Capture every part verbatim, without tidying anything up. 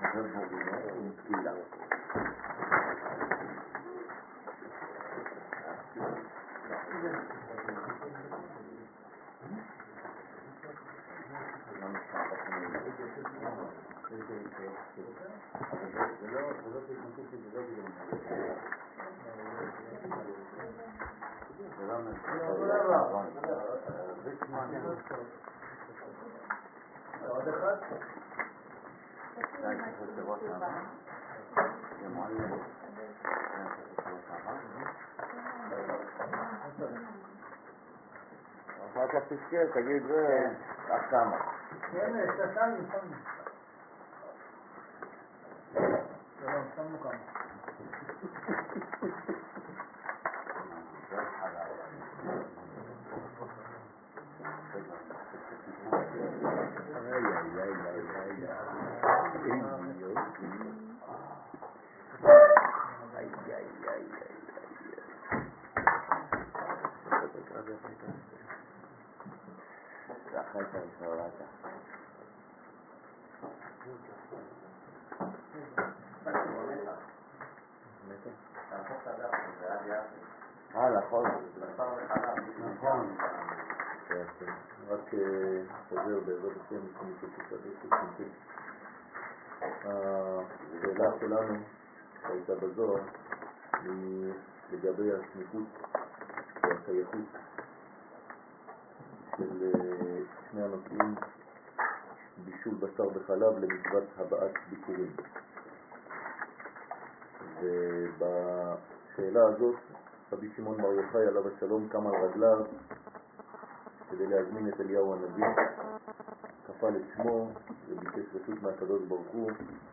ובורינו עם תפילה. עוד אחד? אחר כך תזכר, תגיד זה עד כמה. כן, שתיים, שמנו. שלום, שמנו כמה. איי, איי, איי, איי, איי. אחת הראשונה. אה, נכון. נכון. רק חוזר בעזרת השם לפני שתקדש את השאלה שלנו שהייתה בזוהר היא לגבי הסמיכות והשייכות של שני הנושאים בישול בשר בחלב למצוות הבאת ביקורים. ובשאלה הזאת רבי שמעון בר יוחאי עליו השלום קם על רגליו כדי להזמין את אליהו הנביא, כפל את שמו וביקש רשות מהקדוש ברוך הוא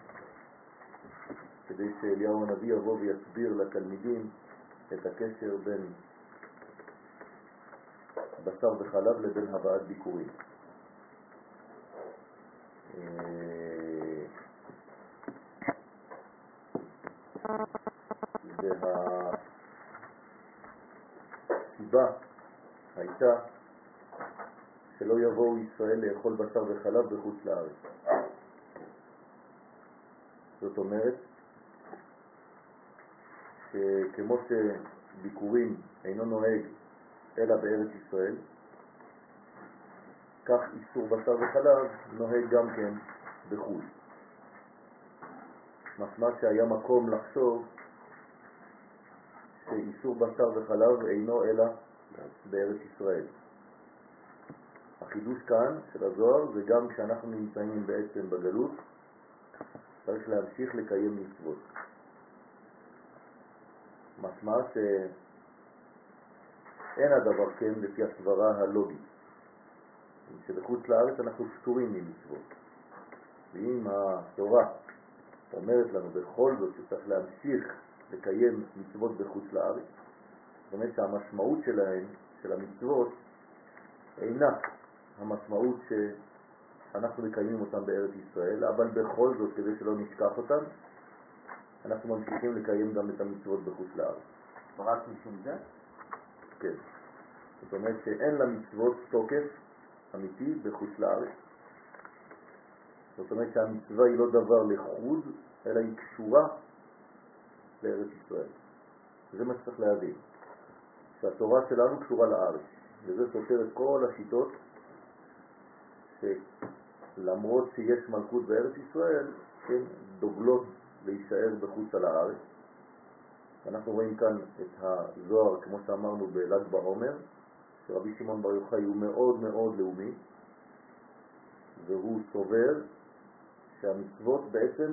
כדי שאליהו הנביא יבוא ויסביר לתלמידים את הקשר בין בשר וחלב לבין הבאת ביקורים. והסיבה הייתה שלא יבואו ישראל לאכול בשר וחלב בחוץ לארץ. זאת אומרת שכמו שביקורים אינו נוהג אלא בארץ ישראל, כך איסור בשר וחלב נוהג גם כן בחו"ל. משמע שהיה מקום לחשוב שאיסור בשר וחלב אינו אלא בארץ ישראל. החידוש כאן של הזוהר זה גם כשאנחנו נמצאים בעצם בגלות, צריך להמשיך לקיים מצוות. משמע שאין הדבר כן לפי הסברה הלוגית, שבחוץ לארץ אנחנו פטורים ממצוות. ואם התורה אומרת לנו בכל זאת שצריך להמשיך לקיים מצוות בחוץ לארץ, זאת אומרת שהמשמעות שלהן, של המצוות, אינה המשמעות שאנחנו מקיימים אותם בארץ ישראל, אבל בכל זאת, כדי שלא נשכח אותם, אנחנו ממשיכים לקיים גם את המצוות בחוץ לארץ. רק משום זה? כן. זאת אומרת שאין למצוות תוקף אמיתי בחוץ לארץ. זאת אומרת שהמצווה היא לא דבר לחוד, אלא היא קשורה לארץ ישראל. זה מה שצריך להבין. שהתורה שלנו קשורה לארץ. וזה סותר את כל השיטות שלמרות שיש מלכות בארץ ישראל, כן, דוגלות להישאר בחוץ על הארץ. אנחנו רואים כאן את הזוהר, כמו שאמרנו בל"ג בעומר, שרבי שמעון בר יוחאי הוא מאוד מאוד לאומי, והוא סובר שהמצוות בעצם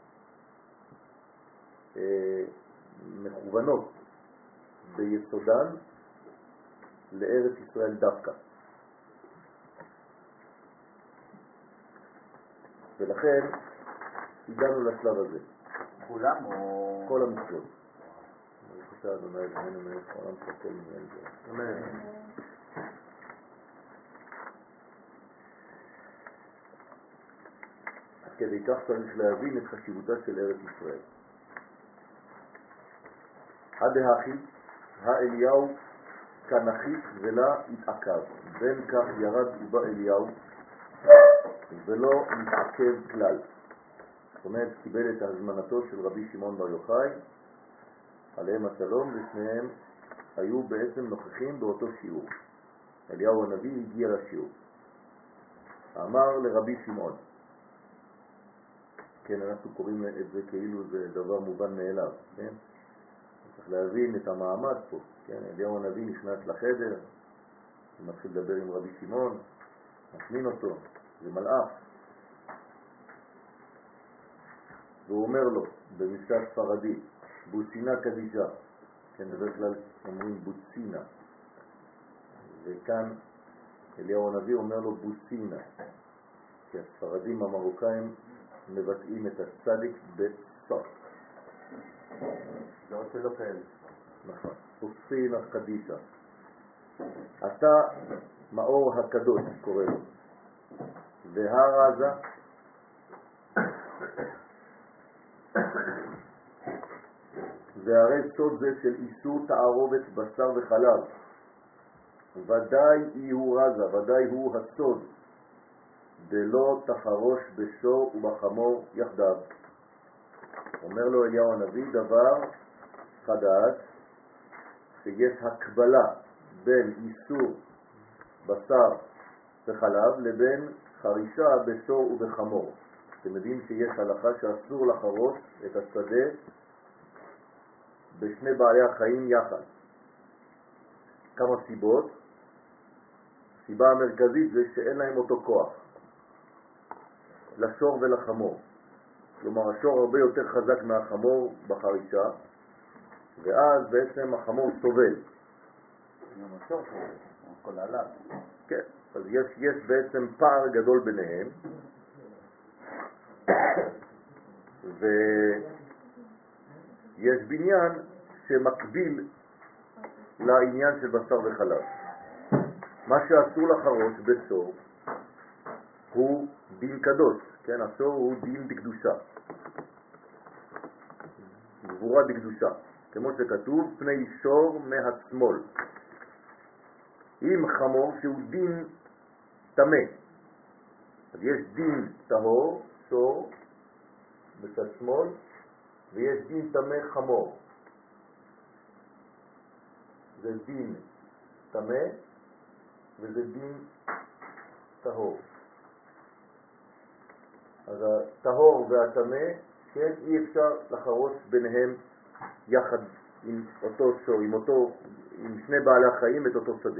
אה, מכוונות ביסודן לארץ ישראל דווקא. ולכן הגענו לשלב הזה. כולם או... כל המצוות. אני חושב אדוני אדוני מלך העולם שכל מיני זה. אמן. אז כדי כך צריך להבין את חשיבותה של ארץ ישראל. הדהכי, האליהו כנחית ולה התעכב. בין כך ירד ובא אליהו ולא מתעכב כלל. זאת אומרת, קיבל את הזמנתו של רבי שמעון בר יוחאי, עליהם השלום, ושניהם היו בעצם נוכחים באותו שיעור. אליהו הנביא הגיע לשיעור. אמר לרבי שמעון, כן, אנחנו קוראים את זה כאילו זה דבר מובן מאליו, כן? צריך להבין את המעמד פה, כן? אליהו הנביא נכנס לחדר, מתחיל לדבר עם רבי שמעון, מזמין אותו, זה מלאך. והוא אומר לו, במשפט ספרדי, בוצינה קדישה, כן, בדרך כלל אומרים בוצינה, וכאן אליהו הנביא אומר לו בוצינה, כי הספרדים המרוקאים מבטאים את הצדיק בסוף. לא רוצה לא כאלה. נכון, בוצינה קדישה. אתה מאור הקדוש קורא לו, והרזה והרי סוד זה של איסור תערובת בשר וחלב, ודאי היא הוא רזה, ודאי הוא הסוד, דלא תחרוש בשור ובחמור יחדיו. אומר לו אליהו הנביא דבר חדש, שיש הקבלה בין איסור בשר וחלב לבין חרישה בשור ובחמור. אתם יודעים שיש הלכה שאסור לחרוש את השדה בשני בעלי החיים יחד. כמה סיבות. הסיבה המרכזית זה שאין להם אותו כוח, לשור ולחמור. כלומר, השור הרבה יותר חזק מהחמור בחרישה, ואז בעצם החמור סובל. גם השור סובל, הכל עליו. כן, אז יש, יש בעצם פער גדול ביניהם, ויש בניין שמקביל לעניין של בשר וחלב. מה שאסור לחרוש בסור הוא דין קדוש, כן? הסור הוא דין דקדושה, גבורה דקדושה, כמו שכתוב פני שור מהשמאל. עם חמור שהוא דין תמה, אז יש דין טהור, שור בצד שמאל, ויש דין תמה חמור. זה דין תמה וזה דין טהור. אז הטהור והתמה, כן, אי אפשר לחרוש ביניהם יחד עם אותו שור, עם אותו, עם שני בעלי החיים את אותו שדה.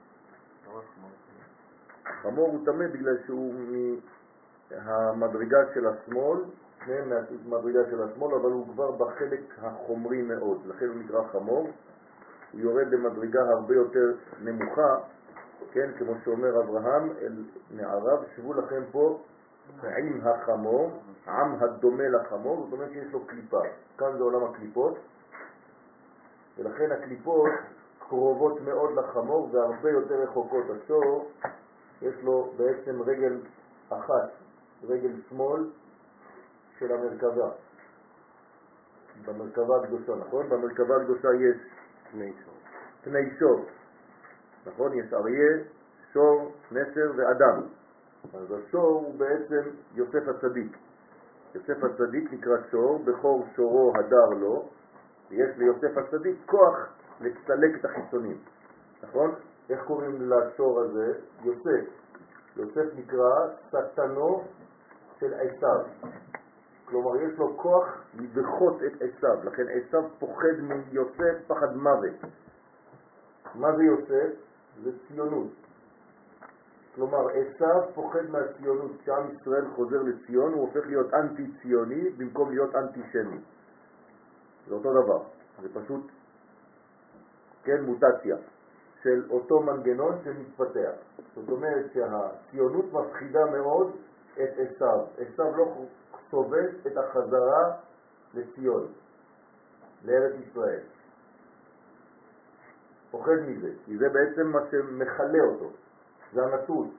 חמור הוא תמה בגלל שהוא מהמדרגה של השמאל, שניהם מהמדרגה של השמאל, אבל הוא כבר בחלק החומרי מאוד, לכן הוא נקרא חמור. הוא יורד למדרגה הרבה יותר נמוכה, כן, כמו שאומר אברהם אל נעריו, שבו לכם פה עם החמור, עם הדומה לחמור, זאת אומרת שיש לו קליפה. כאן זה עולם הקליפות, ולכן הקליפות קרובות מאוד לחמור והרבה יותר רחוקות. השור יש לו בעצם רגל אחת, רגל שמאל של המרכבה, במרכבה הקדושה, נכון? במרכבה הקדושה יש פני שור. פני שור, נכון? יש אריה, שור, נסר ואדם. אז השור הוא בעצם יוסף הצדיק. יוסף הצדיק נקרא שור, בכור שורו הדר לו, ויש ליוסף הצדיק כוח לצלק את החיצונים, נכון? איך קוראים לשור הזה? יוסף. יוסף נקרא שטנו של עשיו. כלומר, יש לו כוח לדחות את עשיו, לכן עשיו פוחד מיוסף פחד מוות. מה זה יוסף? זה ציונות. כלומר, עשיו פוחד מהציונות. כשעם ישראל חוזר לציון, הוא הופך להיות אנטי-ציוני במקום להיות אנטי-שמי. זה אותו דבר. זה פשוט, כן, מוטציה של אותו מנגנון שמתפתח. זאת אומרת שהציונות מפחידה מאוד את עשיו. עשיו לא סובל את החזרה לציון, לארץ ישראל. פוחד מזה, כי זה בעצם מה שמחלה אותו. זה הנצרות.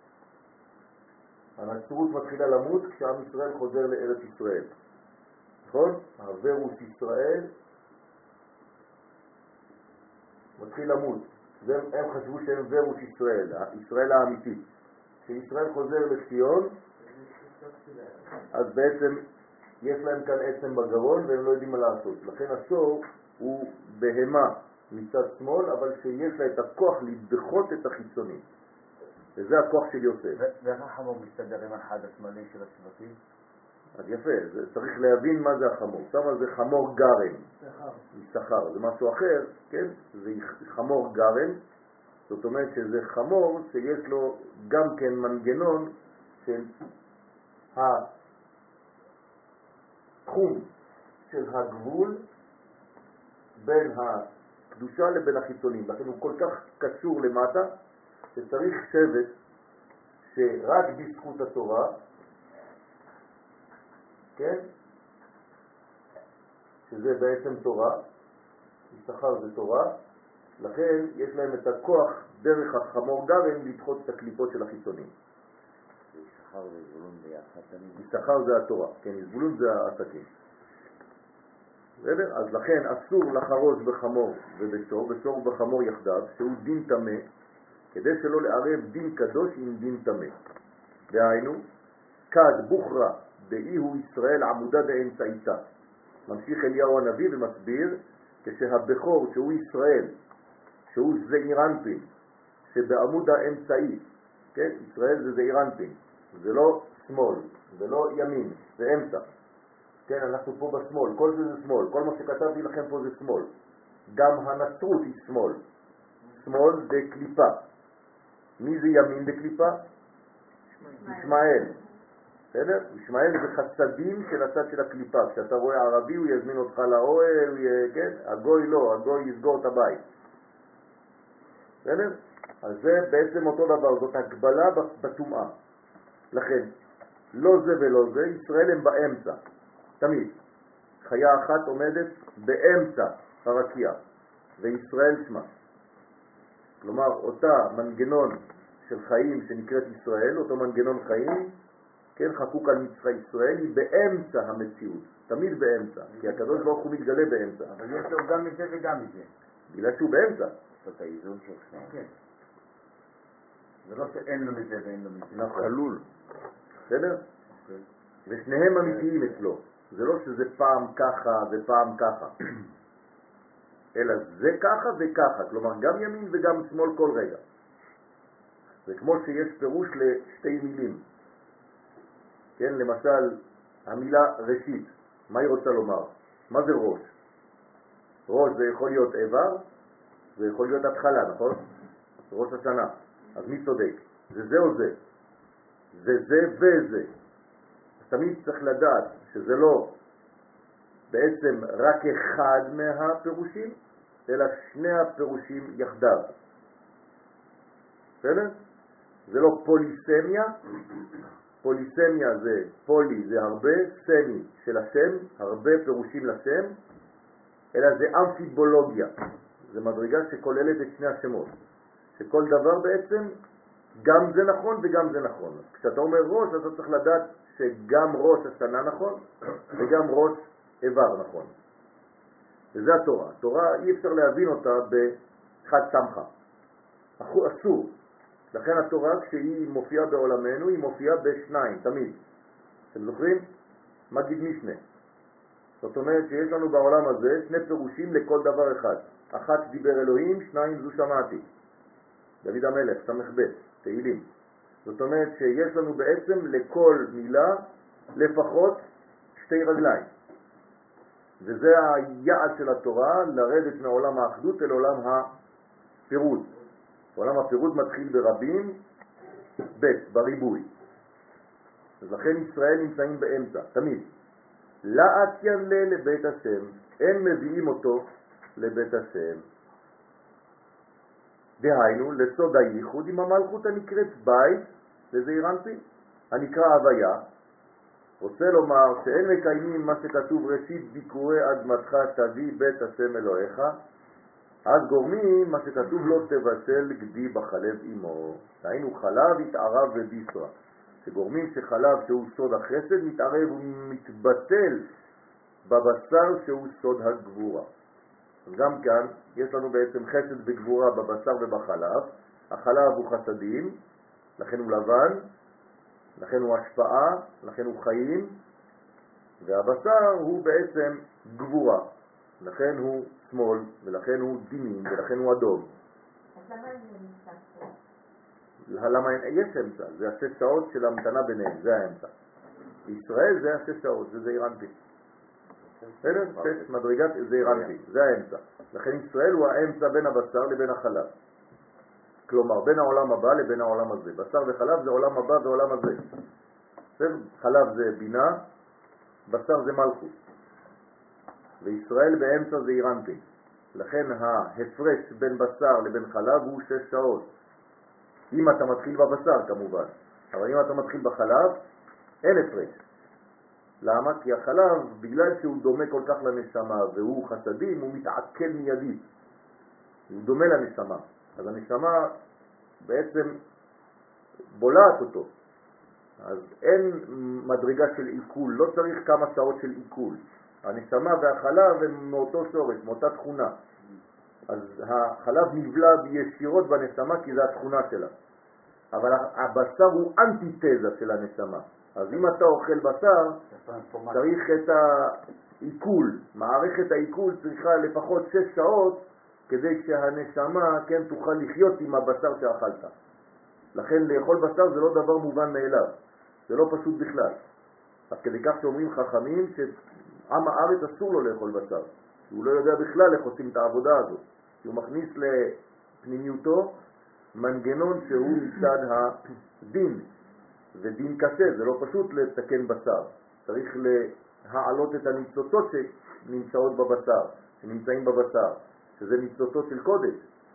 הנצרות מתחילה למות כשעם ישראל חוזר לארץ ישראל. נכון? הוורוס ישראל מתחיל למות. הם חשבו שהם וורוס ישראל, ישראל האמיתית. כשישראל חוזר לציון, אז בעצם יש להם כאן עצם בגרון והם לא יודעים מה לעשות. לכן השור הוא בהמה מצד שמאל, אבל שיש לה את הכוח לדחות את החיצונים. וזה הכוח של יוסף. ואיך החמור מסתדר עם אחד השמאלי של השבטים? אז יפה, זה צריך להבין מה זה החמור. שמה זה חמור גרם. שכר. שכר, זה משהו אחר, כן? זה חמור גרם. זאת אומרת שזה חמור שיש לו גם כן מנגנון של התחום של הגבול בין הקדושה לבין החיצונים. לכן הוא כל כך קשור למטה שצריך שבט שרק בזכות התורה, כן? שזה בעצם תורה, יששכר זה תורה, לכן יש להם את הכוח דרך החמור גרם לדחות את הקליפות של החיצונים. יששכר וזבולון ביחד תמיד. יששכר זה התורה, כן, זבולון זה העסקים. בסדר? אז לכן אסור לחרוש בחמור ובשור, בשור ובחמור יחדיו, שהוא דין טמא, כדי שלא לערב דין קדוש עם דין טמא. דהיינו, כד בוכרה דאי הוא ישראל עמודה דאמצעיתה. ממשיך אליהו הנביא ומסביר, כשהבכור שהוא ישראל, שהוא זעירנטין, שבעמוד האמצעי, כן? ישראל זה זעירנטין, זה לא שמאל, זה לא ימין, זה אמצע. כן, אנחנו פה בשמאל, כל זה זה שמאל, כל מה שכתבתי לכם פה זה שמאל. גם הנצרות היא שמאל. שמאל זה קליפה. מי זה ימין בקליפה? ישמעאל. בסדר? ישמעאל זה חסדים של הצד של הקליפה. כשאתה רואה ערבי הוא יזמין אותך לאוהל, הוא י... כן? הגוי לא, הגוי יסגור את הבית. בסדר? אז זה בעצם אותו דבר, זאת הגבלה בטומאה. לכן, לא זה ולא זה, ישראל הם באמצע. תמיד. חיה אחת עומדת באמצע הרקיע, וישראל שמה. כלומר, אותה מנגנון של חיים שנקראת ישראל, אותו מנגנון חיים, כן, חקוק על מצחה ישראל, היא באמצע המציאות, תמיד באמצע, כי הקדוש ברוך הוא מתגלה באמצע. אבל יש לו גם מזה וגם מזה. בגלל שהוא באמצע. זאת האיזון שלך. כן. זה לא שאין לו מזה ואין לו מזה. נכון. חלול. בסדר? ושניהם אמיתיים אצלו. זה לא שזה פעם ככה ופעם ככה. אלא זה ככה וככה. כלומר, גם ימין וגם שמאל כל רגע. זה כמו שיש פירוש לשתי מילים. כן, למשל, המילה ראשית, מה היא רוצה לומר? מה זה ראש? ראש זה יכול להיות איבר, זה יכול להיות התחלה, נכון? ראש השנה. אז מי צודק? זה זה או זה? זה זה וזה. אז תמיד צריך לדעת שזה לא בעצם רק אחד מהפירושים, אלא שני הפירושים יחדיו. בסדר? זה לא פוליסמיה, פוליסמיה זה פולי, זה הרבה, סמי של השם, הרבה פירושים לשם, אלא זה אמפיבולוגיה, זה מדרגה שכוללת את שני השמות, שכל דבר בעצם גם זה נכון וגם זה נכון. כשאתה אומר ראש, אתה צריך לדעת שגם ראש השנה נכון וגם ראש איבר נכון. וזה התורה. התורה אי אפשר להבין אותה בחד סמכה. אסור. לכן התורה כשהיא מופיעה בעולמנו היא מופיעה בשניים, תמיד. אתם זוכרים? מגיד משנה. זאת אומרת שיש לנו בעולם הזה שני פירושים לכל דבר אחד. אחת דיבר אלוהים, שניים זו שמעתי. דוד המלך, סמך ב', תהילים. זאת אומרת שיש לנו בעצם לכל מילה לפחות שתי רגליים. וזה היעד של התורה, לרדת מעולם האחדות אל עולם הפירוד. עולם הפירוד מתחיל ברבים, ב', בריבוי. אז לכן ישראל נמצאים באמצע, תמיד. לאתיין לה לבית השם, אין מביאים אותו לבית השם. דהיינו, לסוד הייחוד עם המלכות הנקראת בית, לזעיר אנפין, הנקרא הוויה, רוצה לומר שאין מקיימים מה שכתוב ראשית ביקורי אדמתך תביא בית השם אלוהיך, אז גורמים מה שכתוב לא תבשל גדי בחלב אמו. דהיינו חלב התערב וביסרה, שגורמים שחלב שהוא סוד החסד מתערב ומתבטל בבשר שהוא סוד הגבורה. אז גם כאן יש לנו בעצם חסד וגבורה בבשר ובחלב. החלב הוא חסדים, לכן הוא לבן, לכן הוא השפעה, לכן הוא חיים, והבשר הוא בעצם גבורה, לכן הוא שמאל, ולכן הוא דינים, ולכן הוא אדום. אז למה אין נמצא פה? למה יש אמצע? זה השש שעות של המתנה ביניהם, זה האמצע. ישראל זה השש שעות, זה זעיר אנפין. בסדר? שש מדרגת זעיר אנפין, זה האמצע. לכן ישראל הוא האמצע בין הבשר לבין החלב. כלומר, בין העולם הבא לבין העולם הזה. בשר וחלב זה עולם הבא ועולם הזה. בסדר? חלב זה בינה, בשר זה מלכות. וישראל באמצע זעיר אנפין. לכן ההפרש בין בשר לבין חלב הוא שש שעות. אם אתה מתחיל בבשר כמובן, אבל אם אתה מתחיל בחלב, אין הפרש. למה? כי החלב, בגלל שהוא דומה כל כך לנשמה והוא חסדים, הוא מתעכל מיידית. הוא דומה לנשמה. אז הנשמה בעצם בולעת אותו. אז אין מדרגה של עיכול, לא צריך כמה שעות של עיכול. הנשמה והחלב הם מאותו שורש, מאותה תכונה. אז החלב נבלע ישירות בנשמה כי זה התכונה שלה. אבל הבשר הוא אנטיתזה של הנשמה. אז אם אתה אוכל בשר, צריך את העיכול. מערכת העיכול צריכה לפחות שש שעות כדי שהנשמה כן תוכל לחיות עם הבשר שאכלת. לכן לאכול בשר זה לא דבר מובן מאליו. זה לא פשוט בכלל. אז כדי כך שאומרים חכמים שעם הארץ אסור לו לאכול בשר. הוא לא יודע בכלל איך עושים את העבודה הזאת. הוא מכניס לפנימיותו מנגנון שהוא מצד הדין, ודין קשה, זה לא פשוט לתקן בשר. צריך להעלות את הניצוצות שנמצאות בבשר, שנמצאים בבשר, שזה ניצוצות של קודש.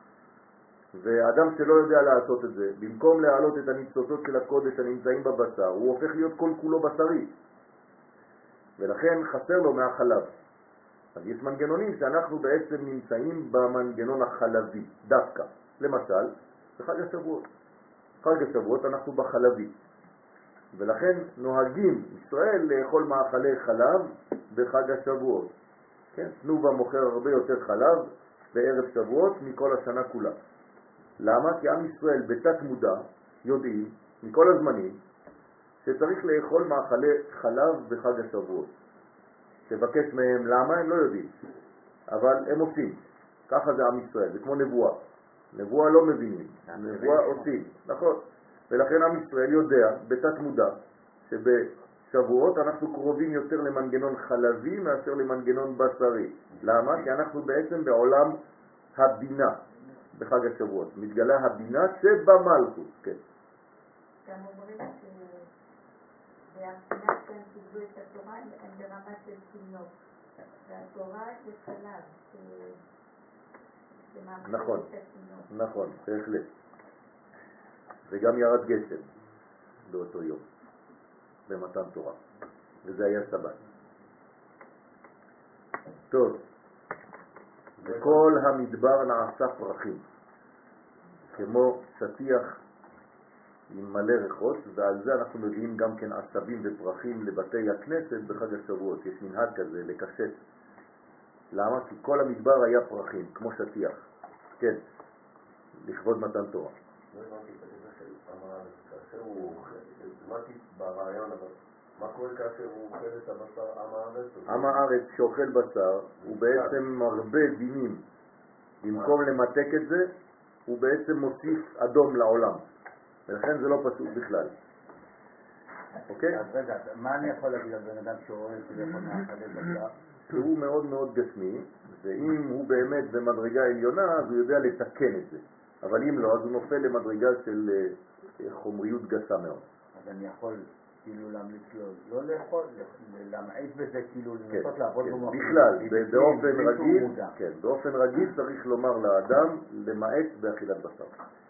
ואדם שלא יודע לעשות את זה, במקום להעלות את הניצוצות של הקודש הנמצאים בבשר, הוא הופך להיות כל כולו בשרי. ולכן חסר לו מהחלב. אז יש מנגנונים שאנחנו בעצם נמצאים במנגנון החלבי, דווקא. למשל, בחג השבועות. חג השבועות אנחנו בחלבי. ולכן נוהגים ישראל לאכול מאכלי חלב בחג השבועות. כן? תנובה מוכר הרבה יותר חלב בערב שבועות מכל השנה כולה. למה? כי עם ישראל בתת מודע יודעים מכל הזמנים שצריך לאכול מאכלי חלב בחג השבועות. תבקש מהם למה, הם לא יודעים, אבל הם עושים. ככה זה עם ישראל, זה כמו נבואה. נבואה לא מבינים, נבואה עושים, נכון. ולכן עם ישראל יודע בתת מודע שבשבועות אנחנו קרובים יותר למנגנון חלבי מאשר למנגנון בשרי. למה? כי אנחנו בעצם בעולם הבינה בחג השבועות. מתגלה הבינה שבמלכות, כן. גם אומרים שהבחינה שהם קיבלו את התורה הם ברמה של תינוק. והתורה זה חלב, זה מאכיל נכון, את התינוק. נכון, בהחלט. וגם ירד גשם באותו יום, במתן תורה. וזה היה סבת. טוב, וכל המדבר נעשה פרחים, כמו שטיח עם מלא ריחות, ועל זה אנחנו מביאים גם כן עשבים ופרחים לבתי הכנסת בחג השבועות. יש מנהג כזה לקשט. למה? כי כל המדבר היה פרחים, כמו שטיח. כן, לכבוד מתן תורה. לא הבנתי את הדבר של עם הארץ, כאשר הוא אוכל, הבנתי ברעיון, אבל מה קורה כאשר הוא אוכל את הבשר עם הארץ? עם הארץ שאוכל בשר הוא בעצם מרבה דינים. במקום למתק את זה, הוא בעצם מוסיף אדום לעולם. ולכן זה לא פשוט בכלל. אוקיי? אז רגע, מה אני יכול להגיד על בן אדם שאוהב שזה יכול מאכלי בשר? שהוא מאוד מאוד גשמי, ואם הוא באמת במדרגה עליונה, אז הוא יודע לתקן את זה. אבל אם לא, אז הוא נופל למדרגה של חומריות גסה מאוד. אז אני יכול כאילו להמליץ לו לא לאכול, להמעיט בזה, כאילו כן, לנסות לעבוד כן. במוח. בכלל, באופן בלי שהוא רגיל, מודע. כן, באופן רגיל צריך לומר לאדם למעט באכילת בשר.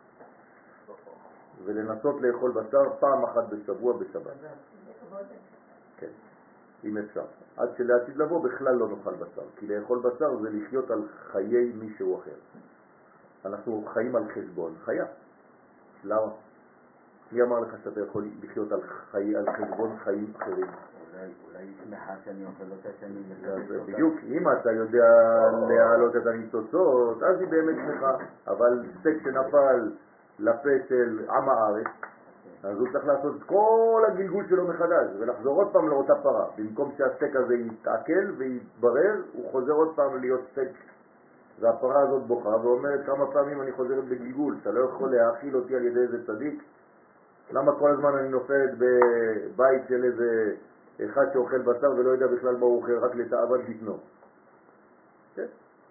ולנסות לאכול בשר פעם אחת בשבוע בשבת. כן, אם אפשר. עד שלעתיד לבוא בכלל לא נאכל בשר. כי לאכול בשר זה לחיות על חיי מישהו אחר. אנחנו חיים על חשבון חיה. למה? מי אמר לך שאתה יכול לחיות על, חי... על חשבון חיים אחרים? אולי, אולי היא שמחה שאני אוכל אותה שאני אז בדיוק, אם אתה יודע להעלות את הניצוצות, אז היא באמת שמחה. אבל סטייק שנפל לפה של עם הארץ, אז הוא צריך לעשות את כל הגלגול שלו מחדש ולחזור עוד פעם לאותה פרה. במקום שהסטייק הזה יתעכל ויתברר, הוא חוזר עוד פעם להיות סטייק. והפרה הזאת בוכה ואומרת כמה פעמים אני חוזרת בגלגול, אתה לא יכול להאכיל אותי על ידי איזה צדיק? למה כל הזמן אני נופלת בבית של איזה אחד שאוכל בשר ולא יודע בכלל מה הוא אוכל, רק לתאוות בטנו? כן.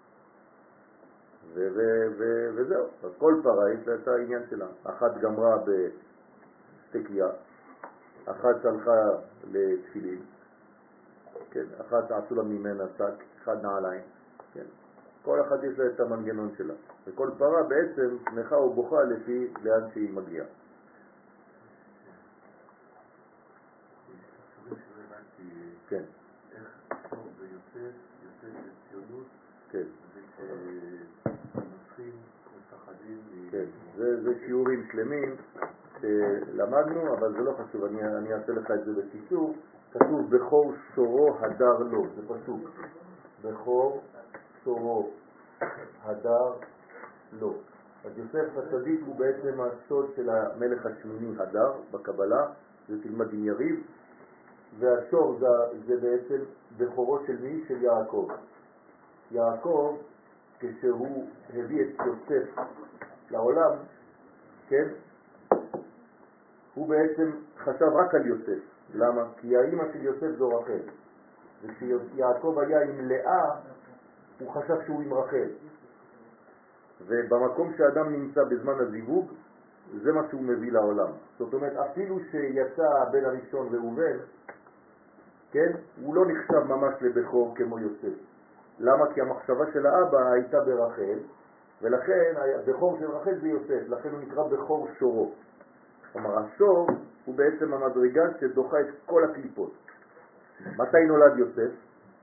ו- ו- ו- וזהו, אז כל פרה יש לה את העניין שלה. אחת גמרה בסטקיה, אחת הלכה לתפילין, כן, אחת עשו לה ממנה שק, אחד נעליים, כן. כל אחד יש לה את המנגנון שלה, וכל פרה בעצם שמחה ובוכה לפי לאן שהיא מגיעה. כן. איך טוב ויוסף, יוסף לציונות, כן. ושנוצרים מפחדים. כן, זה, זה שיעורים שלמים שלמדנו, אבל זה לא חשוב, אני, אני אעשה לך את זה בקיצור. כתוב בכור שורו הדר לו, זה פסוק. בכור שורו הדר לו. אז יוסף הצדיק הוא בעצם הסוד של המלך השמיני הדר בקבלה, זה תלמד עם יריב, והשור זה, זה בעצם בכורו של מי? של יעקב. יעקב, כשהוא הביא את יוסף לעולם, כן, הוא בעצם חשב רק על יוסף. למה? כי האמא של יוסף זו רחל, וכשיעקב היה עם לאה הוא חשב שהוא עם רחל, ובמקום שאדם נמצא בזמן הזיווג זה מה שהוא מביא לעולם. זאת אומרת, אפילו שיצא הבן הראשון ראובן, כן, הוא לא נחשב ממש לבכור כמו יוסף. למה? כי המחשבה של האבא הייתה ברחל, ולכן הבכור של רחל זה יוסף, לכן הוא נקרא בכור שורו. כלומר, השור הוא בעצם המדרגה שדוחה את כל הקליפות. מתי נולד יוסף?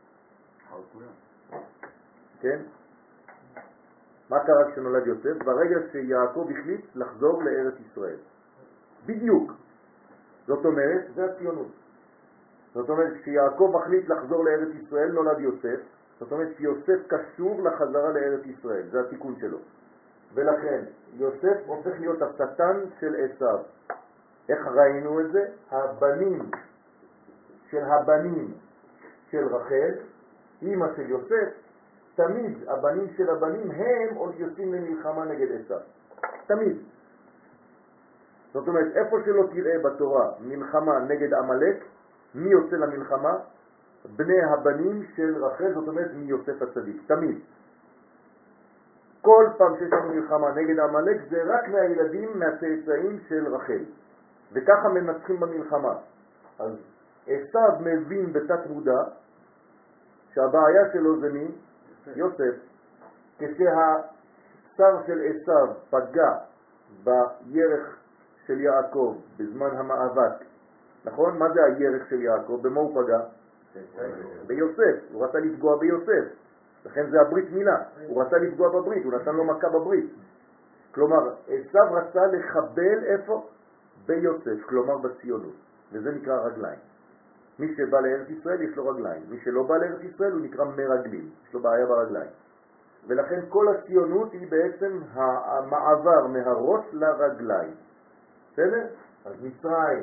כן? מה קרה כשנולד יוסף? ברגע שיעקב החליט לחזור לארץ ישראל. בדיוק. זאת אומרת, זה הציונות. זאת אומרת, כשיעקב החליט לחזור לארץ ישראל נולד יוסף. זאת אומרת שיוסף קשור לחזרה לארץ ישראל, זה התיקון שלו. ולכן יוסף הופך להיות השטן של עשיו. איך ראינו את זה? הבנים של הבנים של רחל, אמא של יוסף, תמיד הבנים של הבנים הם עוד יוצאים למלחמה נגד עשיו. תמיד. זאת אומרת, איפה שלא תראה בתורה מלחמה נגד עמלק, מי יוצא למלחמה? בני הבנים של רחל, זאת אומרת מיוסף הצדיק, תמיד. כל פעם שיש לנו מלחמה נגד עמלק זה רק מהילדים, מהצאצאים של רחל. וככה מנצחים במלחמה. אז עשיו מבין בתת מודע שהבעיה שלו זה מי? יוסף. כשהשר של עשיו פגע בירך של יעקב בזמן המאבק, נכון? מה זה הירך של יעקב? במה הוא פגע? ביוסף. הוא רצה לפגוע ביוסף. לכן זה הברית מילה. הוא רצה לפגוע בברית, הוא נתן לו מכה בברית. כלומר, עשיו רצה לחבל איפה? ביוסף, כלומר בציונות. וזה נקרא רגליים. מי שבא לארץ ישראל יש לו רגליים. מי שלא בא לארץ ישראל הוא נקרא מרגלים. יש לו בעיה ברגליים. ולכן כל הציונות היא בעצם המעבר מהראש לרגליים. בסדר? אז מצרים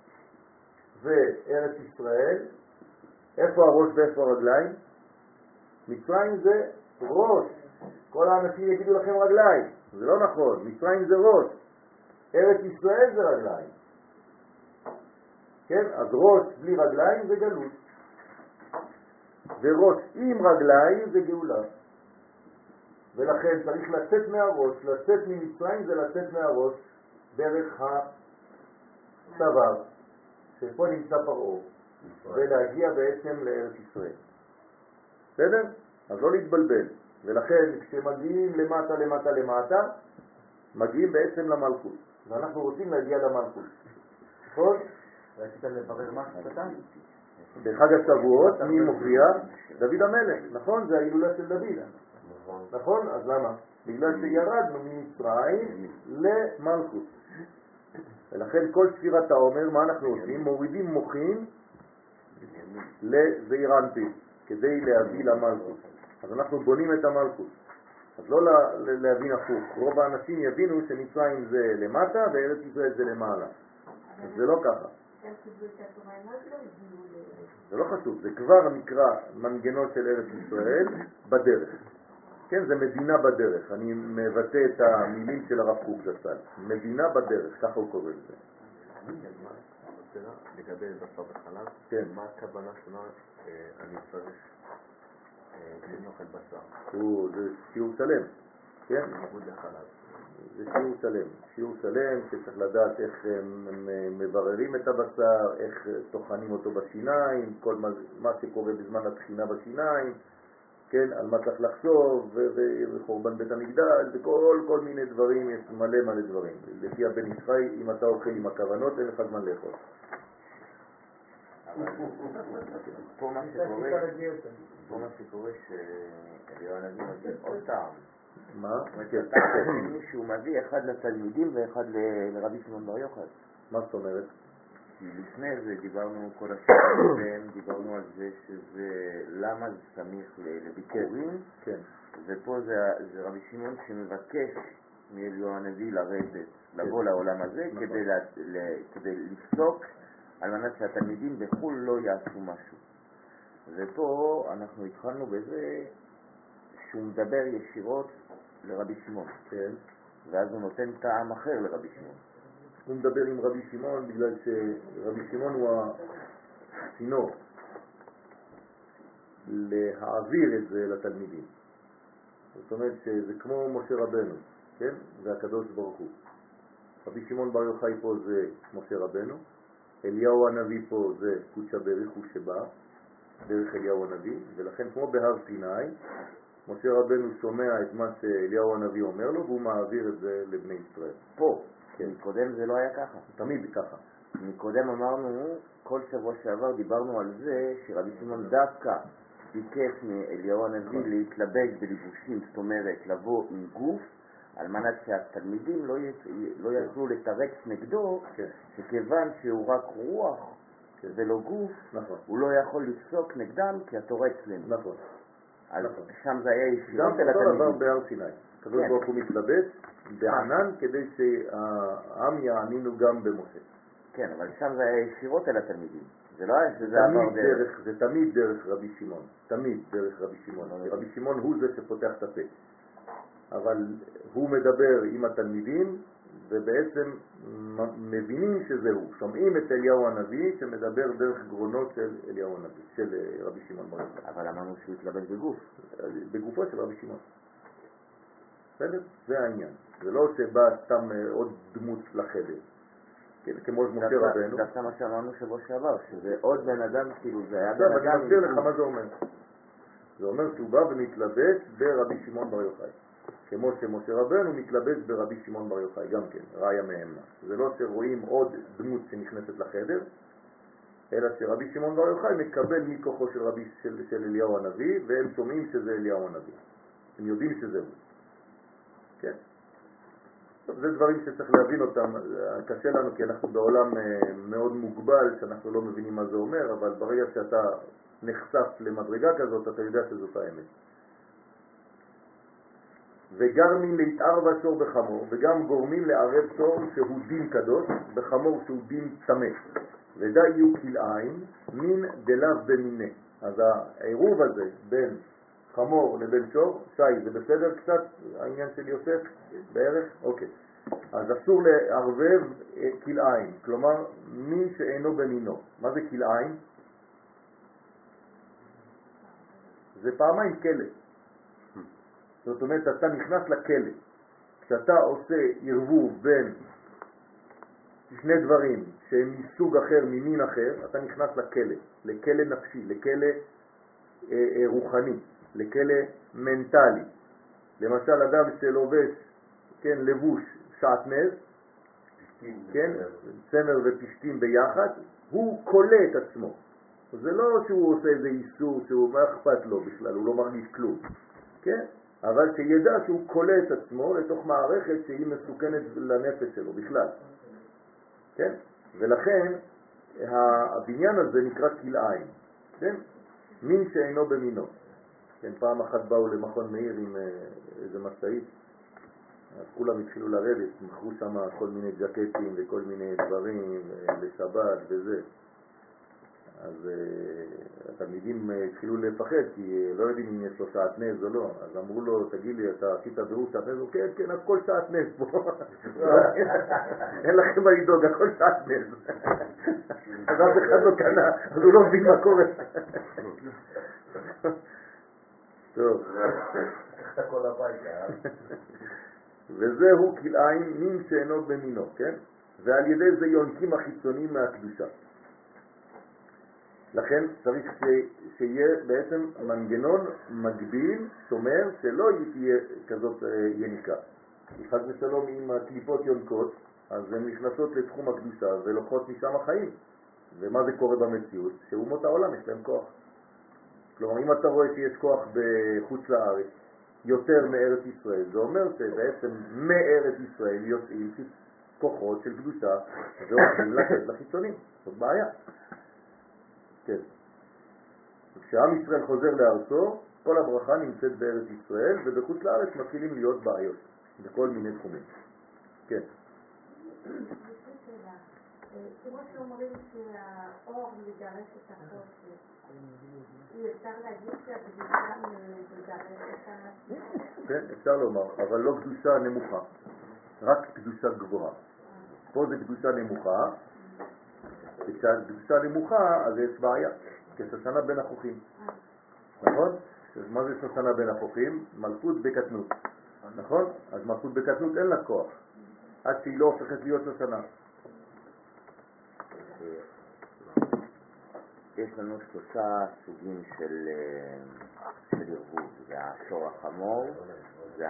וארץ ישראל, איפה הראש ואיפה הרגליים? מצרים זה ראש. כל האנשים יגידו לכם רגליים. זה לא נכון. מצרים זה ראש. ארץ ישראל זה רגליים. כן? אז ראש בלי רגליים זה גלות. וראש עם רגליים זה גאולה. ולכן צריך לצאת מהראש. לצאת ממצרים זה לצאת מהראש דרך הצוואר, שפה נמצא פרעה, ולהגיע בעצם לארץ ישראל. בסדר? אז לא להתבלבל. ולכן כשמגיעים למטה למטה למטה, מגיעים בעצם למלכות. ואנחנו רוצים להגיע למלכות. נכון? רצית לברר משהו קטן? בחג השבועות מי מופיע? דוד המלך. נכון? זה ההילולה של דוד. נכון? אז למה? בגלל שירדנו ממצרים למלכות. ולכן כל ספירת העומר, מה אנחנו עושים? מורידים מוחים לזעיר אנפין, כדי להביא למלכות. אז אנחנו בונים את המלכות. אז לא להבין הפוך. רוב האנשים יבינו שמצרים זה למטה וארץ ישראל זה למעלה. זה לא ככה. הם קיבלו את התורה, הם עוד לא הגיעו לארץ. זה לא חשוב, זה כבר נקרא מנגנון של ארץ ישראל בדרך. כן, זה מדינה בדרך. אני מבטא את המילים של הרב קוק זצ"ל. מדינה בדרך, ככה הוא קורא לזה. לגבי בשר וחלב, כן. מה הכוונה שונה אני צריך לנאכל בשר? הוא, זה שיעור שלם, כן? בניגוד לחלב. זה שיעור שלם. שיעור שלם שצריך לדעת איך הם מבררים את הבשר, איך טוחנים אותו בשיניים, כל מה, מה שקורה בזמן התחינה בשיניים, כן, על מה צריך לחשוב, ו- ו- וחורבן בית המקדש, וכל כל מיני דברים, יש מלא מלא דברים. לפי הבן ישחי, אם אתה אוכל עם הכוונות, אין לך זמן לאכול. פה מה שקורה, פה מה שקורה שאליהו הנביא מביא עוד טעם. מה? זאת אומרת, הטעם השני שהוא מביא אחד לתלמידים ואחד ל- לרבי שמעון בר יוחאי. מה זאת אומרת? כי לפני זה דיברנו כל השנים, והם דיברנו על זה שזה למה זה סמיך ל- לביקורים, כן. ופה זה, זה רבי שמעון שמבקש מאליהו הנביא לרדת, לבוא לעולם הזה נכון. כדי, לה, ל, כדי לפסוק על מנת שהתלמידים בחו"ל לא יעשו משהו. ופה אנחנו התחלנו בזה שהוא מדבר ישירות לרבי שמעון, כן. ואז הוא נותן טעם אחר לרבי שמעון. הוא מדבר עם רבי שמעון בגלל שרבי שמעון הוא הצינור להעביר את זה לתלמידים. זאת אומרת שזה כמו משה רבנו, כן? זה הקדוש ברוך הוא. רבי שמעון בר יוחאי פה זה משה רבנו, אליהו הנביא פה זה קודשא בריך הוא שבא, דרך אליהו הנביא, ולכן כמו בהר סיני, משה רבנו שומע את מה שאליהו הנביא אומר לו, והוא מעביר את זה לבני ישראל. פה, כן. מקודם זה לא היה ככה. תמיד ככה. מקודם אמרנו, כל שבוע שעבר דיברנו על זה שרבי שמעון דווקא ביקש מאליהו הנביא להתלבש בלבושים, זאת אומרת לבוא עם גוף, על מנת שהתלמידים לא, י... לא יוכלו לתרץ נגדו, כן. שכיוון שהוא רק רוח כן. ולא גוף, נכון. הוא לא יכול לפסוק נגדם כי התורה אצלנו. נכון. אז נכון. שם זה היה ישירות גם אל אותו דבר התלמידים. בהר סיני. הקדוש כן. ברוך הוא מתלבש בענן כדי שהעם יאמינו גם במשה. כן, אבל שם זה היה ישירות אל התלמידים. זה לא היה שזה עבר תמיד דרך. דרך, זה תמיד דרך רבי שמעון. תמיד דרך רבי שמעון. כי רבי שמעון הוא זה שפותח את הפה. אבל הוא מדבר עם התלמידים ובעצם מבינים שזה הוא. שומעים את אליהו הנביא שמדבר דרך גרונות של אליהו הנביא, של רבי שמעון בר יוחאי. אבל אמרנו שהוא התלבש בגוף. בגופו של רבי שמעון. בסדר? זה העניין. זה לא שבא סתם עוד דמות לחדר. כן, כמו משה רבנו. דווקא מה שאמרנו שבוע שעבר, שזה עוד בן אדם, כאילו זה היה עכשיו בן אדם. אני מסביר לך מה זה אומר. זה אומר שהוא בא ומתלבש ברבי שמעון בר יוחאי. כמו שמשה רבנו מתלבש ברבי שמעון בר יוחאי, גם כן, ראיה מהימנה. זה לא שרואים עוד דמות שנכנסת לחדר, אלא שרבי שמעון בר יוחאי מקבל מכוחו של רבי של, של אליהו הנביא, והם שומעים שזה אליהו הנביא. הם יודעים שזה הוא. כן? טוב, זה דברים שצריך להבין אותם. קשה לנו כי אנחנו בעולם מאוד מוגבל, שאנחנו לא מבינים מה זה אומר, אבל ברגע שאתה נחשף למדרגה כזאת, אתה יודע שזאת האמת. וגרמים להתערב שור בחמור, וגם גורמים לערב שור שהוא דין קדוש, בחמור שהוא דין צמא. ודא יהיו כלאיים, מין דלאו במיני. אז העירוב הזה בין חמור לבין שור, שי, זה בסדר קצת העניין של יוסף בערך? אוקיי. אז אסור לערבב כלאיים, כלומר מין שאינו במינו. מה זה כלאיים? זה פעמיים כלא. זאת אומרת, אתה נכנס לכלא. כשאתה עושה ערבוב בין שני דברים שהם מסוג אחר, ממין אחר, אתה נכנס לכלא, לכלא נפשי, לכלא אה, אה, רוחני, לכלא מנטלי. למשל, אדם שלובש, כן, לבוש שעטנז, כן, צמר ופשטים ביחד, הוא קולה את עצמו. זה לא שהוא עושה איזה איסור שהוא מה אכפת לו בכלל, הוא לא מרגיש כלום. כן? אבל שידע שהוא קולה את עצמו לתוך מערכת שהיא מסוכנת לנפש שלו בכלל. כן? ולכן הבניין הזה נקרא כלאיים. כן? מין שאינו במינו. כן, פעם אחת באו למכון מאיר עם איזה משאית אז כולם התחילו לרדת, מכרו שם כל מיני ג'קטים וכל מיני דברים לשבת וזה. אז uh, התלמידים התחילו לפחד כי לא יודעים אם יש לו שעת נז או לא. אז אמרו לו, תגיד לי, אתה עשית בירור שעת נז? כן, כן, הכל שעת נז פה. אין לכם מה לדאוג, הכל שעת נז. אז אף אחד לא קנה, אז הוא לא מבין מה קורה. טוב. איך אתה כל הביתה? וזהו כלאיים מין שאינו במינו, כן? ועל ידי זה יונקים החיצונים מהקדושה. לכן צריך ש... שיהיה בעצם מנגנון מגביל, שומר, שלא תהיה כזאת יניקה. חס ושלום עם הקליפות יונקות, אז הן נכנסות לתחום הקדושה ולוקחות משם החיים. ומה זה קורה במציאות? שאומות העולם יש להם כוח. כלומר, אם אתה רואה שיש כוח בחוץ לארץ יותר מארץ ישראל, זה אומר שבעצם מארץ ישראל יוצאים כוחות של קדושה והולכים לתת לחיצונים. זאת בעיה. כן. כשעם ישראל חוזר לארצו, כל הברכה נמצאת בארץ ישראל, ובחוץ לארץ מתחילים להיות בעיות בכל מיני תחומים. כן. כמו שאומרים שהאור מגרש את החושך, אי אפשר להגיד שהקדושה מגרש את ה... כן, אפשר לומר, אבל לא קדושה נמוכה, רק קדושה גבוהה. פה זה קדושה נמוכה, וכשהקדושה נמוכה אז יש בעיה, כשושנה בין החוכים. נכון? מה זה שושנה בין החוכים? מלכות בקטנות. נכון? אז מלכות בקטנות אין לה כוח, עד שהיא לא הופכת להיות שושנה. יש לנו שלושה סוגים של, של ערבוב, זה השור החמור, זה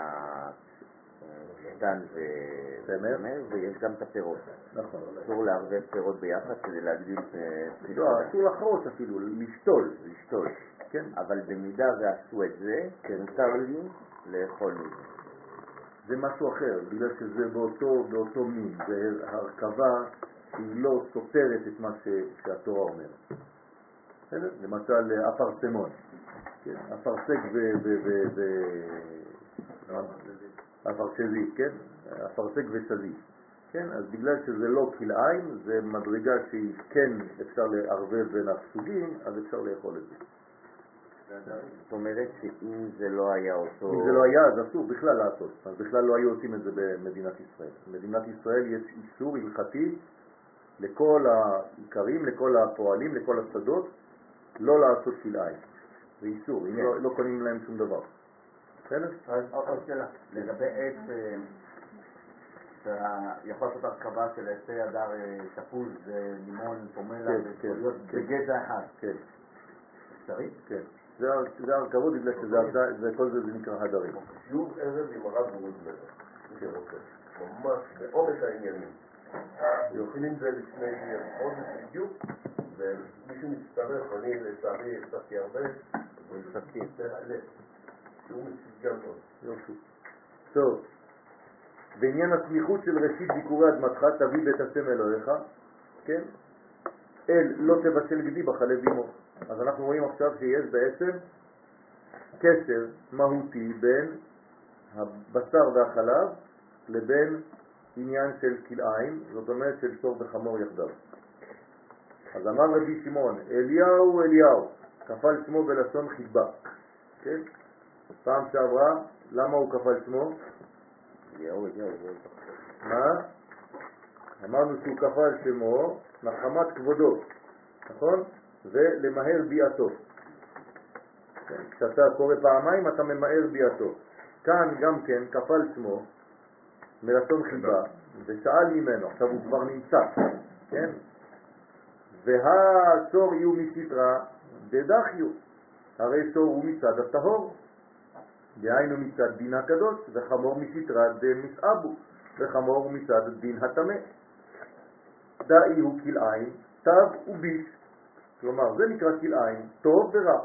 השטן וצמר, ויש גם את הפירות. נכון. אסור לערבב פירות ביחד כדי להגדיל פריחה. לא, אסור לחרוץ אפילו, לשתול. לשתול. כן. אבל במידה ועשו את זה, מותר לי לאכול מזה. זה משהו אחר, בגלל שזה באותו, באותו מין, זה הרכבה שהיא לא סותרת את מה ש... שהתורה אומרת. למשל אפרסמון, כן? אפרסק ו... ו... ו... ו... אפרסזית, כן? אפרסק וסזית, כן? אז בגלל שזה לא כלאיים, זה מדרגה שהיא כן אפשר לערבב בין הסוגים, אז אפשר לאכול את זה. זאת אומרת שאם זה לא היה אותו... אם זה לא היה, אז אסור בכלל לעשות. אז בכלל לא היו עושים את זה במדינת ישראל. במדינת ישראל יש איסור הלכתי לכל העיקרים, לכל הפועלים, לכל השדות, לא לעשות כלאיים. זה איסור, אם לא, לא קונים להם שום דבר. בסדר? אז עוד שאלה, לגבי עץ, יכול לעשות הרכבה של עצי הדר, תפוז, לימון, פומלה, וצוריות, בגזע אחד. כן. אפשרי? כן. זה הרכבות בגלל שכל זה נקרא הדרים. שיעור ערב עם הרב רוזנר, מי שרוצה, ממש בעומק העניינים. יוכלים את זה לפני חודש בדיוק, ומישהו מצטרף, אני לצערי הפסקתי הרבה, ומסתפקים. שהוא מציג גם מאוד. יופי. טוב, בעניין הסמיכות של ראשית ביקורי אדמתך, תביא בית השם אלוהיך, כן? אל לא תבשל גדי בחלב אמו. אז אנחנו רואים עכשיו שיש בעצם קשר מהותי בין הבשר והחלב לבין עניין של כלאיים, זאת אומרת של שור וחמור יחדיו. אז אמר רבי שמעון, אליהו אליהו, כפל שמו בלשון חיבה. כן? פעם שעברה, למה הוא כפל שמו? אליהו אליהו. מה? אמרנו שהוא כפל שמו נחמת כבודו, נכון? ולמהר ביאתו. כן? כשאתה קורא פעמיים אתה ממהר ביאתו. כאן גם כן כפל שמו מלשון חיבה, ושאל ממנו, עכשיו הוא כבר נמצא, כן? והצור יהיו מסתרה דדחיו, הרי צור הוא מצד הטהור, דהיינו מצד דין הקדוש, וחמור מסתרה דמסעבו, וחמור מצד דין הטמא. דאי הוא כלאיים, תב וביש, כלומר זה נקרא כלאיים, טוב ורע.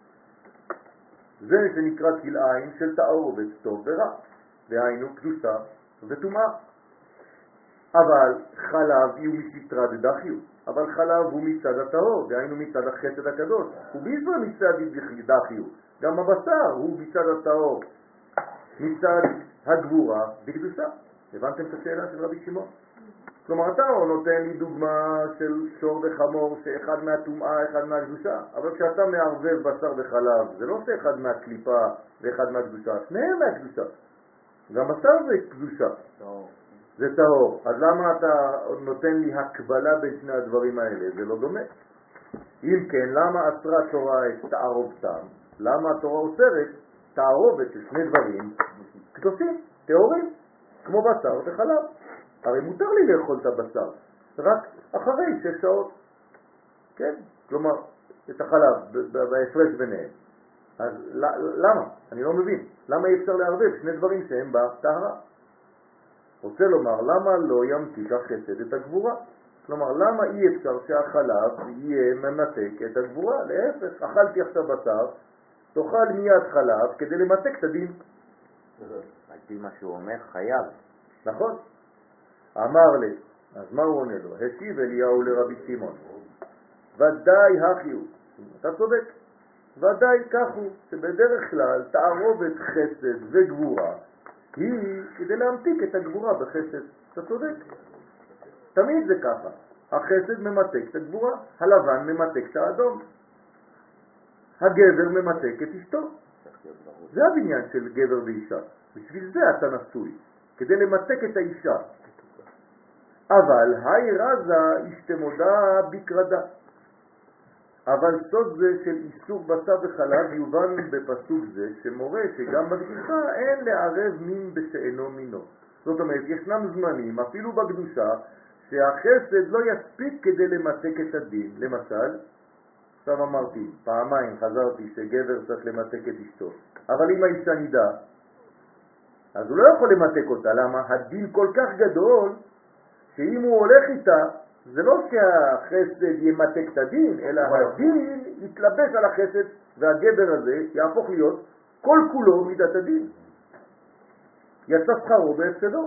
זה שנקרא כלאיים של תערובת טוב ורע, דהיינו קדושה וטומאה. אבל חלב יהיו מסתרה דדחיו, אבל חלב הוא מצד הטהור, דהיינו מצד החסד הקדוש, וביזו מצד דחיו, גם הבשר הוא מצד הטהור, מצד הגבורה בקדושה. הבנתם את השאלה של רבי שמעון? כלומר, אתה נותן לי דוגמה של שור וחמור שאחד מהטומאה, אחד מהקדושה, אבל כשאתה מערבב בשר וחלב, זה לא שאחד מהקליפה ואחד מהקדושה, שניהם מהקדושה. גם בשר זה קדושה, זה טהור. אז למה אתה נותן לי הקבלה בין שני הדברים האלה? זה לא דומה. אם כן, למה אסרה התורה את תערובתם? למה התורה אוסרת תערובת של שני דברים קדושים, טהורים, כמו בשר וחלב? הרי מותר לי לאכול את הבשר, רק אחרי שש שעות. כן? כלומר, את החלב בהפרש ביניהם. אז למה? אני לא מבין. למה אי אפשר לערבב שני דברים שהם בטהרה? רוצה לומר, למה לא ימתיק החסד את הגבורה? כלומר, למה אי אפשר שהחלב יהיה ממתק את הגבורה? להפך, אכלתי עכשיו בשר, תאכל מיד חלב כדי למתק את הדין. על פי מה שהוא אומר, חייב. נכון? אמר לי, אז מה הוא עונה לו? השיב אליהו לרבי שמעון, ודאי החיו, אתה צודק, ודאי כך הוא, שבדרך כלל תערובת חסד וגבורה היא כדי להמתיק את הגבורה בחסד. אתה צודק, תמיד זה ככה, החסד ממתק את הגבורה, הלבן ממתק את האדום, הגבר ממתק את אשתו. זה הבניין של גבר ואישה, בשביל זה אתה נשוי, כדי למתק את האישה. אבל היי רזה אשתמודה בקרדה. אבל סוד זה של איסור בשר וחלב יובן בפסוק זה שמורה שגם בקדושה אין לערב מין בשאינו מינו. זאת אומרת, ישנם זמנים, אפילו בקדושה, שהחסד לא יספיק כדי למתק את הדין. למשל, עכשיו אמרתי, פעמיים חזרתי שגבר צריך למתק את אשתו. אבל אם האישה נידה, אז הוא לא יכול למתק אותה. למה? הדין כל כך גדול, שאם הוא הולך איתה, זה לא שהחסד ימתק את הדין, אלא הדין יתלבש על החסד, והגבר הזה יהפוך להיות כל כולו מידת הדין. יצא שכרו בהפסדו.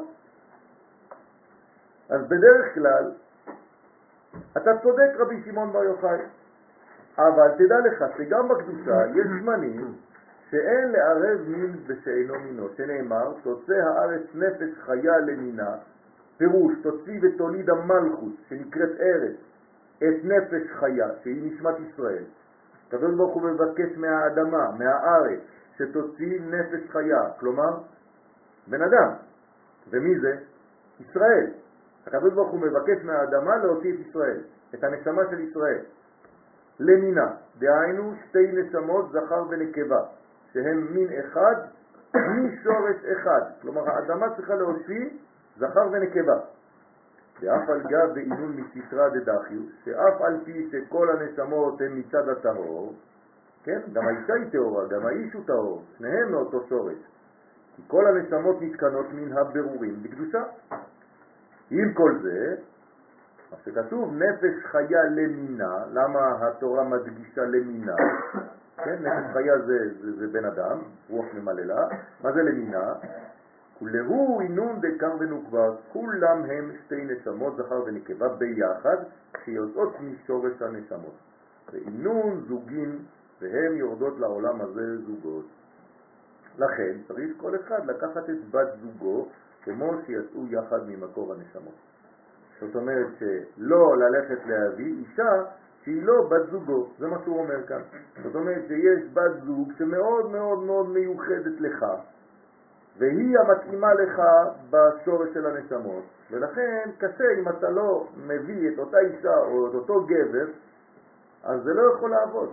אז בדרך כלל, אתה צודק רבי שמעון בר יוחאי, אבל תדע לך שגם בקדושה יש זמנים שאין לערב מין בשאינו מינו, שנאמר, תוצא הארץ נפש חיה למינה, פירוש, תוציא ותוליד המלכות, שנקראת ארץ, את נפש חיה, שהיא נשמת ישראל. הקדוש ברוך הוא מבקש מהאדמה, מהארץ, שתוציא נפש חיה, כלומר, בן אדם. ומי זה? ישראל. הקדוש ברוך הוא מבקש מהאדמה להוציא את ישראל, את הנשמה של ישראל. למינה, דהיינו שתי נשמות זכר ונקבה, שהם מין אחד, משורש אחד. כלומר, האדמה צריכה להוציא זכר ונקבה. ואף על גב בעינון מסיטרא דדחיו, שאף על פי שכל הנשמות הן מצד הטהור, כן? גם האישה היא טהורה, גם האיש הוא טהור, שניהם מאותו שורש. כי כל הנשמות נתקנות מן הבירורים בקדושה. עם כל זה, מה שכתוב נפש חיה למינה, למה התורה מדגישה למינה? כן, נפש חיה זה, זה, זה בן אדם, רוח ממללה. מה זה למינה? כולהו אינון דקר ונוקבה, כולם הם שתי נשמות זכר ונקבה ביחד, שיוצאות משורש הנשמות. ואינון זוגים, והם יורדות לעולם הזה זוגות. לכן צריך כל אחד לקחת את בת זוגו, כמו שיצאו יחד ממקור הנשמות. זאת אומרת שלא ללכת להביא אישה שהיא לא בת זוגו, זה מה שהוא אומר כאן. זאת אומרת שיש בת זוג שמאוד מאוד מאוד מיוחדת לך, והיא המתאימה לך בשורש של הנשמות, ולכן קשה אם אתה לא מביא את אותה אישה או את אותו גבר, אז זה לא יכול לעבוד.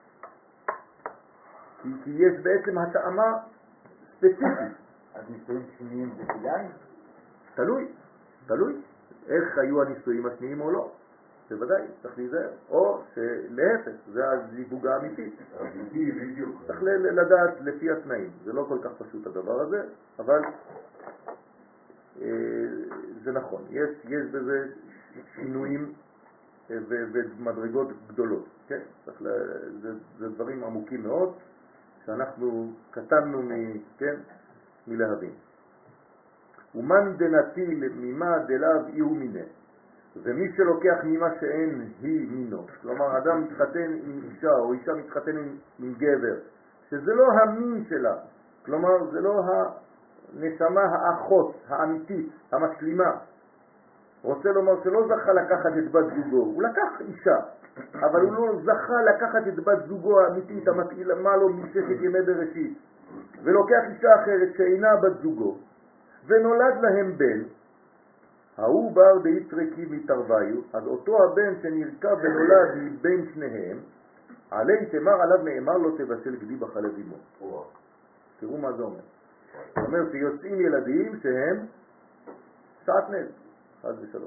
כי, כי יש בעצם התאמה ספציפית. אז נישואים שניים זה כדאי? תלוי, תלוי. איך היו הנישואים השניים או לא. בוודאי, צריך להיזהר. או שלהפך, זה הזיווג האמיתי. אמיתי, בדיוק. צריך לדעת לפי התנאים. זה לא כל כך פשוט הדבר הזה, אבל אה, זה נכון. יש, יש בזה שינויים אה, ומדרגות גדולות. כן? צריך לה, זה, זה דברים עמוקים מאוד, שאנחנו קטנו מ, כן? מלהבין. ומן דנטיל ממה דלאו אי הוא מיני. ומי שלוקח ממה שאין היא מינו, כלומר אדם מתחתן עם אישה או אישה מתחתן עם, עם גבר, שזה לא המין שלה, כלומר, זה לא הנשמה האחות, האמיתית, המשלימה. רוצה לומר שלא זכה לקחת את בת זוגו, הוא לקח אישה, אבל הוא לא זכה לקחת את בת זוגו האמיתית, המתאימה לו מששת ימי בראשית, ולוקח אישה אחרת שאינה בת זוגו, ונולד להם בן, ההוא בר דאיתרקי מתרוויו, אז אותו הבן שנרקב ונולד מבין שניהם, עלי תמר עליו נאמר לו תבשל גדי בחלב אמו. תראו מה זה אומר. זאת אומרת שיוצאים ילדים שהם שעטנז, חד ושלום.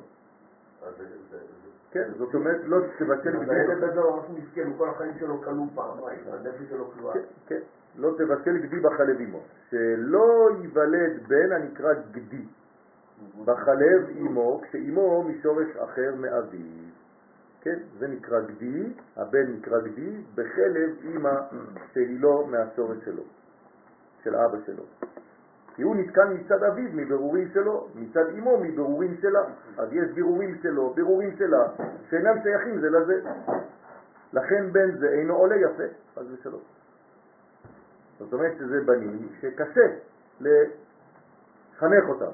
כן, זאת אומרת לא תבשל גדי. הילד הזה הוא ממש מסכן, כל החיים שלו כלוא פעמיים, הנפש שלו כלואה. כן, לא תבשל גדי בחלב אמו. שלא ייוולד בן הנקרא גדי בחלב אמו, כשאמו משורש אחר מאביו. כן, זה נקרא גדי, הבן נקרא גדי, בחלב אמא שהיא לא מהשורש שלו, של אבא שלו. כי הוא נתקן מצד אביו מבירורים שלו, מצד אמו מבירורים שלה. אז יש בירורים שלו, בירורים שלה, שאינם שייכים זה לזה. לכן בן זה אינו עולה יפה, אז ושלום. זאת אומרת שזה בנים שקשה לחנך אותם.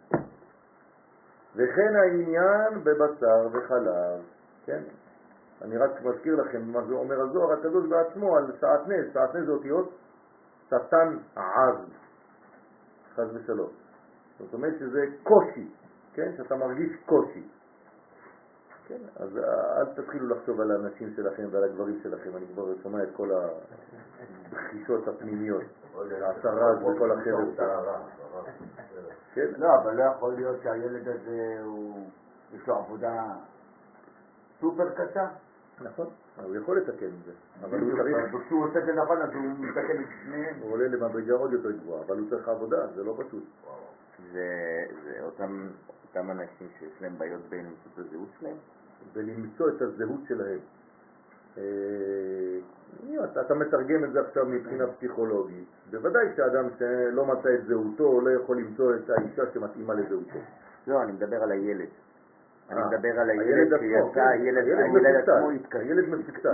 וכן העניין בבשר וחלב. כן? אני רק מזכיר לכם מה זה אומר הזוהר הקדוש בעצמו על שעטנז. שעטנז זה אותיות שטן עז, חס ושלום. זאת אומרת שזה קושי, כן? שאתה מרגיש קושי. כן? אז אל תתחילו לחשוב על האנשים שלכם ועל הגברים שלכם. אני כבר שומע את כל הבחישות הפנימיות, העשרה וכל החבר'ה. כן? לא, אבל לא יכול להיות שהילד הזה יש לו עבודה סופר קשה. נכון, הוא יכול לתקן את זה, אבל הוא צריך... כשהוא עושה את זה נכון, אז הוא מתקן את שניהם. הוא עולה למדרגה עוד יותר גבוהה, אבל הוא צריך עבודה, זה לא פשוט. זה אותם אנשים שיש להם בעיות בין למצוא את הזהות שלהם? ולמצוא את הזהות שלהם. אתה מתרגם את זה עכשיו מבחינה פסיכולוגית. בוודאי שאדם שלא מצא את זהותו לא יכול למצוא את האישה שמתאימה לזהותו. לא, אני מדבר על הילד. אני מדבר על הילד הילד עצמו, שיצא, הילד עצמו התקשר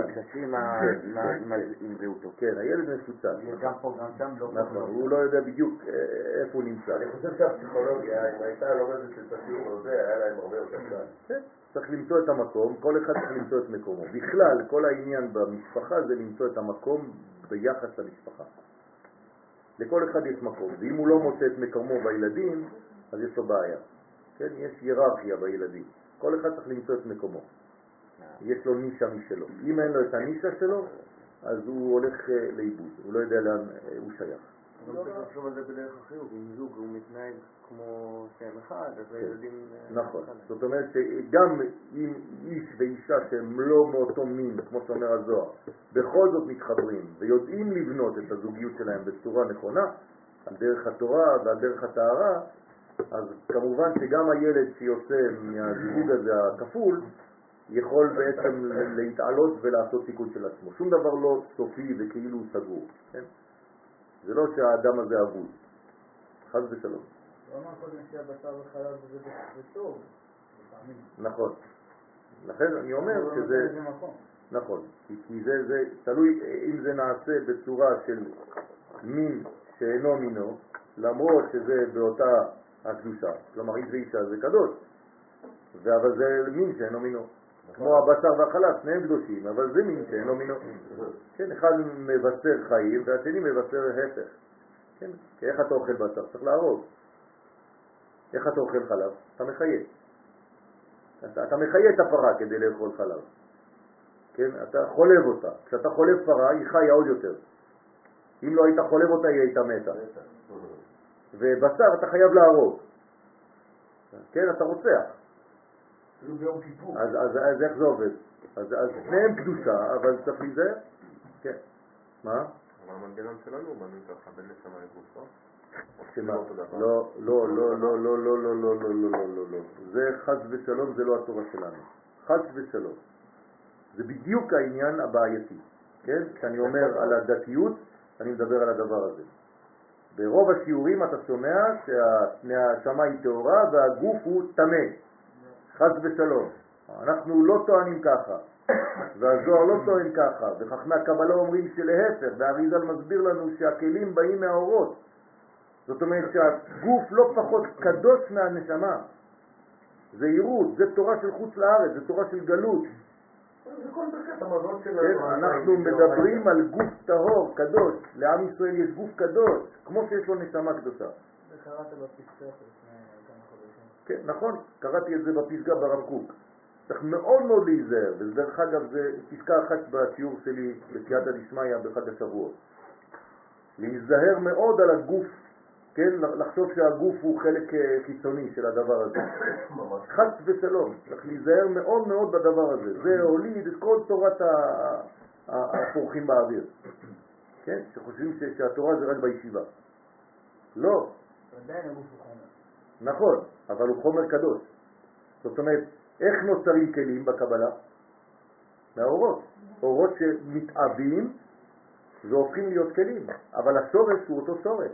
עם זהותו. כן, הילד מפוצל. גם פה, גם שם לא. נכון, הוא לא יודע בדיוק איפה הוא נמצא. אני חושב שהפסיכולוגיה, אם הייתה לומדת את השיעור הזה, היה להם הרבה יותר קל. כן, צריך למצוא את המקום, כל אחד צריך למצוא את מקומו. בכלל, כל העניין במשפחה זה למצוא את המקום ביחס למשפחה. לכל אחד יש מקום, ואם הוא לא מוצא את מקומו בילדים, אז יש לו בעיה. כן, יש היררכיה בילדים. כל אחד צריך למצוא את מקומו. יש לו נישה משלו. אם אין לו את הנישה שלו, אז הוא הולך לאיבוד. הוא לא יודע לאן הוא שייך. גם צריך לחשוב על זה בדרך החיוב. אם זוג הוא מתנהג כמו שם אחד, אז הילדים... נכון. זאת אומרת שגם אם איש ואישה שהם לא מאותו מין, כמו שאומר הזוהר, בכל זאת מתחברים ויודעים לבנות את הזוגיות שלהם בצורה נכונה, על דרך התורה ועל דרך הטהרה, אז כמובן שגם הילד שיוצא מהזיווג הזה הכפול יכול בעצם להתעלות ולעשות תיקון של עצמו. שום דבר לא סופי וכאילו סגור. כן? זה לא שהאדם הזה אבוד. חס ושלום. לא אמר קודם שהבשר וחלב זה טוב. נכון. לכן אני אומר שזה... נכון. כי זה, זה תלוי אם זה נעשה בצורה של מין שאינו מינו, למרות שזה באותה הקדושה. כלומר, איש ואישה זה קדוש. אבל זה מין שאינו מינו. כמו הבשר והחלב, שניהם קדושים, אבל זה מין שאינו מינו. כן, אחד מבשר חיים והשני מבשר הפך. כן, כי איך אתה אוכל בשר? צריך להרוג. איך אתה אוכל חלב? אתה מחיה. אתה, אתה מחיה את הפרה כדי לאכול חלב. כן, אתה חולב אותה. כשאתה חולב פרה, היא חיה עוד יותר. אם לא היית חולב אותה, היא הייתה מתה. ובשר אתה חייב להרוג. כן, אתה רוצח. אז, אז, אז איך זה עובד? אז, אז שניהם קדושה, אבל צריך להיזהר. כן. מה? אבל המנגנון שלנו בנו ככה בין נשמה לגופו. שמה? לא, לא, לא, לא, לא, לא, לא, לא, לא, לא, לא, לא, לא. זה חס ושלום, זה לא התורה שלנו. חס ושלום. זה בדיוק העניין הבעייתי. כן? כשאני אומר על הדתיות, אני מדבר על הדבר הזה. ברוב השיעורים אתה שומע שהשמה היא טהורה והגוף הוא טמא. חס ושלום. אנחנו לא טוענים ככה, והזוהר לא טוען ככה, וחכמי הקבלה אומרים שלהפך, והאריז"ל מסביר לנו שהכלים באים מהאורות. זאת אומרת שהגוף לא פחות קדוש מהנשמה. זה יירות, זה תורה של חוץ לארץ, זה תורה של גלות. זה כל ברכת המזון כן, שלנו. אנחנו מדברים על גוף טהור, קדוש. לעם ישראל יש גוף קדוש, כמו שיש לו נשמה קדושה. זה קראת בפסקה לפני כמה חודשים. כן, נכון, קראתי את זה בפסקה ברב קוק. צריך מאוד מאוד להיזהר, ודרך אגב זה פסקה אחת בשיעור שלי בסייעתא דשמיא בחג השבועות. להיזהר מאוד על הגוף, כן, לחשוב שהגוף הוא חלק חיצוני של הדבר הזה. חס ושלום, צריך להיזהר מאוד מאוד בדבר הזה. זה הוליד את כל תורת הפורחים באוויר. כן, שחושבים שהתורה זה רק בישיבה. לא. עדיין הגוף הוא חומר. נכון, אבל הוא חומר קדוש. זאת אומרת, איך נוצרים כלים בקבלה? מהאורות. אורות שמתאבים והופכים להיות כלים, אבל השורש הוא אותו שורש.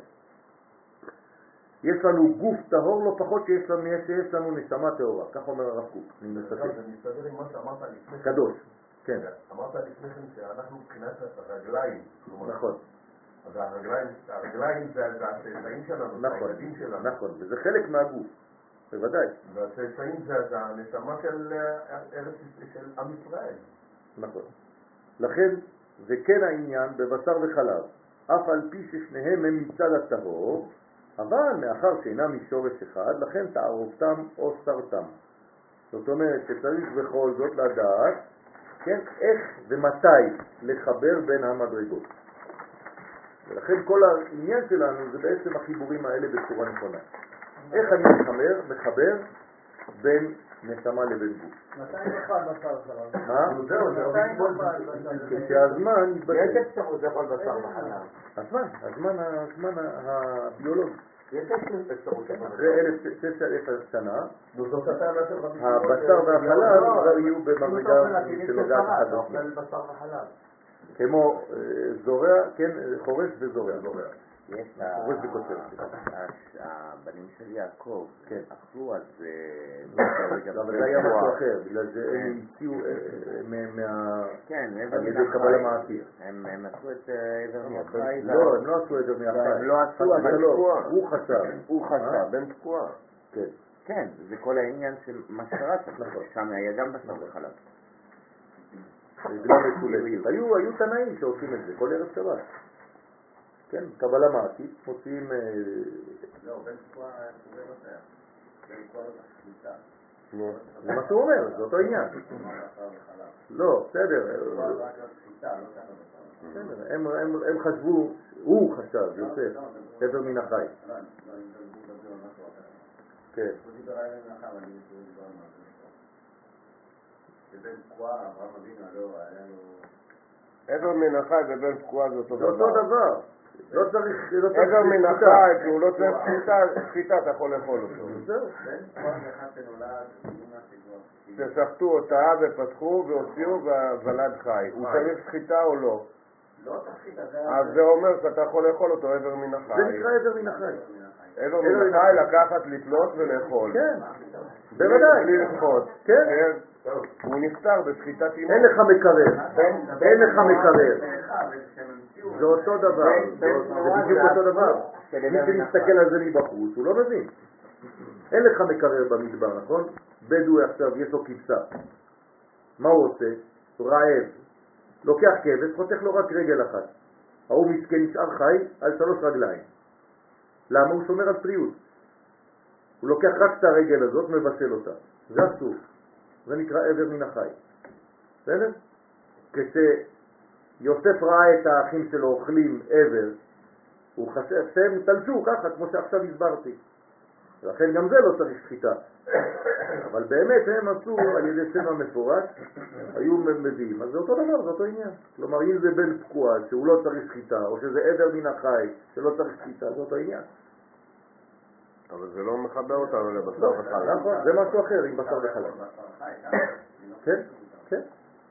יש לנו גוף טהור לא פחות שיש לנו, שיש לנו נשמה טהורה, כך אומר הרב קוק. אני מצטט. זה מסתדר עם מה שאמרת לפני כן. קדוש, כן. אמרת לפני כן שאנחנו מבחינת הרגליים. נכון. אז הרגליים, הרגליים זה הצאצאים שלנו, זה הילדים שלנו. נכון, וזה חלק מהגוף, בוודאי. והצאצאים זה הנשמה של ארץ של עם ישראל. נכון. לכן זה כן העניין בבשר וחלב, אף על פי ששניהם הם מצד הטהור, אבל מאחר שאינם משורש אחד, לכן תערובתם או סרתם. זאת אומרת שצריך בכל זאת לדעת, כן, איך ומתי לחבר בין המדרגות. ולכן כל העניין שלנו זה בעצם החיבורים האלה בצורה נכונה. איך אני מחבר, מחבר בין נשמה לבין גוף. מתי נאכל בשר וחלב? מה? זהו, זהו. מתי נאכל בשר וחלב? כשהזמן יתבטל. יש אפשרות לאכול בשר וחלב. הזמן, הזמן, הזמן הביולוגי. יש אפשרות לאכול אחרי אלף שש אלף שנה, זאת הטענה של רבי שמעון. הבשר והחלב כבר יהיו במדרגה שנוגעת אחד אתה לשני. אוכל בשר וחלב. כמו אה, זורע, כן, חורש וזורע. יש חורש וקוצר. הבנים של יעקב, כן. אכלו אז... אבל זה היה משהו אחר, בגלל זה הם הציעו מה... כן, על ידי קבלה מעשית. הם עשו את עבר מהחי. לא, הם לא עשו עבר מהחי. הם לא עשו, אבל תקוע. הוא חשב. הוא חשב. בן תקוע. כן. כן, זה כל העניין של מה שקרה שם. נכון. שם היה גם בשר וחלב. רגלה מסולקת. היו, היו תנאים שעושים את זה, כל ערב שבת. כן, קבלה מעשית, מוציאים... לא, בן תקוע זה לא שייך. בן תקוע לא תחליטה. זה מה שהוא אומר, זה אותו עניין. לא, בסדר. הם חשבו, הוא חשב, יוסף, עבר מן החי. כן. שבן תקוע, אברהם אבינו, לא, היה לו... עבר מן החי ובן תקוע זה אותו זה אותו דבר. לא צריך... עבר מן החי, שהוא לא צריך שחיטה, אתה יכול לאכול אותו. זהו. בן תקוע זה אחד שנולד, ששחטו אותה ופתחו והוציאו והוולד חי. הוא צריך שחיטה או לא? לא תחשית, זה... אז זה אומר שאתה יכול לאכול אותו עבר מן החי. זה נקרא עבר מן החי. עבר מן החי לקחת, לתלות ולאכול. כן, בוודאי. בלי לשחוט. כן. הוא נפטר בשחיטת אימו. אין לך מקרר. אין לך מקרר. זה אותו דבר. זה בדיוק אותו דבר. מי שמסתכל על זה מבחוץ, הוא לא מבין. אין לך מקרר במדבר, נכון? בדואי עכשיו יש לו כבשה. מה הוא עושה? רעב. לוקח כבש, חותך לו רק רגל אחת. ההוא מסכן נשאר חי על שלוש רגליים. למה? הוא שומר על פריות. הוא לוקח רק את הרגל הזאת, מבשל אותה. זה אסור. זה נקרא עבר מן החי. בסדר? כשיוסף ראה את האחים שלו אוכלים עבר, הוא חשב שהם תלשו ככה, כמו שעכשיו הסברתי. ולכן גם זה לא צריך שחיטה. אבל באמת הם עשו על ידי שם המפורש, היו מביאים. אז זה אותו דבר, זה אותו עניין. כלומר, אם זה בן תקוע שהוא לא צריך שחיטה, או שזה עבר מן החי שלא צריך שחיטה, זה אותו עניין. אבל זה לא מחבר אותנו לבשר וחלב. נכון, זה משהו אחר עם בשר וחלב. כן, כן.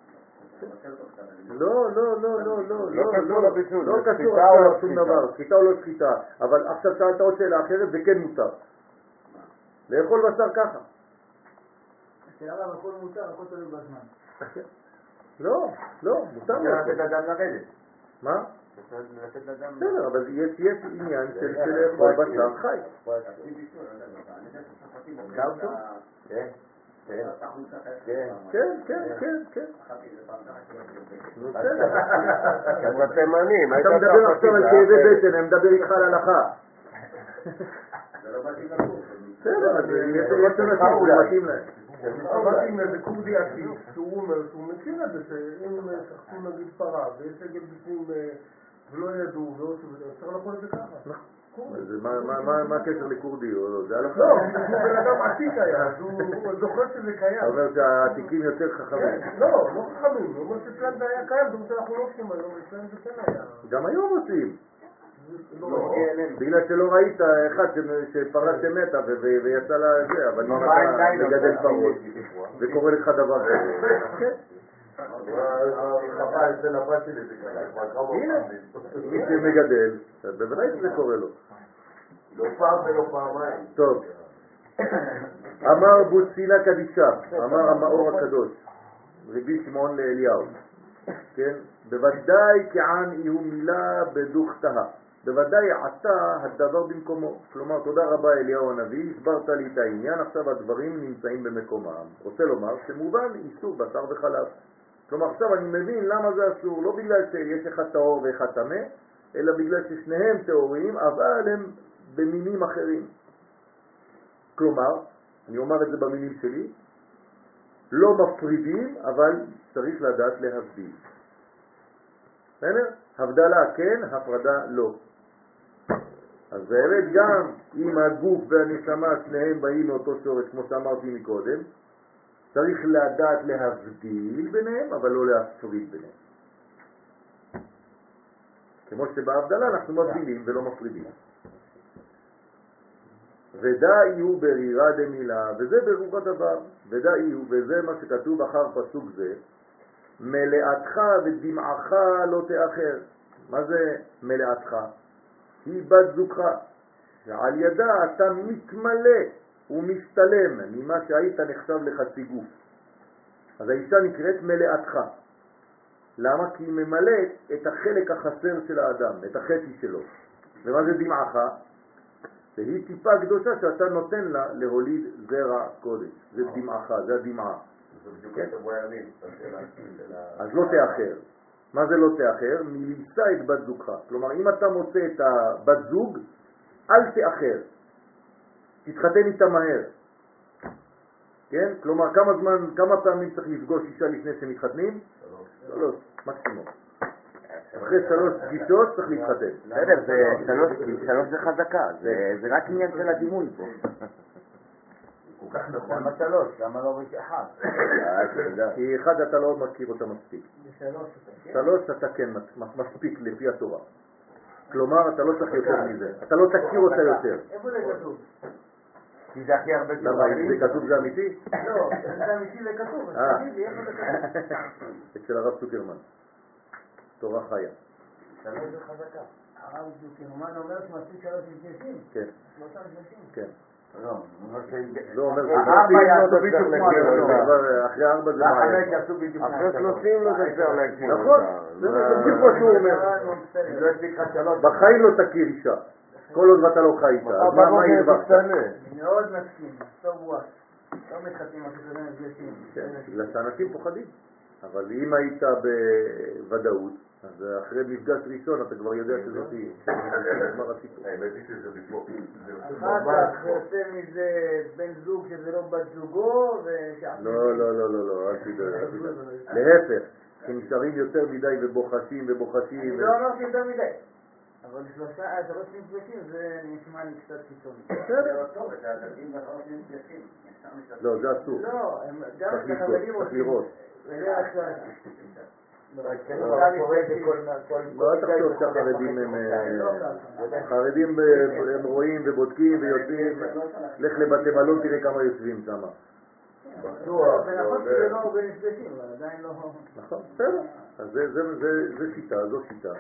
לא, לא, לא, לא, לא, לא קשור לבישול, לא זה קשור שחיטה או לא לשום שחיטה? דבר, שחיטה או לא שחיטה. אבל עכשיו שאלת עוד שאלה אחרת, זה כן מותר. לאכול בשר ככה. שהרב הכל מותר, הכל תלוי בזמן. לא, לא, מותר צריך לעשות. לתת לאדם לרדת. מה? צריך לתת לאדם... בסדר, אבל יש יש עניין של של לאכול בשר חי. נקרא אותו? כן. כן. כן. כן, כן, כן, כן. נו, בסדר. אתה תימנים, היית אתה מדבר עכשיו על כאבי בטן, אני מדבר איתך על הלכה. בסדר, אז יש אנשים שזה מתאים להם. עבדתי עם איזה כורדי עתיק, שהוא אומר שהוא מכיר את זה, שאם שחטו נגיד פרה, ויש עגל בפנים ולא ידעו, אפשר לאכול את זה ככה. אז מה- מה- מה- מה הקשר לכורדי? או לא? זה הלכה. לא, הוא בן אדם עתיק היה, אז הוא זוכר שזה אתה קיים. אומר שהעתיקים יותר חכמים. לא, לא חכמים, הוא אומר שאצלם זה היה קיים, זה מה שאנחנו לא עושים היום, אצלם זה כן היה. גם היום עושים. לא, בגלל שלא ראית אחד ש- שפרה שמתה ו- ו- ויצא לה זה, אבל אם מה, אתה עדיין מגדל לא פרות וקורא לך דבר כזה. כן. חפה אצל הבת שלי זה ככה, כבר כמה הנה, פעמים. מי שמגדל, בוודאי שזה קורה לו. לא פעם ולא פעמיים. טוב, אמר בוצילה קדישה, אמר המאור הקדוש, רבי שמעון לאליהו, כן? בוודאי כען יהיו מילה בדוכתה, בוודאי עתה הדבר במקומו. כלומר, תודה רבה אליהו הנביא, הסברת לי את העניין, עכשיו הדברים נמצאים במקומם. רוצה לומר שמובן איסור בשר וחלב. כלומר, עכשיו אני מבין למה זה אסור, לא בגלל שיש אחד טהור ואחד טמא, אלא בגלל ששניהם טהורים, אבל הם במינים אחרים. כלומר, אני אומר את זה במינים שלי, לא מפרידים, אבל צריך לדעת להבדיל. בסדר? הבדלה כן, הפרדה לא. אז באמת גם אם הגוף והנשמה שניהם באים מאותו שורש, כמו שאמרתי מקודם, צריך לדעת להבדיל ביניהם, אבל לא להפריד ביניהם. כמו שבהבדלה אנחנו מבדילים ולא מפרידים. ודאי הוא ברירה דמילה, וזה ברור הדבר, ודאי הוא, וזה מה שכתוב אחר פסוק זה, מלאתך ודמעך לא תאחר. מה זה מלאתך? היא בת זוגך, שעל ידה אתה מתמלא ומשתלם ממה שהיית נחשב לחצי גוף. אז האישה נקראת מלאתך. למה? כי היא ממלאת את החלק החסר של האדם, את החצי שלו. ומה זה דמעך? שהיא טיפה קדושה שאתה נותן לה להוליד זרע קודש. זה דמעך, זה הדמעה. אז לא תאחר. מה זה לא תאחר? מלישא את בת זוגך. כלומר, אם אתה מוצא את הבת זוג, אל תאחר. תתחתן איתה מהר. כן? כלומר, כמה זמן, כמה פעמים צריך לפגוש אישה לפני שמתחתנים? שלוש, מקסימום. אחרי שלוש פגישות צריך להתחתן. בסדר, זה שלוש, שלוש זה חזקה, זה רק עניין של הדימוי פה. כל כך נכון. למה שלוש? למה לא רק אחד? כי אחד אתה לא מכיר אותה מספיק. בשלוש אתה כן? שלוש אתה כן מספיק לפי התורה. כלומר, אתה לא צריך יותר מזה. אתה לא תכיר אותה יותר. איפה זה כתוב? כי זה הכי הרבה למה, אם זה כתוב זה אמיתי? לא, זה אמיתי זה כתוב, אה. אז תגידי איפה זה כתוב? אצל הרב צוקרמן. תורה חיה. שלוש זה חזקה. הרב זוקרמן אומר שמספיק שלוש מפגשים? כן, שלושה מפגשים? כן. לא, הוא אומר ש... לא אומר ארבע יעשו בדיוק כמו לא, השלוש. אבל אחרי ארבע זה והחמש בעיה. יעשו בדיוק כמו אחרי השלוש. שלושים לא תצטרך להגשים. נכון, זה בדיוק מה שהוא אומר. אם לא הספיק לך שלוש. בחיים לא תכיר אישה. כל עוד ואתה לא חי איתה. אז מה מה הרווחת? אני מאוד מסכים, so what? לא מתחתנים אחרי שזה מפגשים. כן, בגלל שאנשים פוחדים. אבל אם היית בוודאות, אז אחרי מפגש ראשון אתה כבר יודע שזאת היא. מה רצית? האמת היא שזה בפוק. זה יוצא אחר ממש כך יוצא מזה בן זוג שזה לא בת זוגו, לא, לא, לא, לא, לא, אל תדאג, אל תדאג. להפך, שנשארים יותר מדי ובוחשים ובוחשים. אני לא אמרתי יותר מדי. אבל שלושה, שלוש מפגשים זה נשמע לי קצת קיצוני. בסדר. טוב, את הדתיים והחלות מפגשים. לא, זה אסור. לא, הם גם צריך את החברים לבדוק, צריך עושים. לראות. בדרך כלל. לא, אל תחשוב שהחרדים הם... החרדים הם רואים ובודקים ויוצאים. לך לבתי מלון, תראה כמה יושבים שם. בטוח. זה נכון שזה לא במפגשים, אבל עדיין לא... נכון, בסדר. אז זה- זה- זה- זה שיטה, זו שיטה.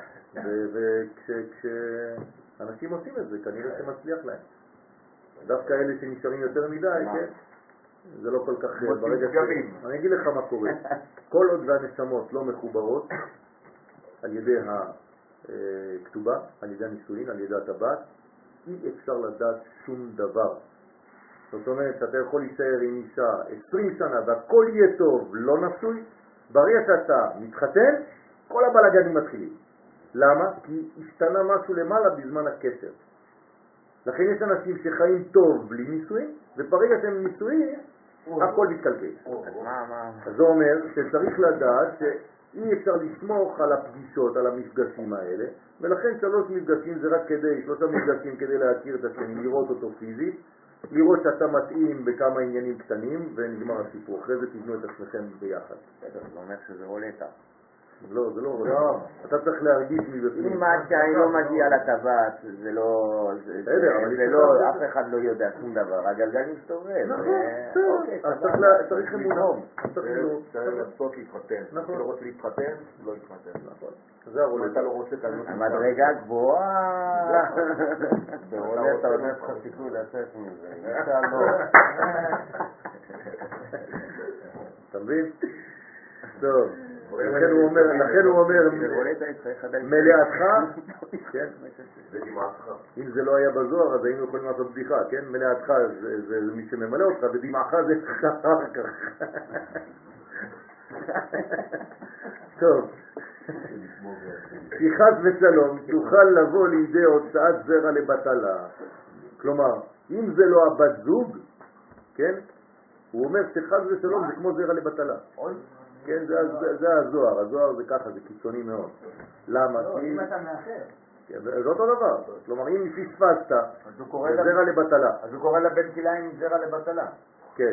וכשאנשים עושים את זה, כנראה שמצליח להם. דווקא אלה שנשארים יותר מדי, כן? זה לא כל כך... מוצאים ברגע ש- פגמים. אני אגיד לך מה קורה. כל עוד והנשמות לא מחוברות על ידי הכתובה, על ידי הנישואין, על ידי הטבעת, אי אפשר לדעת שום דבר. זאת אומרת שאתה יכול להישאר עם אישה עשרים שנה והכל יהיה טוב, לא נשוי, ברגע שאתה מתחתן, כל הבלגנים מתחילים. למה? כי השתנה משהו למעלה בזמן הקשר. לכן יש אנשים שחיים טוב בלי נישואין, וברגע שהם נישואין, הכל מתקלקל. אז מה, מה? אז זה אומר שצריך לדעת שאי אפשר לסמוך על הפגישות, על המפגשים האלה, ולכן שלוש מפגשים זה רק כדי, שלושה מפגשים כדי להכיר את השני, לראות אותו פיזית, לראות שאתה מתאים בכמה עניינים קטנים, ונגמר הסיפור. אחרי זה תבנו את עצמכם ביחד. בסדר, זה אומר שזה רולטה. לא, זה לא רולטה. אתה צריך להרגיש מבפנים. אם עד שאני לא מגיע לטבעת, זה לא... זה- בסדר, אבל זה יש לא... לך- אף אחד לא יודע שום דבר, הגלגל מסתובב. נכון, אה, בסדר. אוקיי, אז סבבה. צריך לה- צריך אמונה. לנהוג. צריך לנהוג. צריך לנסות להתחתן. נכון. אתה לא רוצה להתחתן, לא להתחתן. נכון. זה אם אתה הרולטה. לא רוצה, אתה לא המדרגה גבוהה. ברולטה עוד יש לך סיכוי לצאת מזה. אישה לא. אתה מבין? טוב. לכן הוא אומר, לכן הוא אומר, ברולטה צריך עדיין... מלאתך, כן? זה דמעתך. אם זה לא היה בזוהר, אז היינו יכולים לעשות בדיחה, כן? מלאתך זה, זה מי שממלא אותך, ודמעך זה אחר כך. טוב. כי חס ושלום תוכל לבוא לידי הוצאת זרע לבטלה. כלומר, אם זה לא הבת זוג, כן? הוא אומר שחס ושלום זה כמו זרע לבטלה. כן, זה, זה, זה הזוהר, הזוהר זה ככה, זה קיצוני מאוד. למה? לא, כי... אם אתה מאחר. כן, זה אותו דבר. כלומר, אם פספסת, אז הוא קורא זה לה- זרע לבטלה. אז הוא קורא לבן כליים זרע לבטלה. כן.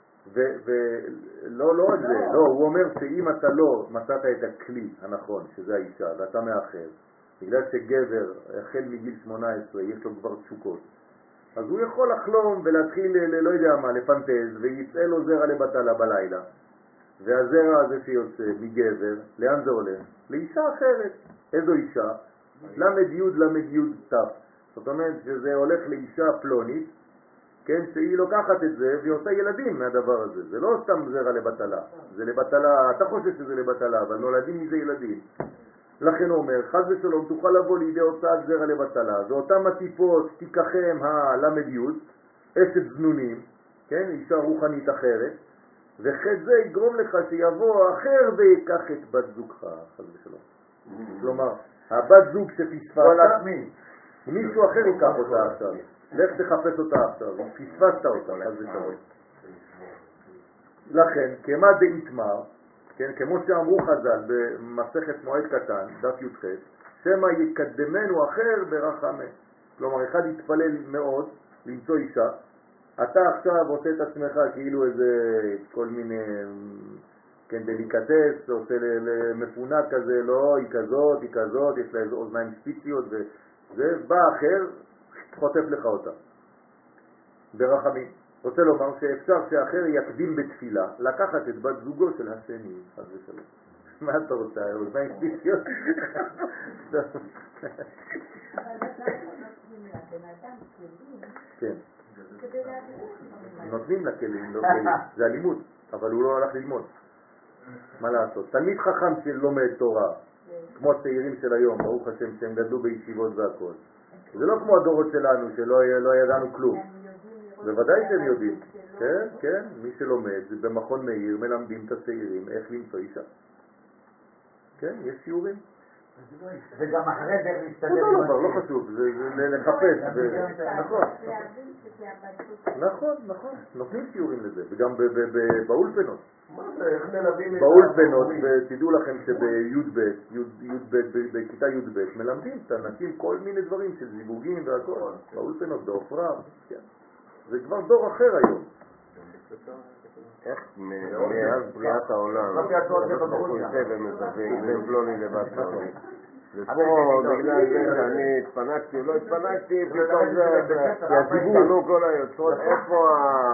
ולא, לא רק זה, לא, הוא אומר שאם אתה לא מצאת את הכלי הנכון, שזה האישה, ואתה מאחר, בגלל שגבר, החל מגיל שמונה עשרה, יש לו כבר תשוקות, אז הוא יכול לחלום ולהתחיל, ל- לא יודע מה, לפנטז, ויצא לו זרע לבטלה בלילה. והזרע הזה שיוצא מגבר, לאן זה הולך? לאישה אחרת. איזו אישה? למד יוד למד יוד תף. זאת אומרת שזה הולך לאישה פלונית, כן, שהיא לוקחת את זה והיא עושה ילדים מהדבר הזה. זה לא סתם זרע לבטלה. זה לבטלה, אתה חושב שזה לבטלה, אבל נולדים מזה ילדים. לכן הוא אומר, חס ושלום תוכל לבוא לידי הוצאת זרע לבטלה. זה אותם הטיפות, תיקחם הלמד יוד, אשת זנונים, כן, אישה רוחנית אחרת, וחד זה יגרום לך שיבוא אחר ויקח את בת זוגך, חס ושלום. כלומר, הבת זוג לא שפספסת, לעצמי. מישהו אחר ייקח אותה עכשיו. לך תחפש אותה עכשיו, פספסת אותה, חס ושלום. לכן, כמה דאיתמר, כן, כמו שאמרו חז"ל במסכת מועד קטן, דף י"ח, שמא יקדמנו אחר ברחמה. כלומר, אחד יתפלל מאוד למצוא אישה, אתה עכשיו עושה את עצמך כאילו איזה כל מיני, כן, דליקטס, עושה למפונה כזה, לא, היא כזאת, היא כזאת, יש לה איזה אוזניים ספיציות וזה, בא אחר, חוטף לך אותה. ברחמים. רוצה לומר שאפשר שאחר יקדים בתפילה, לקחת את בת זוגו של השני, חס ושלום. מה אתה רוצה, אוזניים ספיציות? אבל בינתיים נותנים לבן אדם כלים כן. כדי להבין. נותנים לכלים, לא כלים. זה אלימות, אבל הוא לא הלך ללמוד. מה לעשות? תלמיד חכם שלומד תורה, כמו הצעירים של היום, ברוך השם, שהם גדלו בישיבות והכל. זה לא כמו הדורות שלנו, שלא לא ידענו כלום. בוודאי שהם יודעים. כן, כן, מי שלומד, זה במכון מאיר, מלמדים את הצעירים איך למצוא אישה. כן, יש שיעורים. וגם אחרי זה להסתדר אותו עם דבר, לא השיר. חשוב, זה זה לחפש. ו- נכון. להבין שזה הבת זוג. נכון, נכון, נותנים שיעורים לזה, וגם ב- ב- ב- באולפנות. מה זה, איך מלווים את באולפנות, ההורים? ותדעו לכם שבי"ב, י"ב, בכיתה י"ב, מלמדים את האנשים כל מיני דברים של זיווגים והכל, באולפנות, בעופרה, כן. זה כבר דור אחר היום. איך מאז בריאת העולם, אנחנו יוצא ומזווג בין פלוני לבת פלוני. ופה בגלל זה שאני התפנקתי, לא התפנקתי, פתאום זה הסיבוב, כל היוצרות, איפה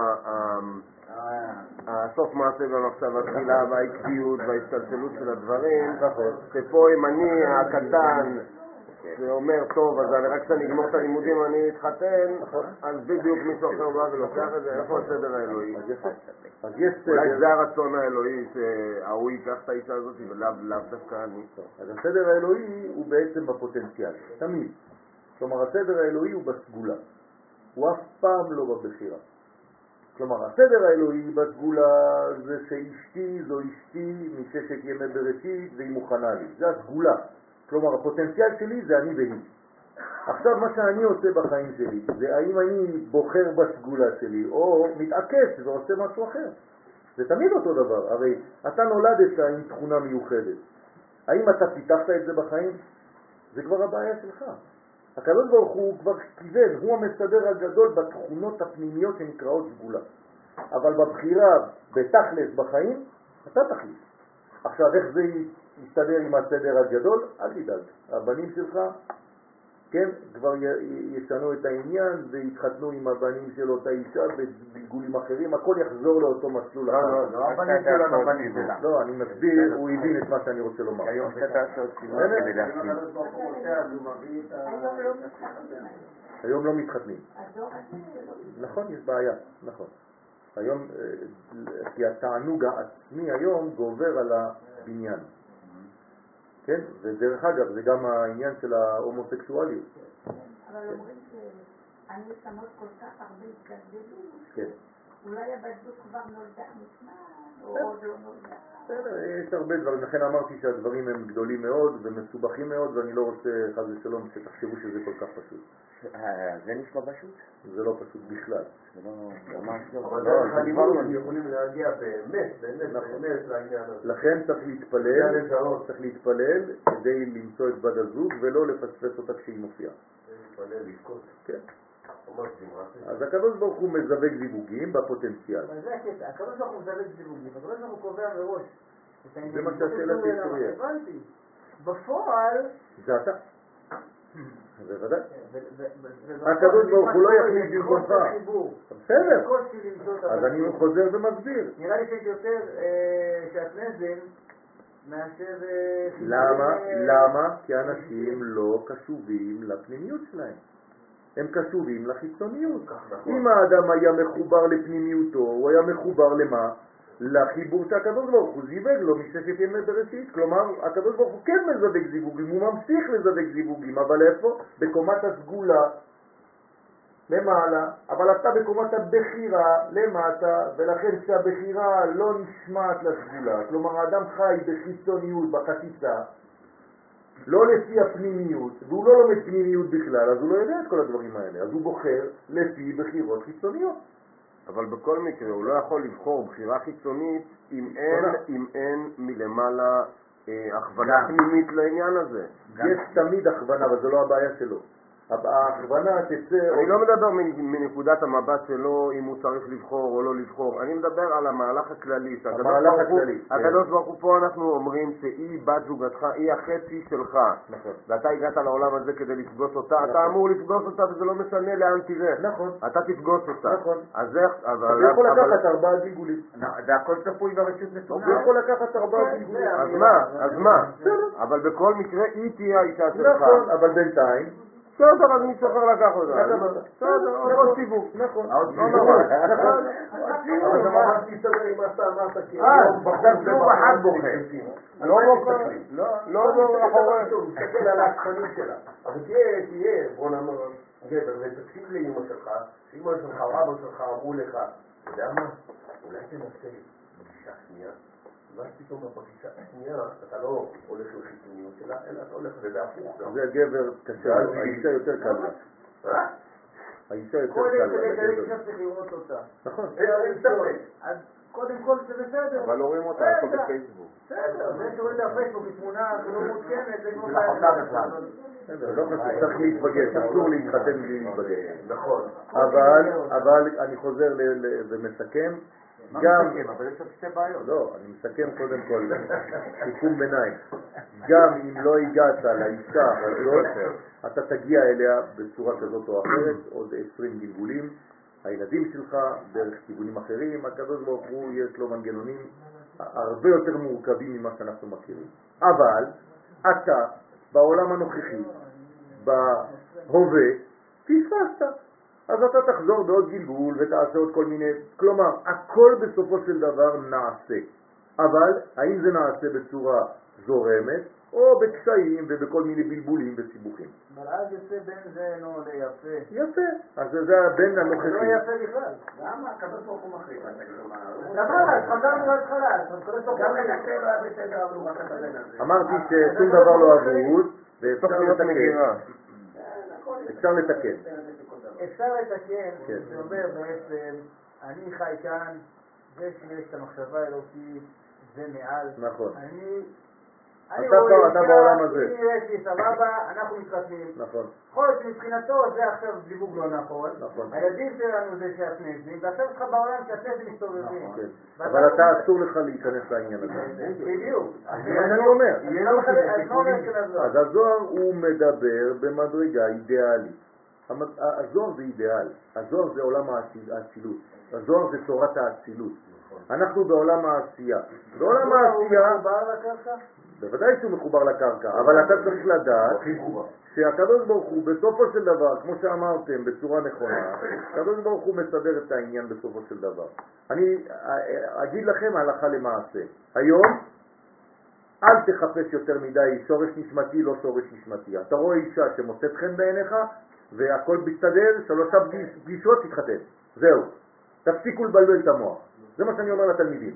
הסוף מעשה במחשב התחילה והעקביות וההסתלשלות של הדברים, שפה אם אני הקטן זה אומר, טוב, אז אני רק כשאני אגמור את הלימודים אני אתחתן, אז בדיוק מישהו אחר בא ולוקח את זה, איפה הסדר האלוהי? אז יש אולי סדר, זה הרצון האלוהי שההוא ייקח את האישה הזאת ולאו דווקא אני. אז הסדר האלוהי הוא בעצם בפוטנציאל, תמיד. כלומר, הסדר האלוהי הוא בסגולה, הוא אף פעם לא בבחירה. כלומר, הסדר האלוהי בסגולה זה שאשתי זו אשתי מששת ימי בראשית והיא מוכנה לי, זה הסגולה. כלומר, הפוטנציאל שלי זה אני והיא. עכשיו, מה שאני עושה בחיים שלי, זה האם אני בוחר בסגולה שלי או מתעקש ועושה משהו אחר. זה תמיד אותו דבר, הרי אתה נולדת עם תכונה מיוחדת. האם אתה פיתחת את זה בחיים? זה כבר הבעיה שלך. הקדוש ברוך הוא כבר כיוון, הוא המסדר הגדול בתכונות הפנימיות שנקראות סגולה. אבל בבחירה, בתכלס בחיים, אתה תחליט. עכשיו, איך זה יסתדר עם הסדר הגדול? אל תדאג. הבנים שלך, כן, כבר ישנו את העניין ויתחתנו עם הבנים של אותה אישה בגלגולים אחרים, הכל יחזור לאותו מסלול. לא, לא, לא הבנים שלנו, הבנים שלה. לא, אני מסביר, הוא הבין את מה שאני רוצה לומר. היום שאתה עושה עוד סימן כדי להפסיד. היום לא מתחתנים. הדור הזה לא... נכון, יש בעיה, נכון. היום, כי התענוג העצמי היום גובר על הבניין. כן? ודרך אגב, זה גם העניין של ההומוסקסואליות. אבל אומרים שהנשמות כל כך הרבה התגלגלו, כן. אולי הבת זוג כבר נולדה מזמן, או עוד לא נולדה. בסדר, יש הרבה דברים, לכן אמרתי שהדברים הם גדולים מאוד ומסובכים מאוד, ואני לא רוצה חס ושלום שתחשבו שזה כל כך פשוט. זה נשמע פשוט? זה לא פשוט בכלל. זה לא ממש לא. אבל דרך הלימוד הם יכולים להגיע באמת, באמת, באמת לעניין הזה. לכן צריך להתפלל, צריך להתפלל כדי למצוא את בת הזוג ולא לפספס אותה כשהיא מופיעה. להתפלל, לבכות. כן. ממש דמעה. אז הקדוש ברוך הוא מזווג זיווגים בפוטנציאל. אבל זה הקטע, הקדוש ברוך הוא מזווג זיווגים, הקדוש ברוך הוא קובע מראש. זה מה שהשאלה תהיה. הבנתי. בפועל... זה אתה. זה ודאי. הקדוש הקדוש ברוך הוא לא יחליט במקומך. בסדר. אז אני חוזר ומסביר. נראה לי שיש יותר שעטנזל מאשר... למה? למה? כי אנשים לא קשובים לפנימיות שלהם. הם קשובים לחיצוניות. אם האדם היה מחובר לפנימיותו, הוא היה מחובר למה? לחיבור שהקדוש ברוך הוא זיווג לו מששת ימי בראשית. כלומר, הקדוש ברוך הוא כן מזווג זיווגים, הוא ממשיך לזווג זיווגים, אבל איפה? בקומת הסגולה למעלה, אבל אתה בקומת הבחירה למטה, ולכן כשהבחירה לא נשמעת לסגולה, כלומר האדם חי בחיצוניות, בחציצה, לא לפי הפנימיות, והוא לא לומד פנימיות בכלל, אז הוא לא יודע את כל הדברים האלה, אז הוא בוחר לפי בחירות חיצוניות. אבל בכל מקרה הוא לא יכול לבחור בחירה חיצונית אם אין, אם אין מלמעלה אה, הכוונה פנימית לעניין הזה. יש תמיד הכוונה, אבל זו לא הבעיה שלו. ההכוונה תצא... אני לא מדבר מנקודת המבט שלו אם הוא צריך לבחור או לא לבחור, אני מדבר על המהלך הכללי. המהלך הכללי. הקדוש ברוך הוא פה אנחנו אומרים שהיא בת זוגתך, היא החצי שלך. נכון. ואתה הגעת לעולם הזה כדי לפגוש אותה, אתה אמור לפגוש אותה וזה לא משנה לאן תראה. נכון. אתה תפגוש אותה. נכון. אז איך... אתה יכול לקחת ארבעה גלגולים. זה הכל צפוי ברשות נתונה. הוא יכול לקחת ארבעה גלגולים. אז מה? אז מה? אבל בכל מקרה היא תהיה האישה שלך. נכון, אבל בינתיים בסדר, אז מישהו אחר לקח אותה. בסדר, עוד סיבוב. נכון. עוד סיבוב. נכון. אבל זה ממש תסתדר עם מה שאתה אמרת, כי אה, עכשיו זוג אחד בוחר. לא בוחר, לא בוחר אחורה. תסתכל על ההתחנים שלה. אבל תהיה, תהיה, בוא נאמר, גבר, ותקשיב לאמא שלך, שאמא שלך או אבא שלך אמרו לך, אתה יודע מה? אולי תנסה פגישה שנייה, ואז פתאום בפגישה השנייה אתה לא הולך לחיצוניות שלה, אלא אתה הולך וזה הפוך. זה גבר קשה, האישה יותר קל לה. האישה יותר קודם קל כדי לה. כדי צריך לראות אותה. נכון. אז קודם כל זה בסדר. אבל לא רואים אותה, הכל בפייסבוק. בסדר, זה שרואים את הפייסבוק בתמונה לא מעודכנת, זה כמו לא חשוב, צריך להתבגש, אסור להתחתן בלי להתבגש. נכון. אבל אני חוזר ומסכם, גם, אבל יש עוד שתי בעיות. לא, אני מסכם קודם כל, סיכום ביניים, גם אם לא הגעת לאישה הזאת, אתה תגיע אליה בצורה כזאת או אחרת, עוד עשרים גלגולים, הילדים שלך דרך כיוונים אחרים, הקדוש ברוך הוא יש לו מנגנונים הרבה יותר מורכבים ממה שאנחנו מכירים. אבל אתה בעולם הנוכחי בהווה, פספסת. אז אתה תחזור בעוד גלגול ותעשה עוד כל מיני, כלומר, הכל בסופו של דבר נעשה. אבל האם זה נעשה בצורה זורמת, או בקשיים ובכל מיני בלבולים וסיבוכים? אבל אז יוצא בין זה נו ליפה. יפה, אז זה הבן לא הנוכחי. יפה בכלל. למה הקדוש ברוך הוא מחליט? דבר, אז חזרנו להתחלה. גם לנקה לא היה בסדר, אבל הוא רק את הבן הזה. אמרתי ששום דבר לא אבוד, ואפשר להיות לתקן. מגירה. אפשר לתקן. אפשר לתקן, כן. זה אומר בעצם, אני חי כאן, זה שיש את המחשבה האלוקית, זה מעל. נכון. אני... אתה אני פה, רואה אתה אישה, בעולם הזה. היא יש לי סבבה, אנחנו מתחתנים. נכון. יכול להיות שמבחינתו זה עכשיו זיווג לא נכון. נכון. הילדים שלנו זה שעטנזים, ועכשיו יש לך בעולם שעטנזים מסתובבים. כן. אבל אתה אסור לך להיכנס לעניין הזה. בדיוק. זה מה שאני אומר. אז מה אומר של הזוהר? אז הזוהר הוא מדבר במדרגה אידיאלית. המד- הזוהר זה אידיאל. הזוהר זה עולם האציל- האצילות. הזוהר זה תורת האצילות. אנחנו בעולם העשייה. בעולם העשייה, הוא מחובר לקרקע? בוודאי שהוא מחובר לקרקע, אבל אתה צריך לדעת שהקדוש ברוך הוא בסופו של דבר, כמו שאמרתם בצורה נכונה, הקדוש ברוך הוא מסדר את העניין בסופו של דבר. אני אגיד לכם הלכה למעשה. היום אל תחפש יותר מדי שורש נשמתי, לא שורש נשמתי. אתה רואה אישה שמוצאת חן בעיניך והכל מסתדר, שלושה פגישות תתחתן. זהו. תפסיקו לבלבל את המוח. זה מה שאני אומר לתלמידים.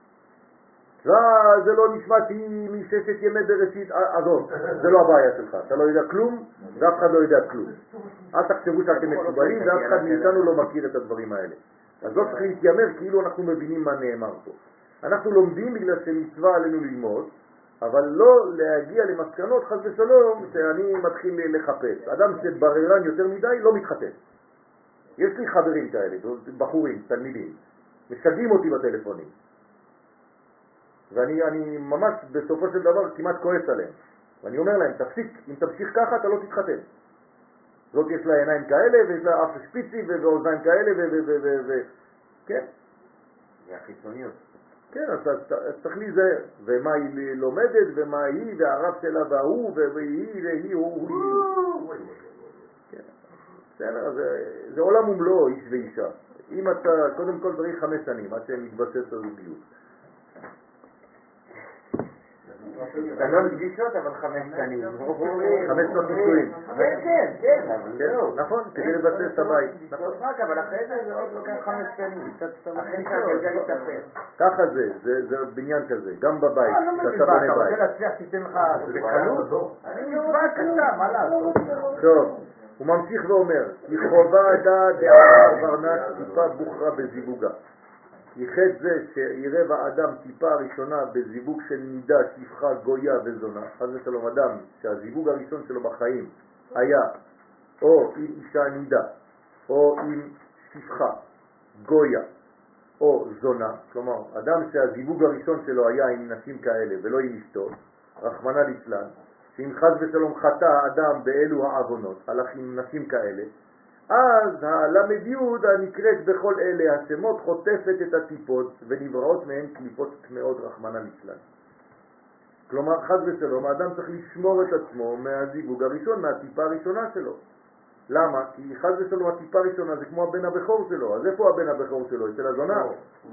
זה לא נשמתי מששת ימי בראשית, עזוב, זה לא הבעיה שלך, אתה לא יודע כלום ואף אחד לא יודע כלום. אל תחשבו שאתם מקובלים ואף אחד מאיתנו לא מכיר את הדברים האלה. אז לא צריך להתיימר כאילו אנחנו מבינים מה נאמר פה. אנחנו לומדים בגלל שמצווה עלינו ללמוד, אבל לא להגיע למסקנות חס ושלום שאני מתחיל לחפש. אדם שבררן יותר מדי לא מתחתן. יש לי חברים כאלה, בחורים, תלמידים, משגעים אותי בטלפונים. ואני אני ממש בסופו של דבר כמעט כועס עליהם. ואני אומר להם, תפסיק, אם תמשיך ככה אתה לא תתחתן. זאת יש לה עיניים כאלה, ויש לה אף שפיצי ואוזניים כאלה, ו... ו... ו... ו... ו... כן? זה החיצוניות. כן, אז צריך להיזהר. ומה היא לומדת, ומה היא, והרב שלה והוא, והיא, והיא, הוא, הוא. כן. בסדר, זה עולם ומלואו, איש ואישה. אם אתה, קודם כל צריך חמש שנים, עד שהם מתבסס על זוגיות. שלוש פגישות אבל חמש שנים. חמש שנות נישואים. כן, כן, כן, אבל כן, זהו. נכון, כדי לבסס את הבית. נכון. רק, אבל אחרי זה זה עוד לוקח חמש שנים. אחרי שהגלגל יתהפך. ככה זה, זה זה בניין כזה, גם בבית, לא, לא כשאתה מצווה, בונה אתה רוצה בית. להצליח תיתן לך בקלות? אני מצווה קטנה, מה לעשות? טוב, הוא ממשיך ואומר, כי חובה דעת דעה ורנש טיפה בוחרה בזיווגה. כי חטא זה שיראה באדם טיפה הראשונה בזיווג של נידה, שפחה, גויה וזונה, חס ושלום אדם שהזיווג הראשון שלו בחיים היה או עם אישה נידה, או עם שפחה, גויה, או זונה, כלומר אדם שהזיווג הראשון שלו היה עם נשים כאלה ולא עם אשתו, רחמנא ליצלן, שאם חס ושלום חטא האדם באלו העוונות, הלך עם נשים כאלה, אז הלמד יוד הנקראת בכל אלה השמות חוטפת את הטיפות ונבראות מהן קליפות טמאות רחמנא ליצלן. כלומר חס ושלום האדם צריך לשמור את עצמו מהזיווג הראשון, מהטיפה הראשונה שלו. למה? כי חס ושלום הטיפה הראשונה זה כמו הבן הבכור שלו. אז איפה הבן הבכור שלו? אצל הזונה?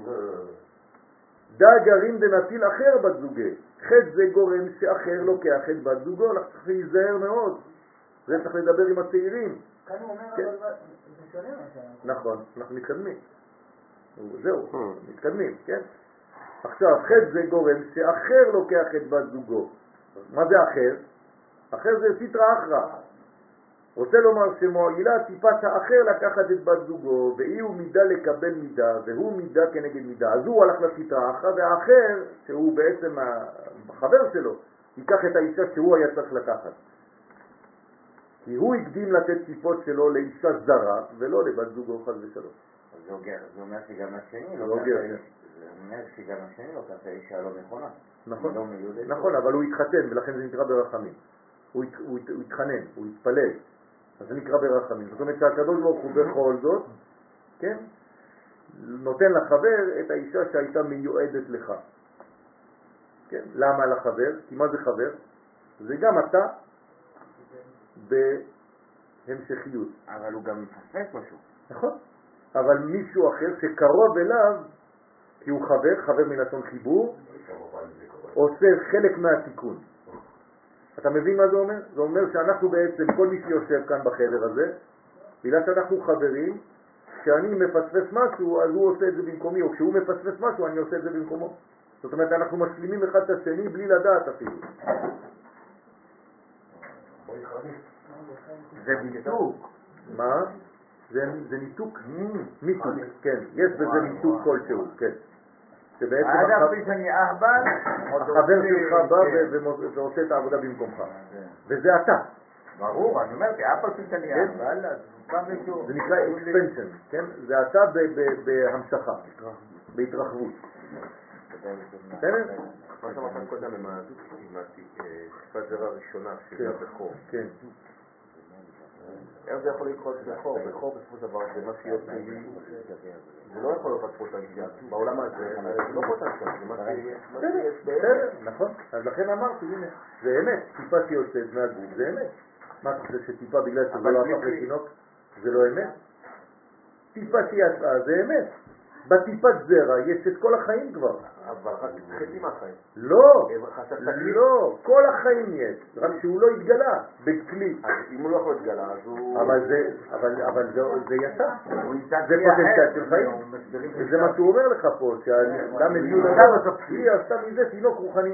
דא גרעין דנטיל אחר בת זוגה. חטא זה גורם שאחר לוקח את בת זוגו. אנחנו צריכים להיזהר מאוד. זה צריך לדבר עם הצעירים. כאן הוא אומר, כן. אבל זה שונה מה שאנחנו. נכון, אנחנו מתקדמים. זהו, מתקדמים, כן? עכשיו, חטא זה גורם שאחר לוקח את בת זוגו. מה זה אחר? אחר זה סיטרא אחרא. רוצה לומר שמועילה טיפת האחר לקחת את בת זוגו, ואי הוא מידה לקבל מידה, והוא מידה כנגד מידה. אז הוא הלך לסיטרא אחרא, והאחר, שהוא בעצם החבר שלו, ייקח את האישה שהוא היה צריך לקחת. כי הוא הקדים לתת טיפות שלו לאישה זרה, ולא לבת זוגו חס ושלום. זה אומר שגם השני לא לא גר. זה אומר שגם השני לא ככה אישה לא נכונה. נכון, לא מיודדת. נכון, אבל הוא התחתן, ולכן זה נקרא ברחמים. הוא הת- הוא הת- הוא התחנן, הוא התפלל, אז זה נקרא ברחמים. זאת אומרת שהקדוש ברוך הוא בכל זאת, כן, נותן לחבר את האישה שהייתה מיועדת לך. כן, למה לחבר? כי מה זה חבר? זה גם אתה בהמשכיות. אבל הוא גם מפספס משהו. נכון. אבל מישהו אחר שקרוב אליו, כי הוא חבר, חבר מלשון חיבור, עושה חלק מהתיקון. אתה מבין מה זה אומר? זה אומר שאנחנו בעצם, כל מי שיושב כאן בחדר הזה, בגלל שאנחנו חברים, כשאני מפספס משהו, אז הוא עושה את זה במקומי, או כשהוא מפספס משהו, אני עושה את זה במקומו. זאת אומרת, אנחנו משלימים אחד את השני בלי לדעת אפילו. זה ניתוק. מה? זה, זה ניתוק? ניתוק, כן. יש בזה ניתוק כלשהו, כן. שבעצם עד החבר אפי שאני אהבל, החבר שלך בא ו- ועושה את העבודה במקומך. וזה אתה. ברור, אני אומר, כי אף על פי שאני אהבל, אז פעם מישהו... זה נקרא expansion, כן? זה אתה ב- ב- בהמשכה, בהתרחבות. בסדר? מה שאמרת קודם עם הטיפת זרע הראשונה, שהיא הבכור. כן. איך זה יכול לקרות בכור? בכור בסופו של דבר זה מה שיהיה פנימי. זה לא יכול להיות פוטנציאל. בעולם הזה זה לא פוטנציאל, זה מה שיש בסדר, נכון. אז לכן אמרתי, הנה, זה אמת. טיפה שיוצאת מהגוף, זה אמת. מה אתה חושב שטיפה בגלל שזה לא הפך לתינוק, זה לא אמת? טיפה שיצאה, זה אמת. בטיפת זרע יש את כל החיים כבר. אבל רק חצי מהחיים. לא, לא, כל החיים יש, רק שהוא לא התגלה בכלי. אז אם הוא לא יכול להתגלה, אז הוא... אבל זה, אבל, אבל זה, זה יצא. זה כלי אחר. פוטנציאל של חיים. וזה מה שהוא אומר לך פה, שהאדם מביא לנו, היא עשתה מזה תינוק רוחני.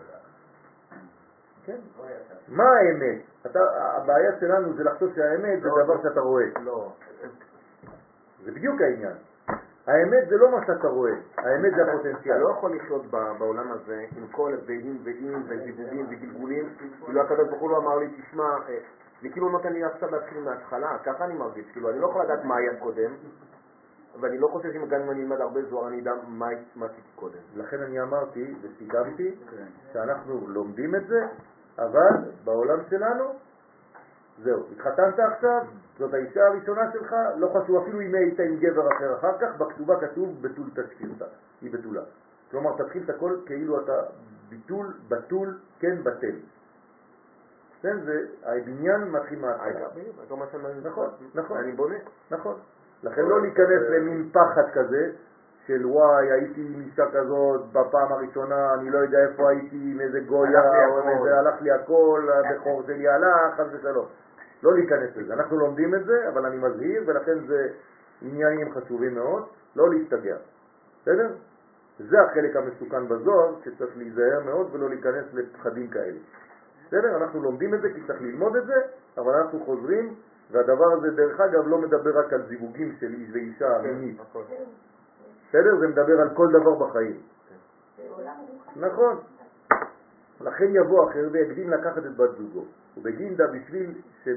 כן? מה האמת? אתה, הבעיה שלנו זה לחשוב שהאמת זה דבר שאתה רואה. לא. זה בדיוק העניין. האמת זה לא מה שאתה רואה, האמת זה הפוטנציאל. אתה לא יכול לחיות בעולם הזה עם כל הבאים ואיים וזיווגים וגלגולים. כאילו הקדוש ברוך הוא לא אמר לי, תשמע, זה כאילו נותן לי עכשיו להתחיל מההתחלה, ככה אני מרגיש. כאילו אני לא יכול לדעת מה היה קודם, ואני לא חושב שאם גם אני אלמד הרבה זוהר אני אדע מה עשיתי קודם. לכן אני אמרתי וסיכמתי שאנחנו לומדים את זה, אבל בעולם שלנו, זהו, התחתנת עכשיו, זאת האישה הראשונה שלך, לא חשוב אפילו אם היית עם גבר אחר אחר כך, בכתובה כתוב בתול תשכירתה, היא בתולה. כלומר, תתחיל את הכל כאילו אתה ביטול, בתול, כן בטל. כן, זה, הבניין מתחיל מההתחלה. נכון, נכון. אני בונה. נכון. לכן לא להיכנס למין פחד כזה, של וואי, הייתי עם אישה כזאת בפעם הראשונה, אני לא יודע איפה הייתי, עם איזה גויה, או איזה, הלך לי הכל, הבכור שלי הלך, חס ושלום. לא להיכנס לזה. אנחנו לומדים את זה, אבל אני מזהיר, ולכן זה עניינים חשובים מאוד, לא להסתגר. בסדר? זה החלק המסוכן בזוהר, שצריך להיזהר מאוד ולא להיכנס לפחדים כאלה. בסדר? אנחנו לומדים את זה כי צריך ללמוד את זה, אבל אנחנו חוזרים, והדבר הזה דרך אגב לא מדבר רק על זיווגים של איש ואישה מינית. בסדר? זה מדבר על כל דבר בחיים. נכון. לכן יבוא אחר ויקדים לקחת את בת זוגו. ובגינדה בשביל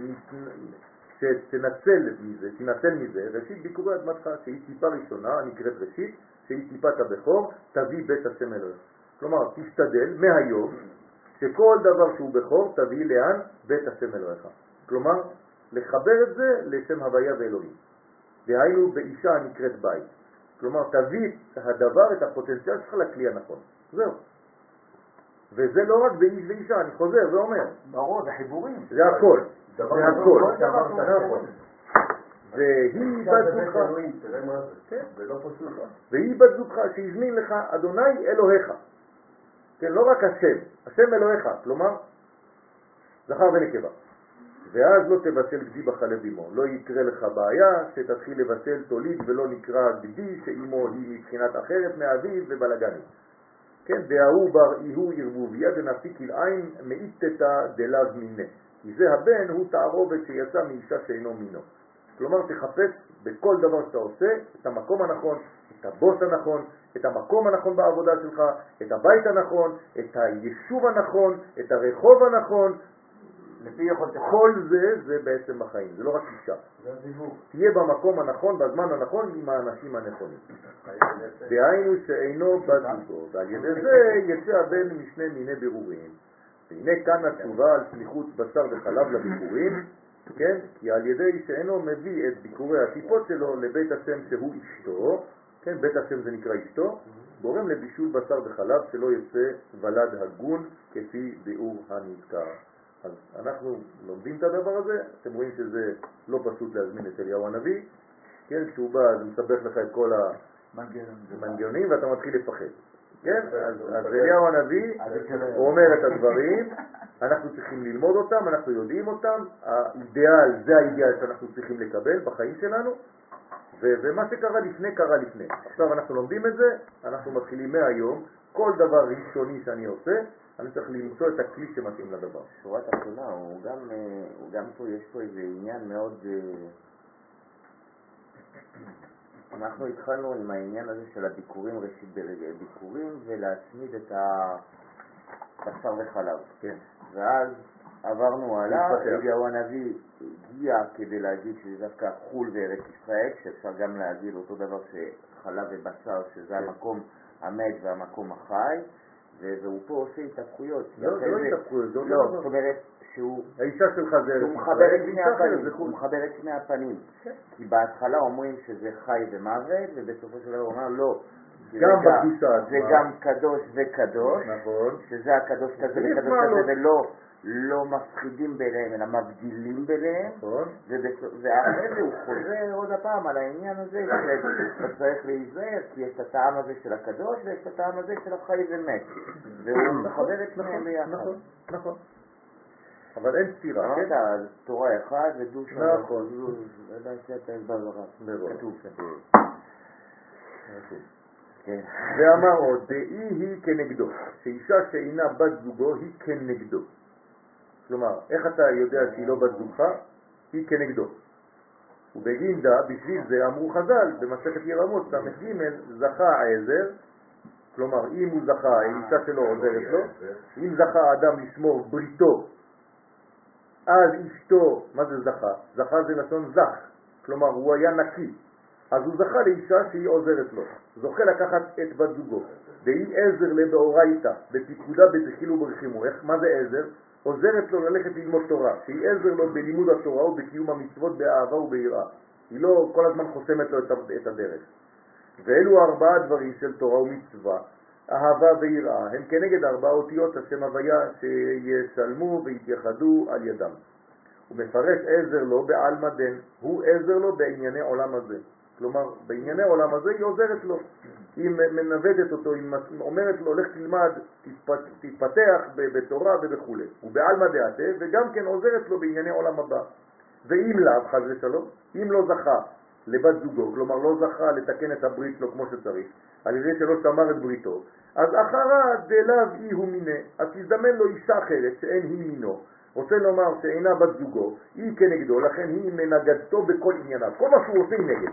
שתנצל מזה, תנצל מזה, ראשית ביקורי אדמתך, שהיא טיפה ראשונה, הנקראת ראשית, שהיא טיפת הבכור, תביא בית השם אלוהים. כלומר, תשתדל מהיום שכל דבר שהוא בכור תביא לאן? בית השם אלוהיך. כלומר, לחבר את זה לשם הוויה ואלוהים. דהיינו באישה הנקראת בית. כלומר, תביא את הדבר, את הפוטנציאל שלך לכלי הנכון. זהו. וזה לא רק באיש ואישה, אני חוזר ואומר. ברור, זה חיבורים. זה הכל. זה הכל. נכון. והיא בת זוגך. תראה מה זה. זה לא פשוט. והיא בת זוגך שהזמין לך אדוני אלוהיך. כן, לא רק השם. השם אלוהיך. כלומר, זכר ונקבה. ואז לא תבשל גדי בחלב אמו. לא יקרה לך בעיה שתתחיל לבשל תוליד ולא נקרא גדי שאמו היא מבחינת אחרת מאביו ובלגני. כן, דהוא בר איהו ערבוביה דנפיק כלעין מאיתתא דלאו מיני. כי זה הבן הוא תערובת שיצא מאישה שאינו מינו. כלומר, תחפש בכל דבר שאתה עושה את המקום הנכון, את הבוס הנכון, את המקום הנכון בעבודה שלך, את הבית הנכון, את היישוב הנכון, את הרחוב הנכון. לפי יכולת כל זה, זה בעצם בחיים, זה לא רק אישה. זה זיווג. תהיה במקום הנכון, בזמן הנכון, עם האנשים הנכונים. דהיינו שאינו בת זוגו, ועל ידי זה יצא הבן משני מיני בירורים. והנה כאן התשובה על סמיכות בשר וחלב לביקורים, כן? כי על ידי שאינו מביא את ביקורי הטיפות שלו לבית השם שהוא אשתו, כן? בית השם זה נקרא אשתו, גורם לבישול בשר וחלב שלא יצא ולד הגון כפי ביאור הנזכר. אז אנחנו לומדים את הדבר הזה, אתם רואים שזה לא פשוט להזמין את אליהו הנביא, כן, כשהוא בא זה מסבך לך את כל המנגנונים ואתה מתחיל לפחד. כן, אז, אז אליהו הנביא, הוא אומר את הדברים, אנחנו צריכים ללמוד אותם, אנחנו יודעים אותם, האידיאל, זה האידיאל שאנחנו צריכים לקבל בחיים שלנו, ו- ומה שקרה לפני, קרה לפני. עכשיו אנחנו לומדים את זה, אנחנו מתחילים מהיום, כל דבר ראשוני שאני עושה, אני צריך למצוא את הכלי שמתאים לדבר. שורה תחתונה, הוא גם, הוא גם פה, יש פה איזה עניין מאוד... אנחנו התחלנו עם העניין הזה של הביקורים, ראשית ביקורים, ולהצמיד את הבשר וחלב. כן. ואז עברנו עליו, אליהו הנביא הגיע כדי להגיד שזה דווקא חול וארץ ישראל, שאפשר גם להגיד אותו דבר שחלב ובשר, שזה כן. המקום המת והמקום החי, והוא פה עושה התהפכויות. לא, זה לא התהפכויות, זה אותו לא, דבר. זאת אומרת שהוא... האישה שלך זה... הוא מחבר את שני הפנים, הוא מחבר את שני הפנים. כי בהתחלה אומרים שזה חי ומוות, ובסופו של דבר הוא אומר לא. גם בקדושה. זה גם קדוש וקדוש. נכון. שזה הקדוש כזה וקדוש כזה, ולא לא מפחידים ביניהם, אלא מבדילים ביניהם. נכון. ואחרי זה הוא חוזר עוד הפעם על העניין הזה, שאתה צריך להיזהר, כי יש את הטעם הזה של הקדוש, ויש את הטעם הזה של החי ומת. והוא מחבר את שניהם ביחד. נכון, נכון. אבל אין סתירה, כן? אמרת, תורה אחד ודוש... נכון. כתוב. ואמר עוד, דאי היא כנגדו, שאישה שאינה בת זוגו היא כנגדו. כלומר, איך אתה יודע שהיא לא בת זוגך? היא כנגדו. ובגינדה, בשביל זה אמרו חז"ל, במסכת ירמות, ס"ג, זכה עזר, כלומר, אם הוא זכה, האישה שלו עוזרת לו, אם זכה האדם לשמור בריתו, אז אשתו, מה זה זכה? זכה זה לשון זך, כלומר הוא היה נקי, אז הוא זכה לאישה שהיא עוזרת לו, זוכה לקחת את בת זוגו, והיא עזר לבאורייתא, בפיקודה בזחיל וברחימו. איך, מה זה עזר? עוזרת לו ללכת ללמוד תורה, שהיא עזר לו בלימוד התורה ובקיום המצוות באהבה וביראה, היא לא כל הזמן חוסמת לו את הדרך. ואלו ארבעה דברים של תורה ומצווה, אהבה ויראה, הם כנגד ארבע אותיות השם הוויה שישלמו ויתייחדו על ידם. הוא מפרש עזר לו בעלמא דן, הוא עזר לו בענייני עולם הזה. כלומר, בענייני עולם הזה היא עוזרת לו. היא מנוודת אותו, היא אומרת לו, לך תלמד, תתפתח בתורה ובכו'. הוא בעלמא דעתה, וגם כן עוזרת לו בענייני עולם הבא. ואם לאו, חס ושלום, אם לא זכה לבת זוגו, כלומר לא זכה לתקן את הברית שלו כמו שצריך, על ידי שלא שמר את בריתו, אז אחרה דלאו אי הוא מיני, אז תזדמן לו אישה אחרת שאין היא מינו, רוצה לומר שאינה בת זוגו, היא כנגדו, לכן היא מנגדתו בכל ענייניו, כל מה שהוא עושה היא נגד.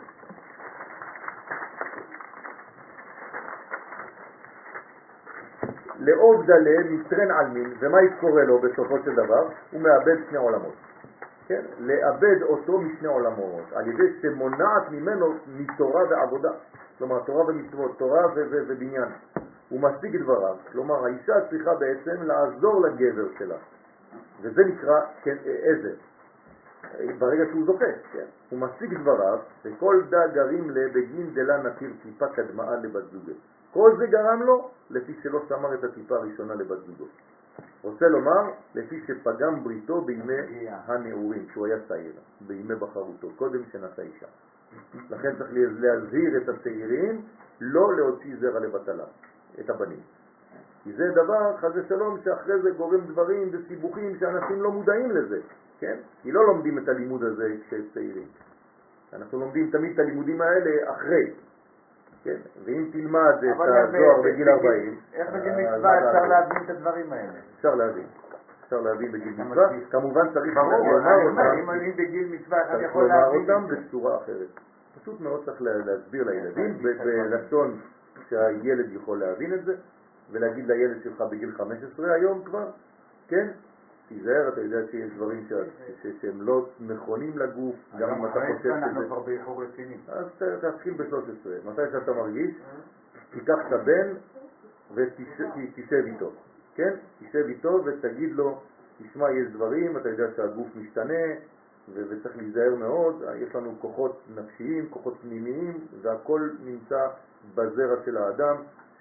לעוב דלה מטרן עלמין, ומה יתקורא לו בסופו של דבר? הוא מאבד שני עולמות. כן? לאבד אותו משני עולמות, על ידי שמונעת ממנו מתורה ועבודה. כלומר, תורה ומצוות, תורה ו- ו- ובניין. הוא משיג דבריו, כלומר, האישה צריכה בעצם לעזור לגבר שלה. וזה נקרא כן, עזר. ברגע שהוא זוכה, כן? הוא משיג דבריו, וכל דה גרים לבגין דלה נתיר טיפה קדמאה לבת זוגו. כל זה גרם לו לפי שלא שמר את הטיפה הראשונה לבת זוגו. רוצה לומר, לפי שפגם בריתו בימי הנעורים, כשהוא היה צעיר, בימי בחרותו, קודם שנשא אישה. לכן צריך להזהיר את הצעירים, לא להוציא זרע לבטלה, את הבנים. כי זה דבר, חס ושלום, שאחרי זה גורם דברים וסיבוכים שאנשים לא מודעים לזה, כן? כי לא לומדים את הלימוד הזה כשהם צעירים. אנחנו לומדים תמיד את הלימודים האלה אחרי. כן? ואם תלמד את הזוהר בגיל ארבעים... איך בגיל מצווה אפשר להבין את הדברים האלה? אפשר להבין. אפשר להבין בגיל מצווה. כמובן צריך לומר אותם. אם אני בגיל מצווה, אתה יכול להבין אותם בצורה אחרת. פשוט מאוד צריך להסביר לילדים בלשון שהילד יכול להבין את זה, ולהגיד לילד שלך בגיל חמש עשרה היום כבר, כן? תיזהר, אתה יודע שיש דברים שהם לא נכונים לגוף, גם אם אתה חושב שזה... אנחנו כבר באיחור רציני. אז תתחיל ב-שלוש עשרה. מתי שאתה מרגיש, תיקח את הבן ותשב איתו, כן? תשב איתו ותגיד לו, תשמע, יש דברים, אתה יודע שהגוף משתנה, וצריך להיזהר מאוד, יש לנו כוחות נפשיים, כוחות פנימיים, והכל נמצא בזרע של האדם,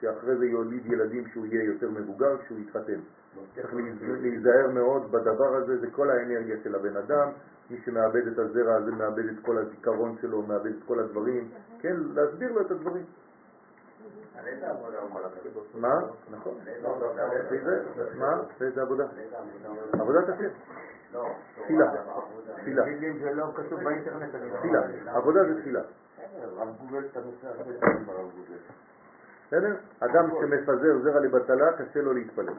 שאחרי זה יוליד ילדים שהוא יהיה יותר מבוגר כשהוא יתחתן. צריך להיזהר מאוד בדבר הזה, זה כל האנרגיה של הבן אדם, מי שמאבד את הזרע הזה מאבד את כל הזיכרון שלו, מאבד את כל הדברים, כן, להסביר לו את הדברים. על איזה עבודה הוא מלך? מה? נכון. מה? איזה עבודה? עבודת השם. תפילה. תפילה. זה לא כתוב באינטרנט. תפילה. עבודה זה תפילה. רב גוגל את הנושא הרבה פעמים ברב גוגל. בסדר? אדם שמפזר זרע לבטלה, קשה לו להתפלל.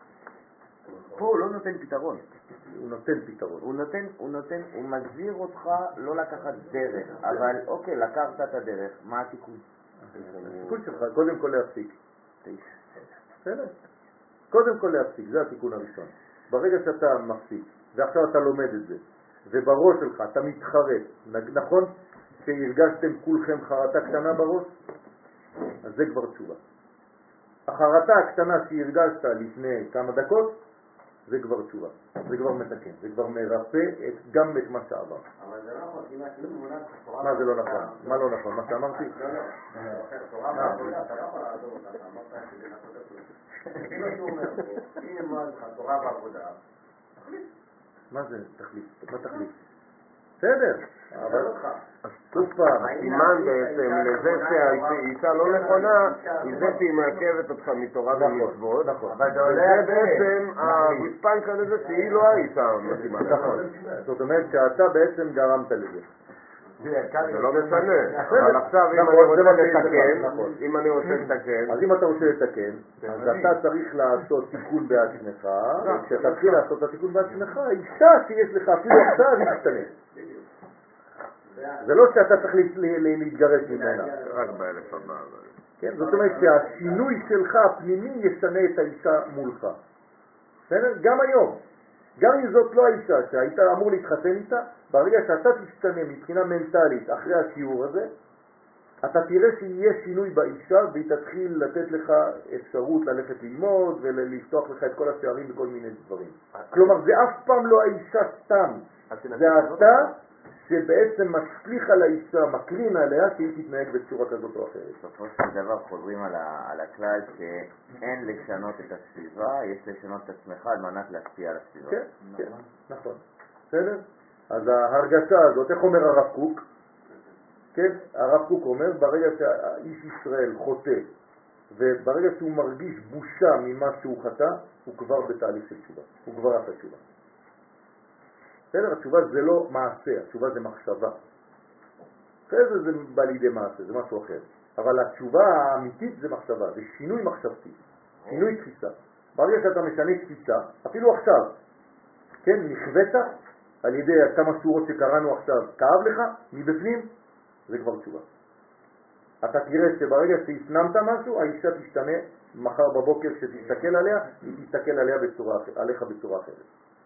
פה הוא לא נותן פתרון. הוא נותן פתרון. הוא נותן, הוא נותן, הוא מזהיר אותך לא לקחת דרך, אבל אוקיי, לקחת את הדרך, מה התיקון? התיקון שלך, קודם כל להפסיק. בסדר? קודם כל להפסיק, זה התיקון הראשון. ברגע שאתה מפסיק, ועכשיו אתה לומד את זה, ובראש שלך אתה מתחרט, נכון שהרגשתם כולכם חרטה קטנה בראש? אז זה כבר תשובה. החרטה הקטנה שהרגשת לפני כמה דקות, זה כבר תשובה, זה כבר מתקן, זה כבר מרפא את, גם את מה שעבר. אבל זה לא נכון, אם כאילו מונח תורה... מה זה לא נכון? מה לא נכון? מה שאמרתי? לא, לא, תורה בעבודה, אתה לא יכול לעזור אותה, אתה אמרת כדי לעשות את זה. כאילו שהוא אומר, אם אמרת לך תורה בעבודה, תחליט. מה זה תחליט? מה תחליט? בסדר, אבל... שוב פעם, הסימן בעצם לזה שהאישה לא נכונה, היא זה שהיא מעכבת אותך מתורה ומצוות, וזה בעצם הגוספנקה לזה שהיא לא האישה המתאימה. נכון, זאת אומרת שאתה בעצם גרמת לזה. זה לא משנה, אבל עכשיו אם אני רוצה לתקן, אם אני רוצה לתקן, אז אם אתה רוצה לתקן, אז אתה צריך לעשות תיקון בעצמך, וכשתתחיל לעשות את התיקון בעצמך, האישה שיש לך אפילו עכשיו היא תשתנה. זה לא שאתה צריך להתגרש ממנה. רק באלף הבא. כן, זאת אומרת שהשינוי שלך הפנימי ישנה את האישה מולך. בסדר? גם היום. גם אם זאת לא האישה שהיית אמור להתחתן איתה, ברגע שאתה תשתנה מבחינה מנטלית אחרי השיעור הזה, אתה תראה שיהיה שינוי באישה והיא תתחיל לתת לך אפשרות ללכת ללמוד ולפתוח לך את כל השערים בכל מיני דברים. כלומר, זה אף פעם לא האישה סתם. זה אתה שבעצם משליך על האישה, מקרין עליה שהיא תתנהג בצורה כזאת או אחרת. בסופו של דבר חוזרים על, ה, על הכלל שאין לשנות את הסביבה, יש לשנות את עצמך על מנת להשפיע על הסביבה. כן, כן, נכון. בסדר? אז ההרגשה הזאת, איך אומר הרב קוק? כן, הרב קוק אומר, ברגע שהאיש ישראל חוטא, וברגע שהוא מרגיש בושה ממה שהוא חטא, הוא כבר בתהליך של תשובה. הוא כבר עשה תשובה. בסדר? התשובה זה לא מעשה, התשובה זה מחשבה. אחרי זה זה בא לידי מעשה, זה משהו אחר. אבל התשובה האמיתית זה מחשבה, זה שינוי מחשבתי, שינוי תפיסה. ברגע שאתה משנה תפיסה, אפילו עכשיו, כן, נכווית על ידי כמה שורות שקראנו עכשיו, כאב לך, מבפנים, זה כבר תשובה. אתה תראה שברגע שהפנמת משהו, האישה תשתנה מחר בבוקר כשתסתכל עליה, היא תסתכל עליה בצורה, עליך בצורה אחרת.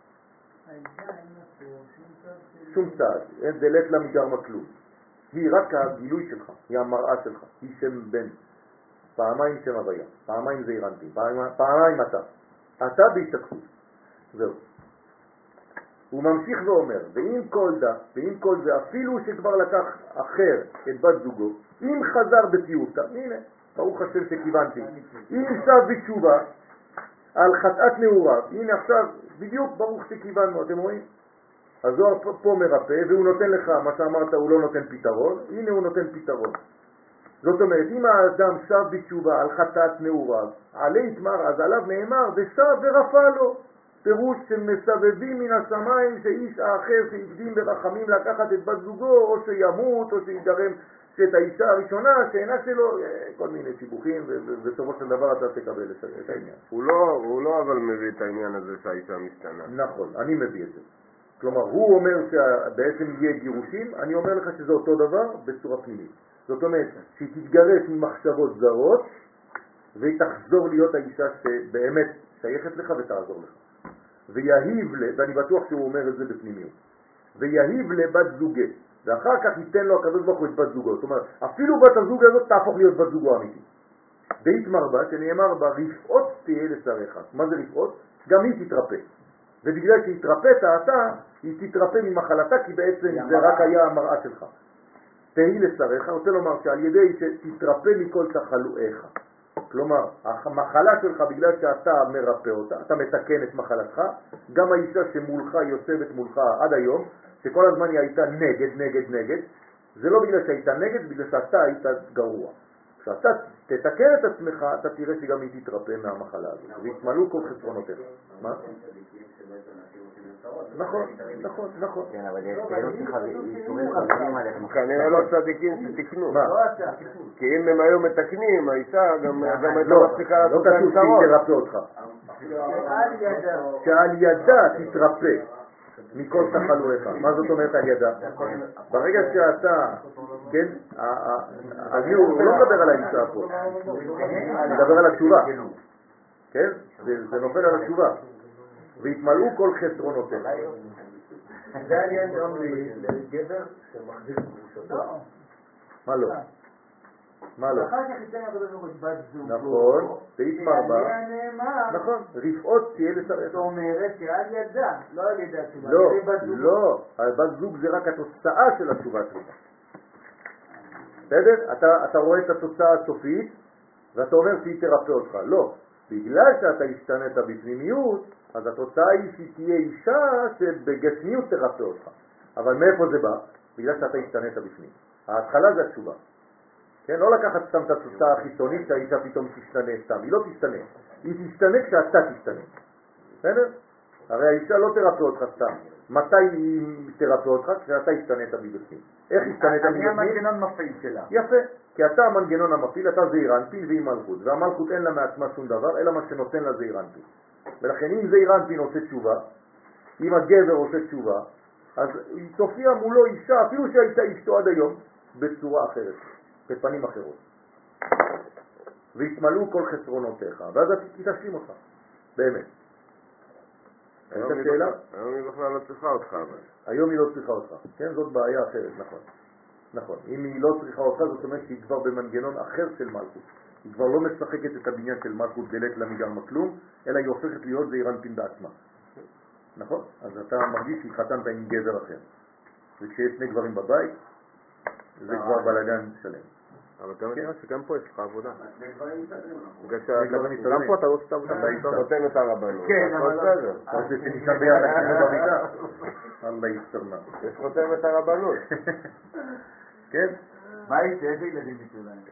שום צעד, אין דלת לה מגרמה כלום. היא רק הגילוי שלך, היא המראה שלך, היא שם בן, פעמיים שם הוויה, פעמיים זה אירנטי, פעמיים, פעמיים אתה, אתה בהשתקפות, זהו. הוא ממשיך ואומר, ועם כל דה, ועם כל זה, אפילו שכבר לקח אחר את בת זוגו, אם חזר בציותה, הנה, ברוך השם שכיוונתי, אם שב בתשובה, על חטאת נעוריו, הנה עכשיו, בדיוק ברוך שכיוונו, אתם רואים? הזוהר פה מרפא, והוא נותן לך, מה שאמרת, הוא לא נותן פתרון, הנה הוא נותן פתרון. זאת אומרת, אם האדם שב בתשובה על חטאת נעוריו, עלי יתמר, אז עליו נאמר, ושב ורפא לו. פירוש שמסבבים מן השמיים שאיש האחר שהקדים ברחמים לקחת את בת זוגו, או שימות, או שיגרם שאת האישה הראשונה, שאינה שלו, כל מיני סיבוכים, ובסופו של דבר אתה תקבל את העניין. הוא לא, הוא לא אבל מביא את העניין הזה שהאישה משתנה. נכון, אני מביא את זה. כלומר, הוא אומר שבעצם יהיה גירושים, אני אומר לך שזה אותו דבר בצורה פנימית. זאת אומרת, שהיא תתגרש ממחשבות זרות, והיא תחזור להיות האישה שבאמת שייכת לך ותעזור לך. ויהיב, ואני בטוח שהוא אומר את זה בפנימיות, ויהיב לבת זוגה, ואחר כך ייתן לו הקדוש ברוך הוא את בת זוגו. זאת אומרת, אפילו בת הזוג הזאת תהפוך להיות בת זוגו אמיתי. בהתמר בה, שנאמר בה, רפאות תהיה לשריך. מה זה רפאות? גם היא תתרפא. ובגלל שהתרפאת אתה, היא תתרפא ממחלתה, כי בעצם זה רק היה המראה שלך. תהי לשריך, רוצה לומר שעל ידי שתתרפא מכל תחלואיך. כלומר, המחלה שלך, בגלל שאתה מרפא אותה, אתה מתקן את מחלתך, גם האישה שמולך, יושבת מולך עד היום, שכל הזמן היא הייתה נגד, נגד, נגד, זה לא בגלל שהייתה נגד, בגלל שאתה היית גרוע. כשאתה תתקן את עצמך, אתה תראה שגם היא תתרפא מהמחלה הזאת, והתמלאו כל חסרונותיך. מה? נכון, נכון, נכון. כן, אבל יש כאלו שאיסורים חברים עליהם. כנראה לא צדיקים שתקנו. מה? כי אם הם היו מתקנים, האישה גם הייתה לא, מצליחה לא לעשות להם כתוב שהיא צרות. תרפא אותך. שעל ידה. שעל ידה תתרפא מכל תחלואיך. מה זאת אומרת על ידה? ברגע שאתה, כן, אני הוא לא מדבר על האישה פה, אני מדבר על התשובה, כן? זה נופל על התשובה. והתמלאו כל חסרונותיך. זה העניין גם לגבר שמחזיר קדושתו. מה לא? מה לא? אחר כך יצא מהקדוש ברוך הוא בת זוגו. נכון, סעיף מרבה. שעליה נאמר. נכון, רפאות תהיה לשרת. זאת אומרת שעל ידה, לא על ידי התשובה. לא, על ידי בת זוגו. לא, בת זוג זה רק התוצאה של התשובה שלך. בסדר? אתה, אתה רואה את התוצאה הסופית ואתה אומר שהיא תרפא אותך. לא, בגלל שאתה השתנית בפנימיות, אז התוצאה היא שהיא תהיה אישה שבגשמיות תרפא אותך. אבל מאיפה זה בא? בגלל שאתה השתנית בפנים. ההתחלה זה התשובה. כן? לא לקחת סתם את התוצאה החיצונית שהאישה פתאום תשתנה סתם. היא לא תשתנה. היא תשתנה כשאתה תשתנה. בסדר? הרי האישה לא תרפא אותך סתם. מתי היא תרפא אותך? כשאתה השתנית מבפנים. איך השתנית מבפנים? אני המנגנון מפעיל שלה. יפה. כי אתה המנגנון המפעיל, אתה זעיר אנפין והיא מלכות. והמלכות אין לה מעצמה שום דבר, אלא מה שנותן לה זעיר אנפין. ולכן אם זעיר אנפין עושה תשובה, אם הגבר עושה תשובה, אז היא תופיע מולו אישה, אפילו שהייתה אשתו עד היום, בצורה אחרת, בפנים אחרות. והתמלאו כל חסרונותיך, ואז היא תשלים אותך, באמת. היום היא שאלה? בכלל- היום היא בכלל לא צריכה אותך. אבל. היום היא לא צריכה אותך, כן? זאת בעיה אחרת, נכון. נכון. אם היא לא צריכה אותך, זאת אומרת שהיא כבר במנגנון אחר של מלכות. היא כבר לא משחקת את הבניין של מלכות דלת למיגרמה כלום, אלא היא הופכת להיות זעיר אנפין בעצמה. נכון? אז אתה מרגיש שהתחתנת עם גבר אחר. וכשיש שני גברים בבית, זה כבר בלגן שלם. אבל אתה יודע שגם פה יש לך עבודה. שני דברים מסתדרים. בגלל דברים שגם מסתדרים. פה אתה לא עושה עבודה. אתה אתה נותן את הרבנות. כן, הכל אבל לא- בסדר. אתה רוצה שנישן ביחד כאילו במיטה? אללה יסתרנה. יש חותם את הרבנות. כן? מה יצא? איזה ילדים יצאו להם?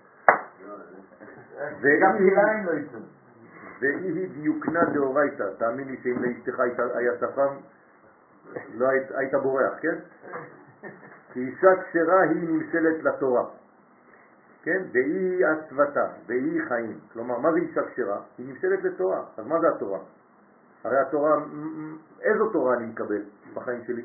והיא- גם כליים לא יצאו. והיא דיוקנה דאורייתא. תאמין לי שאם לאשתך היית- היה שפם, לא היית, היית בורח, כן? כי אישה כשרה היא נמשלת לתורה. כן? והיא עצבתה, והיא חיים. כלומר, מה זה אישה כשרה? היא נמשלת לתורה. אז מה זה התורה? הרי התורה, מ- מ- איזו תורה אני מקבל בחיים שלי?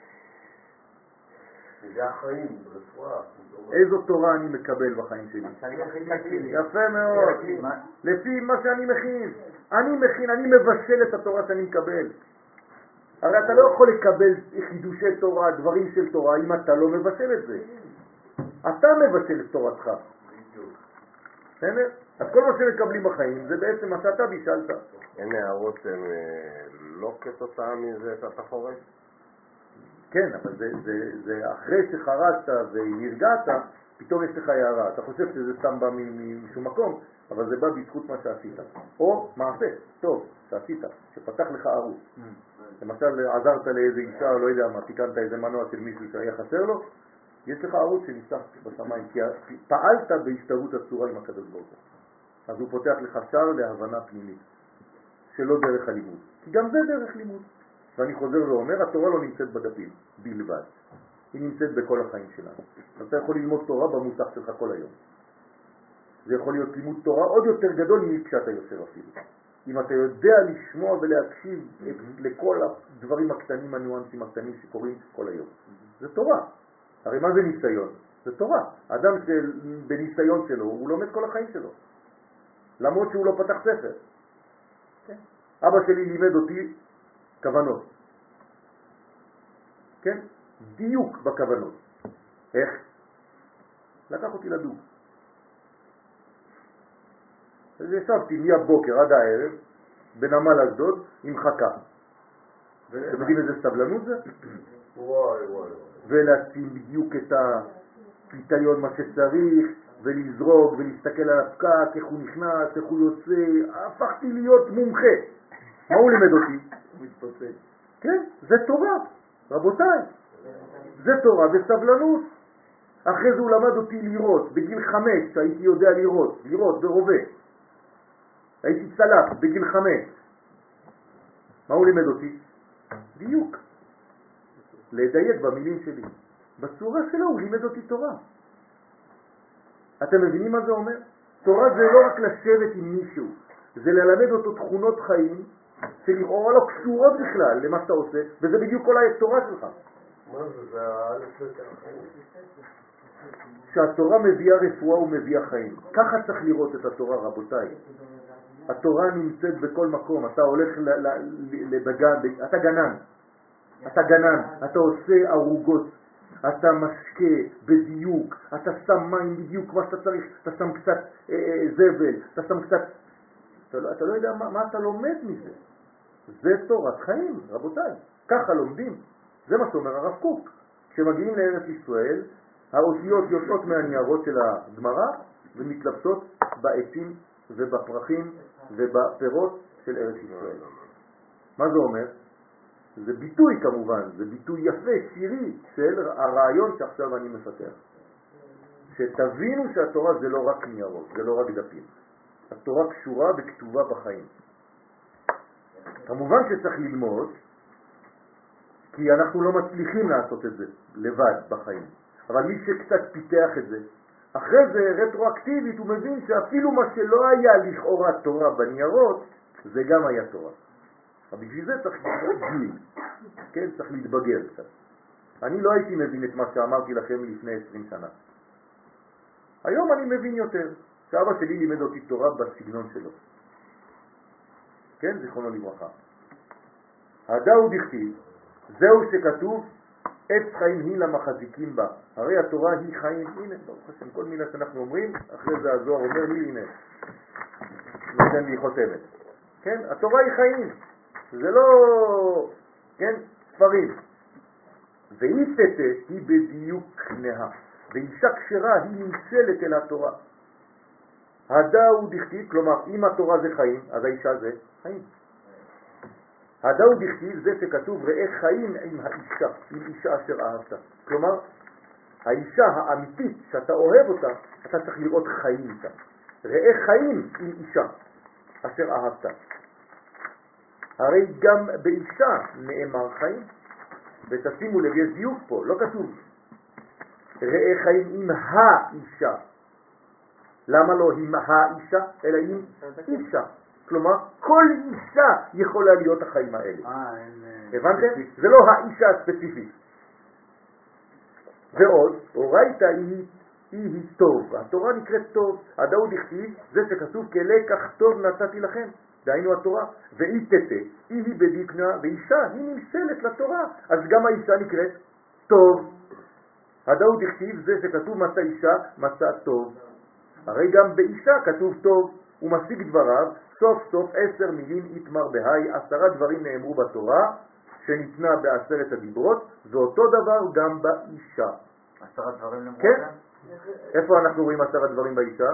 זה החיים, רפואה. איזו תורה אני מקבל בחיים שלי? יפה מאוד. לפי מה שאני מכין. אני מכין, אני מבשל את התורה שאני מקבל. הרי אתה לא יכול לקבל חידושי תורה, דברים של תורה, אם אתה לא מבשל את זה. אתה מבשל את תורתך. בסדר? אז כל מה שמקבלים בחיים זה בעצם מה שאתה בישלת. אין הערות הן אה, לא כתוצאה מזה שאתה חורש? כן, אבל זה, זה, זה אחרי שחרשת והרגעת, פתאום יש לך הערה. אתה חושב שזה סתם בא מ- משום מקום, אבל זה בא בזכות מה שעשית. או מעשה טוב שעשית, שפתח לך ערוץ. למשל, עזרת לאיזה אישה, או לא יודע מה, תיקנת איזה מנוע של מישהו שהיה חסר לו, יש לך ערוץ שנפתח בשמיים, כי פעלת בהשתרות הצורה עם הקדוש ברוך הוא. אז הוא פותח לך שער להבנה פנימית, שלא דרך הלימוד. כי גם זה דרך לימוד. ואני חוזר ואומר, התורה לא נמצאת בדפים בלבד. היא נמצאת בכל החיים שלנו. אתה יכול ללמוד תורה במוסך שלך כל היום. זה יכול להיות לימוד תורה עוד יותר גדול מכשאתה יושב אפילו. אם אתה יודע לשמוע ולהקשיב לכל הדברים הקטנים, הניואנסים הקטנים שקורים כל היום. זה תורה. הרי מה זה ניסיון? זה תורה. האדם בניסיון שלו, הוא לומד כל החיים שלו. למרות שהוא לא פתח ספר. אבא שלי לימד אותי כוונות. כן? דיוק בכוונות. איך? לקח אותי לדוג. אז ישבתי מהבוקר עד הערב בנמל אשדוד עם חכה. אתם יודעים איזה סבלנות זה? וואי וואי וואי. ולשים בדיוק את הפיתיון מה שצריך, ולזרוק ולהסתכל על הפקק, איך הוא נכנס, איך הוא יוצא, הפכתי להיות מומחה. מה הוא לימד אותי? הוא מתפוצץ. כן, זה תורה, רבותיי. זה תורה וסבלנות. אחרי זה הוא למד אותי לראות, בגיל חמש שהייתי יודע לראות, לראות ברובה. הייתי צלף בגיל חמש. מה הוא לימד אותי? דיוק. לדייק במילים שלי. בצורה שלו הוא לימד אותי תורה. אתם מבינים מה זה אומר? תורה זה לא רק לשבת עם מישהו, זה ללמד אותו תכונות חיים שלכאורה לא קשורות בכלל למה שאתה עושה, וזה בדיוק כל התורה שלך. מה זה? זה האלף בית החיים. שהתורה מביאה רפואה ומביאה חיים. ככה צריך לראות את התורה, רבותיי. התורה נמצאת בכל מקום. אתה הולך לבגן, אתה גנן. אתה גנן, אתה עושה ערוגות, אתה משקה בדיוק, אתה שם מים בדיוק מה שאתה צריך, אתה שם קצת אה, אה, זבל, אתה שם קצת... אתה לא, אתה לא יודע מה, מה אתה לומד מזה. זה תורת חיים, רבותיי. ככה לומדים. זה מה שאומר הרב קוק. כשמגיעים לארץ ישראל, האותיות יוצאות מהניירות של הגמרא ומתלבטות בעצים ובפרחים ובפירות של ארץ ישראל. מה זה אומר? זה ביטוי כמובן, זה ביטוי יפה, שירי, של הרעיון שעכשיו אני מפתח. שתבינו שהתורה זה לא רק ניירות, זה לא רק דפים. התורה קשורה וכתובה בחיים. כמובן שצריך ללמוד, כי אנחנו לא מצליחים לעשות את זה לבד בחיים. אבל מי שקצת פיתח את זה, אחרי זה רטרואקטיבית הוא מבין שאפילו מה שלא היה לכאורה תורה בניירות, זה גם היה תורה. אבל בשביל זה צריך להתבגר, כן? צריך להתבגר קצת. אני לא הייתי מבין את מה שאמרתי לכם לפני עשרים שנה. היום אני מבין יותר, שאבא שלי לימד אותי תורה בסגנון שלו. כן? זיכרונו לברכה. הדאו דכתיב, זהו שכתוב, עץ חיים היא למחזיקים בה. הרי התורה היא חיים, הנה, ברוך השם, כל מילה שאנחנו אומרים, אחרי זה הזוהר אומר לי, הנה, נותן לי חותמת. כן? התורה היא חיים. זה לא, כן, ספרים. והיא תתה, היא בדיוק כנעה. ואישה כשרה היא נמצלת אל התורה. הדאו דכתיב, כלומר, אם התורה זה חיים, אז האישה זה חיים. הדאו דכתיב זה שכתוב ראה חיים עם האישה, עם אישה אשר אהבת. כלומר, האישה האמיתית שאתה אוהב אותה, אתה צריך לראות חיים איתה. ראה חיים עם אישה אשר אהבת. הרי גם באישה נאמר חיים, ותשימו לב, יש דיוק פה, לא כתוב ראה חיים עם האישה. למה לא עם האישה, אלא עם אישה? כלומר, כל אישה יכולה להיות החיים האלה. הבנתם? זה לא האישה הספציפית. ועוד, אורייתא היא היא טוב. התורה נקראת טוב. הדאו דכתיב, זה שכתוב כלקח טוב נתתי לכם. דהיינו התורה, והיא תתה, היא היא בדיקנה, ואישה היא נמסלת לתורה, אז גם האישה נקראת טוב. הדאו דכתיב זה שכתוב מצא אישה, מצא טוב. הרי גם באישה כתוב טוב, הוא משיג דבריו, סוף סוף עשר מילים יתמר בהי, עשרה דברים נאמרו בתורה, שניתנה בעשרת הדיברות, ואותו דבר גם באישה. עשרה דברים נאמרו? כן? איפה אנחנו רואים עשרה דברים באישה?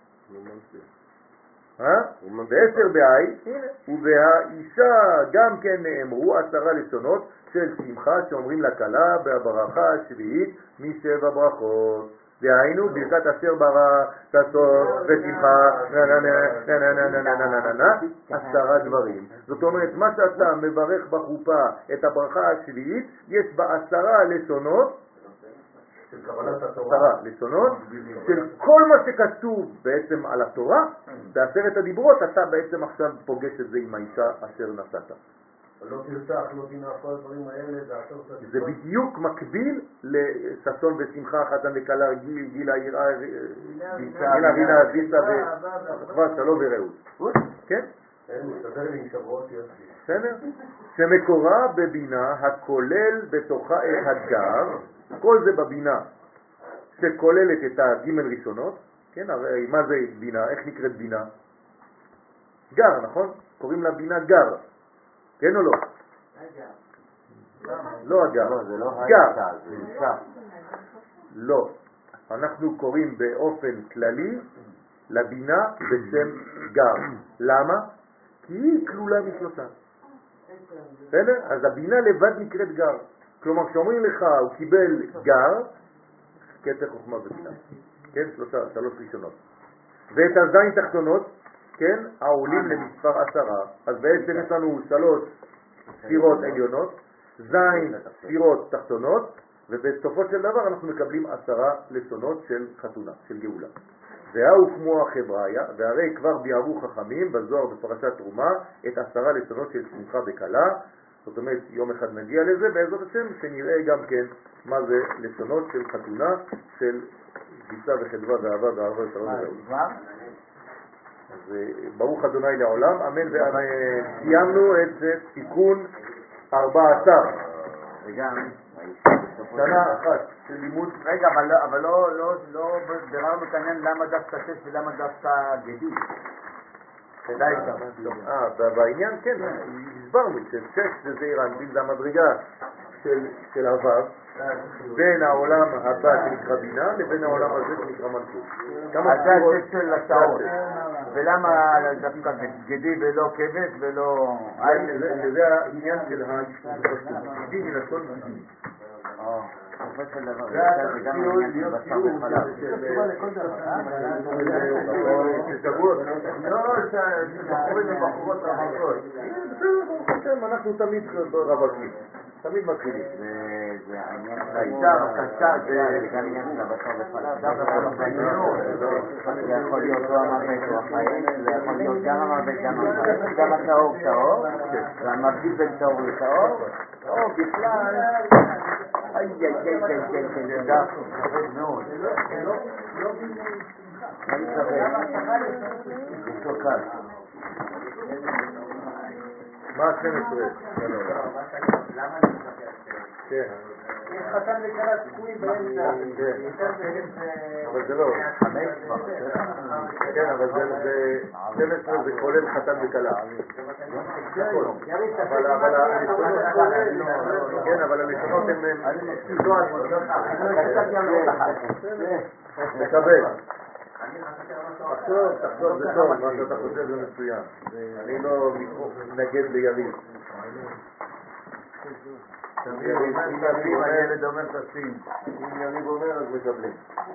בעשר בהי, ובאישה גם כן נאמרו עשרה לשונות של שמחה שאומרים לכלה בברכה השביעית משבע ברכות. דהיינו ברכת אשר ברא תסור ושמחה עשרה דברים. זאת אומרת, מה שאתה מברך בחופה את הברכה השביעית, יש בה עשרה לשונות, עשרה לשונות של כל מה שכתוב בעצם על התורה. בעשרת הדיברות אתה בעצם עכשיו פוגש את זה עם האישה אשר נשאת. לא תרצח, לא תנח, כל הדברים האלה, זה בדיוק מקביל לששון ושמחה, חתן וכלה, גילה, יראה, גילה, גילה, ויסה וחברה, שלום ורעות. כן? מסתדר לי עם שבועות יוסי. בסדר? שמקורה בבינה הכולל בתוכה את הגר, כל זה בבינה שכוללת את הגימל ראשונות. כן, הרי מה זה בינה? איך נקראת בינה? גר, נכון? קוראים לה בינה גר. כן או לא? לא הגר. זה לא גר. האישה, זה אישה. לא. אנחנו קוראים באופן כללי לבינה בשם גר. למה? כי היא כלולה משלושה. בסדר? אז הבינה לבד נקראת גר. כלומר, כשאומרים לך הוא קיבל גר, כתר חוכמה ובינה. כן? שלושה, שלוש ראשונות. ואת הזין תחתונות, כן? העולים למספר עשרה. אז בעצם יש לנו שלוש ספירות עליונות, זין ספירות תחתונות, ובסופו של דבר אנחנו מקבלים עשרה לשונות של חתונה, של גאולה. והוא כמו החבריה, והרי כבר ביארו חכמים בזוהר בפרשת תרומה את עשרה לשונות של שמחה בקלה. זאת אומרת, יום אחד נגיע לזה בעזרת השם, שנראה גם כן מה זה לשונות של חתונה, של גיסה וחדווה ואהבה ואהבה ושלום וגאולה. אז ברוך אדוני לעולם, אמן ואמן. סיימנו את תיקון ארבע עשרה. וגם שנה אחת של לימוד. רגע, אבל לא, אבל לא, לא, לא ביררנו את העניין למה דווקא שש ולמה דווקא גדי. כדאי גם. אה, בעניין כן, הסברנו ששש זה זעיר אנפין, זה המדרגה של הוו, בין העולם הבא שנקרא בינה לבין העולם הזה שנקרא מלכות. אז זה השש של השעות. ולמה דווקא גדי ולא כבש ולא... זה העניין של ההשתתפות. גדי מלשון גדי. בסופו של דבר, זה גם העניין של בשר וחלב. אנחנו תמיד רווקים, תמיד מתחילים. זה העניין של העיקר, הקצר, זה גם העניין של הבשר וחלב. זה יכול להיות או המוות או החיים, זה יכול להיות גם המוות, גם החיים, גם הטהור טהור, והמבדיל בין טהור לטהור, או בכלל... איי איי איי איי איי איי איי דף, כבד מאוד. אני כבד. זה שוקל. מה עשרים עשרה? כן. יש חתן וכלה תקועים באמצע. אבל זה לא. כן, אבל זה שתים עשרה זה כולל חתן וכלה. אבל הלשונות כן, אבל הלשונות הן מקבל. תחשוב, תחשוב, זה טוב, מה שאתה חושב זה מצוין. אני לא מתנגד ליריב. אם הילד אומר תשים. אם יריב אומר אז מקבלים.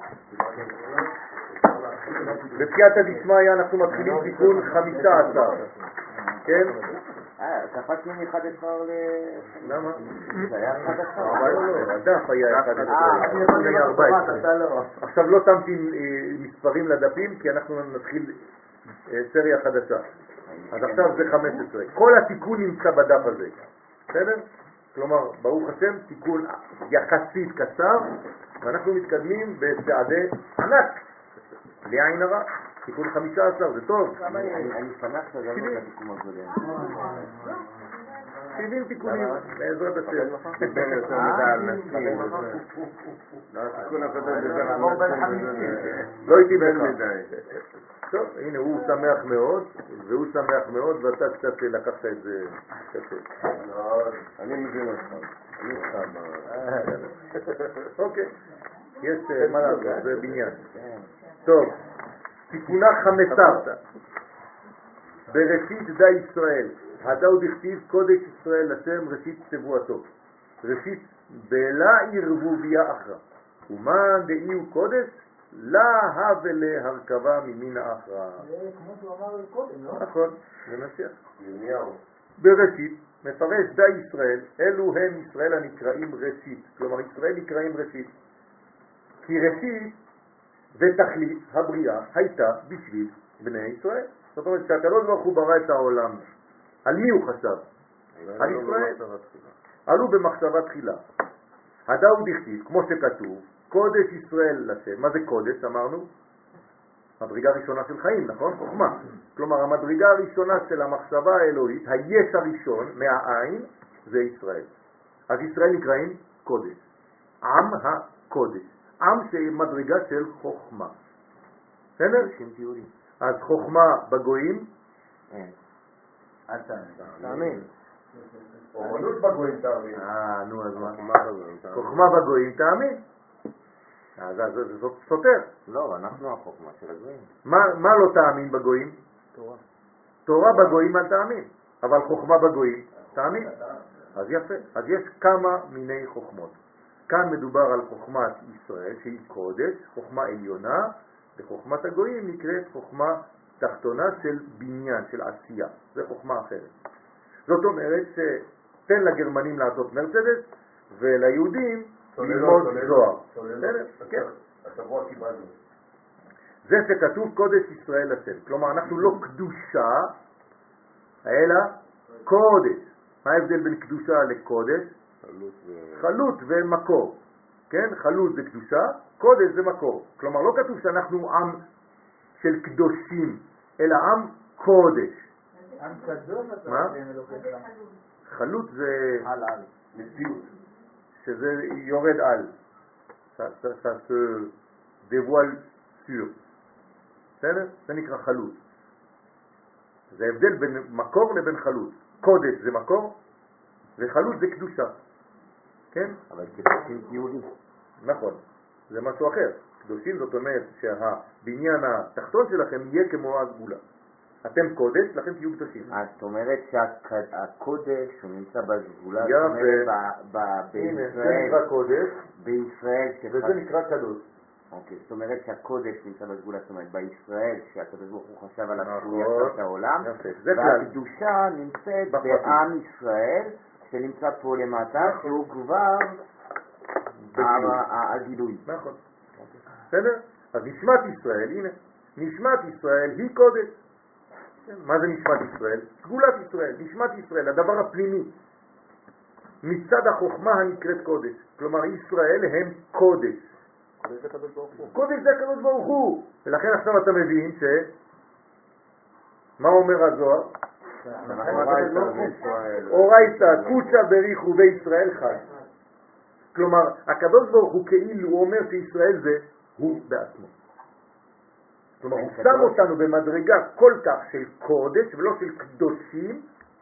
בסייעתא דשמיא אנחנו מתחילים תיקון חמישה עשר. כן? אה, קפצנו מ-אחד עשר ל... למה? זה היה אחד עשר. לא, הדף היה אחד עשר. עכשיו לא שמתי מספרים לדפים כי אנחנו נתחיל סריה חדשה. אז עכשיו זה חמש עשרה. כל התיקון נמצא בדף הזה. בסדר? כלומר, ברוך השם, תיקון יחסית קצר, ואנחנו מתקדמים בצעדי ענק. בלי עין הרע. תיקון חמישה עשר, זה טוב. אני שמח שזה לא את התיקון הקודם. שבעים תיקונים, בעזרת השם. בין יותר מדי על נשים. התיקון הקודם דיבר על נשים. לא הייתי בין בך. מדי. טוב, הנה, הוא שמח מאוד, והוא שמח מאוד, ואתה קצת לקחת את זה קשה. אני מבין אותך. אני איתך. אוקיי. יש מה לעשות, זה בניין. טוב, תיקונה חמסרתא. בראשית די ישראל, הדאו דכתיב קודש ישראל לשם ראשית צבועתו. ראשית בלה ערבוביה אחרא. ומה דאי הוא קודש? לה הווה להרכבה ממין האחרא. זה כמו שהוא אמר קודם, לא? נכון, זה נשיח. ירמיהו. בראשית מפרש די ישראל, אלו הם ישראל הנקראים ראשית. כלומר ישראל נקראים ראשית. כי ראשית ותכלית הבריאה הייתה בשביל בני ישראל. זאת אומרת שהקדוש ברוך הוא ברא את העולם. על מי הוא חשב? על ישראל. עלו במחשבה תחילה. הדאו דכתיב, כמו שכתוב, קודש ישראל לשם. מה זה קודש? אמרנו? מדרגה ראשונה של חיים, נכון? חוכמה. כלומר, המדרגה הראשונה של המחשבה האלוהית, היש הראשון מהעין, זה ישראל. אז ישראל נקראים קודש. עם הקודש. עם שמדרגה של חוכמה. בסדר? אז חוכמה בגויים. אל תאמין. אומנות בגויים תאמין. אה, נו, אז מה? חוכמה בגויים תאמין. אז זה סותר. לא, אנחנו החוכמה של הגויים. מה לא תאמין בגויים? תורה. תורה בגויים אל תאמין, אבל חוכמה בגויים תאמין. אז יפה. אז יש כמה מיני חוכמות. כאן מדובר על חוכמת ישראל שהיא קודש, חוכמה עליונה, וחוכמת הגויים נקראת חוכמה תחתונה של בניין, של עשייה. זה חוכמה אחרת. זאת אומרת שתן לגרמנים לעשות מרצדס וליהודים ללמוד זוהר. השבוע קיבלנו. זה שכתוב קודש ישראל השם. כלומר, אנחנו לא קדושה, אלא קודש. מה ההבדל בין קדושה לקודש? חלות ומקור. כן? חלות זה קדושה, קודש זה מקור. כלומר, לא כתוב שאנחנו עם של קדושים, אלא עם קודש. עם קדוש? מה? חלות זה על על. מציאות. שזה יורד על. Ça, ça, ça se dévoile sur. בסדר? זה נקרא חלות. זה הבדל בין מקור לבין חלות. קודש זה מקור, וחלות זה קדושה. כן? אבל קדושים יהודים. נכון. זה משהו אחר. קדושים זאת אומרת שהבניין התחתון שלכם יהיה כמו הגבולה. אתם קודש, לכן תהיו קדושים. אז זאת אומרת שהקודש הוא נמצא בגבולה, זאת יפה. אומרת הנה, זה בישראל, נקרא קודש, בישראל, וזה נקרא קדוש. אוקיי, זאת אומרת שהקודש נמצא בגבולה, זאת אומרת בישראל, שהקדוש ברוך הוא חשב עליו שהוא נכון. יצר את העולם, יפה. זה כלל. והקדושה נמצאת בפרטים. בעם ישראל, שנמצא פה למטה, שהוא כבר בגילוי. הגילוי. נכון. בסדר? אז נשמת ישראל, הנה, נשמת ישראל היא קודש. כן, מה זה נשמת ישראל? סגולת ישראל, נשמת ישראל, הדבר הפנימי. מצד החוכמה הנקראת קודש. כלומר, ישראל הם קודש. קודש זה הקדוש ברוך הוא. קודש זה הקדוש ברוך הוא. ולכן עכשיו אתה מבין ש... מה אומר הזוהר? אורייתא קודשא בריחו וישראל חד. כלומר, הקדוש ברוך הוא כאילו הוא אומר שישראל זה הוא בעצמו. כלומר, הוא שם אותנו במדרגה כל כך של קודש ולא של קדושים,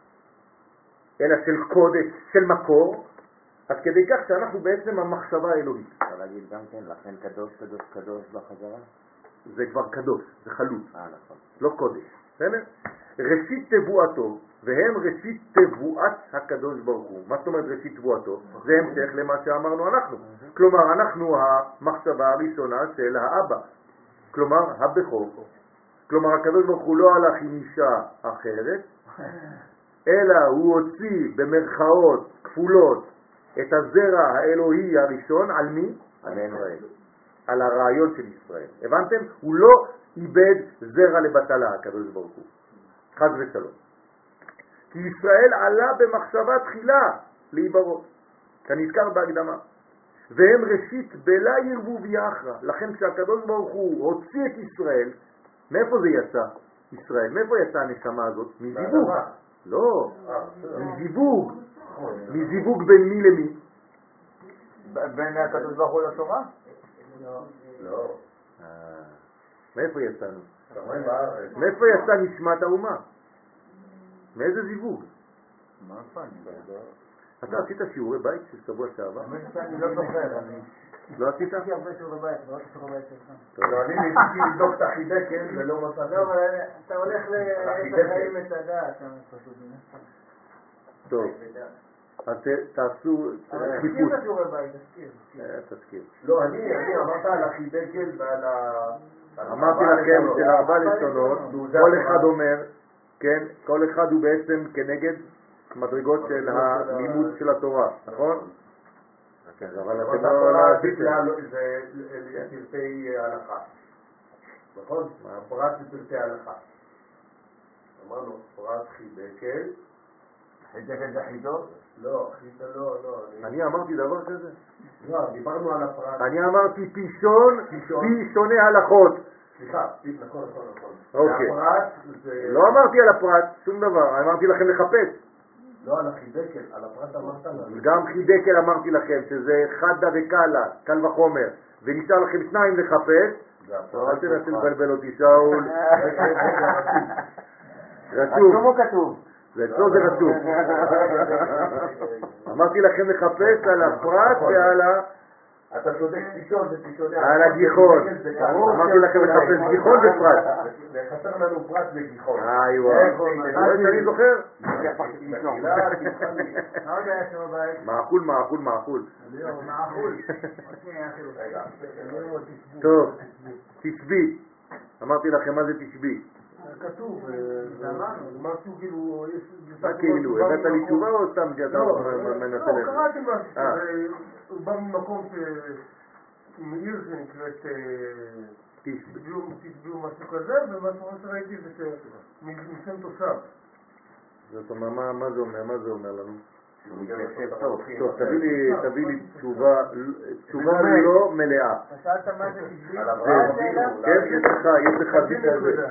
אלא של קודש, של מקור, עד כדי כך שאנחנו בעצם המחשבה האלוהית. אפשר להגיד גם כן, לכן קדוש, קדוש, קדוש בחזרה? זה כבר קדוש, זה חלוץ, אה, נכון. לא קודש. בסדר? ראשית תבואתו, והם ראשית תבואת הקדוש ברוך הוא. מה זאת אומרת ראשית תבואתו? זה המשך למה שאמרנו אנחנו. כלומר, אנחנו המחשבה הראשונה של האבא. כלומר, הבכור. כלומר, הקדוש ברוך הוא לא הלך עם אישה אחרת, אלא הוא הוציא במרכאות כפולות את הזרע האלוהי הראשון על מי? על ישראל. על הרעיון של ישראל. הבנתם? הוא לא איבד זרע לבטלה, הקדוש ברוך הוא. חס ושלום. כי ישראל עלה במחשבה תחילה להיברות, כנזכר בהקדמה. והם ראשית בלה ירבו ויחרה. לכן כשהקדוש ברוך הוא הוציא את ישראל, מאיפה זה יצא? ישראל, מאיפה יצא הנשמה הזאת? מזיווג. לא, מזיווג. מזיווג בין מי למי? בין הקדוש ברוך הוא לתורה? לא. מאיפה יצאנו? שמיים בארץ. מאיפה יצא נשמת האומה? מאיזה זיווג? מה פעם? אתה עשית שיעורי בית של שבוע שעבר? אני לא זוכר, אני... לא עשית? עשיתי הרבה שיעורי בית, לא עשיתי שיעורי בית שלך. לא, אני ניסיתי לבדוק את החידקל ולא מצאתי. לא, אבל אתה הולך לחיים את הדעת, אתה פשוט... טוב, אז תעשו אבל חיפוש. תזכיר את השיעורי בית, תזכיר. אה, תזכיר. לא, אני אני אמרת על החידקל ועל ה... אמרתי לכם של ארבע לשונות, כל אחד אומר, כן, כל אחד הוא בעצם כנגד מדרגות של הלימוד של התורה, נכון? כן, אבל אתם לא התורה עשיתם. זה לפרטי הלכה. נכון? הפרט זה פרטי הלכה. אמרנו, פרט חידקל. חידקל זה חידות? לא, חידקל לא, לא. אני אמרתי דבר כזה? לא, דיברנו על הפרט. אני אמרתי פישון, פי שוני הלכות. סליחה, נכון, נכון, נכון. אוקיי. הפרט זה... לא אמרתי על הפרט, שום דבר, אמרתי לכם לחפש. לא על החידקל, על הפרט אמרת לנו. גם חידקל אמרתי לכם, שזה חדה וקלה, קל וחומר, ונשאר לכם שניים לחפש. אל תנסה לבלבל אותי, שאול. רשום. רשום או כתוב? זה אצלו זה רשום. אמרתי לכם לחפש על הפרט ועל אתה צודק, גיחון זה גיחון. על הגיחון. אמרתי לכם לחפש גיחון בפרט. וחסר לנו פרט בגיחון. איי וואי. אני זוכר? מעכול, מעכול, מעכול. טוב, תשבי. אמרתי לכם מה זה תשבי. כתוב, משהו כאילו, מה כאילו? הבאת לי תשובה או סתם שאתה מנסה לא, לך? קראתי משהו, הוא בא ממקום מעיר שנקראת תשביעו משהו כזה, ומשהו שראיתי זה שמשם תושב. זאת אומרת, מה זה אומר? מה זה אומר לנו? טוב, טוב, תביא לי תשובה לא מלאה. שאלת מה זה תשביעי? כן, יש לך, יש לך ביטה הזה.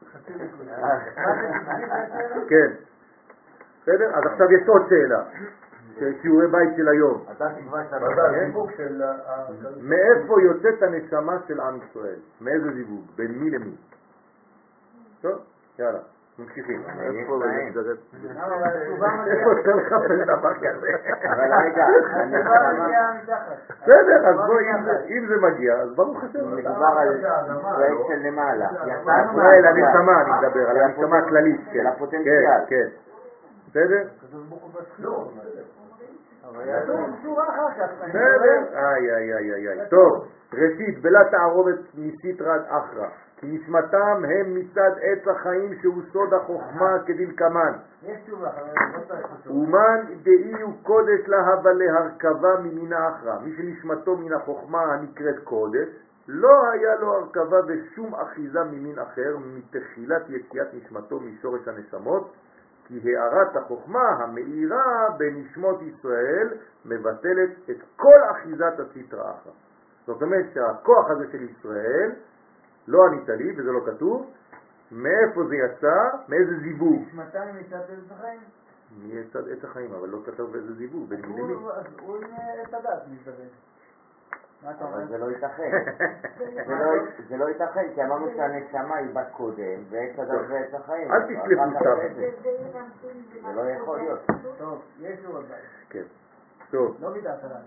כן. בסדר? אז עכשיו יש עוד שאלה. שיעורי בית של היום. מאיפה יוצאת הנשמה של עם ישראל? מאיזה זיווג? בין מי למי? טוב, יאללה. ממשיכים. איפה אתה לחפש דבר כזה? אבל רגע, בסדר, אז בואי, אם זה מגיע, אז ברוך השם. מדובר על ישראל של למעלה. ישראל, הנשמה, אני מדבר, על הנשמה הכללית. של הפוטנציאל. כן, בסדר? בסדר? איי, איי, איי, איי. טוב, ראשית, בלה תערובת מסיטרת אחרא. כי נשמתם הם מצד עץ החיים שהוא סוד החוכמה כדלקמן. יש תשובה, אומן דאי הוא קודש להבה להרכבה ממין האחרא. מי שנשמתו מן החוכמה הנקראת קודש, לא היה לו הרכבה ושום אחיזה ממין אחר מתחילת יציאת נשמתו משורש הנשמות, כי הערת החוכמה המאירה בנשמות ישראל מבטלת את כל אחיזת הסטרא אחרא. זאת אומרת שהכוח הזה של ישראל, לא ענית לי, וזה לא כתוב, מאיפה זה יצא, מאיזה זיווג? נשמתם מצד עץ החיים? מצד עץ החיים, אבל לא כתוב איזה זיווג, בין מי למי. הוא עם עץ הדת מתכוון. אבל זה לא ייתכן. זה לא ייתכן, כי אמרנו שהנשמה היא בת קודם, ועץ הדת ועץ החיים. אל תשלפו סתם. זה לא יכול להיות. טוב, יש לו עוד בעיה. כן, טוב. לא מידת עלינו.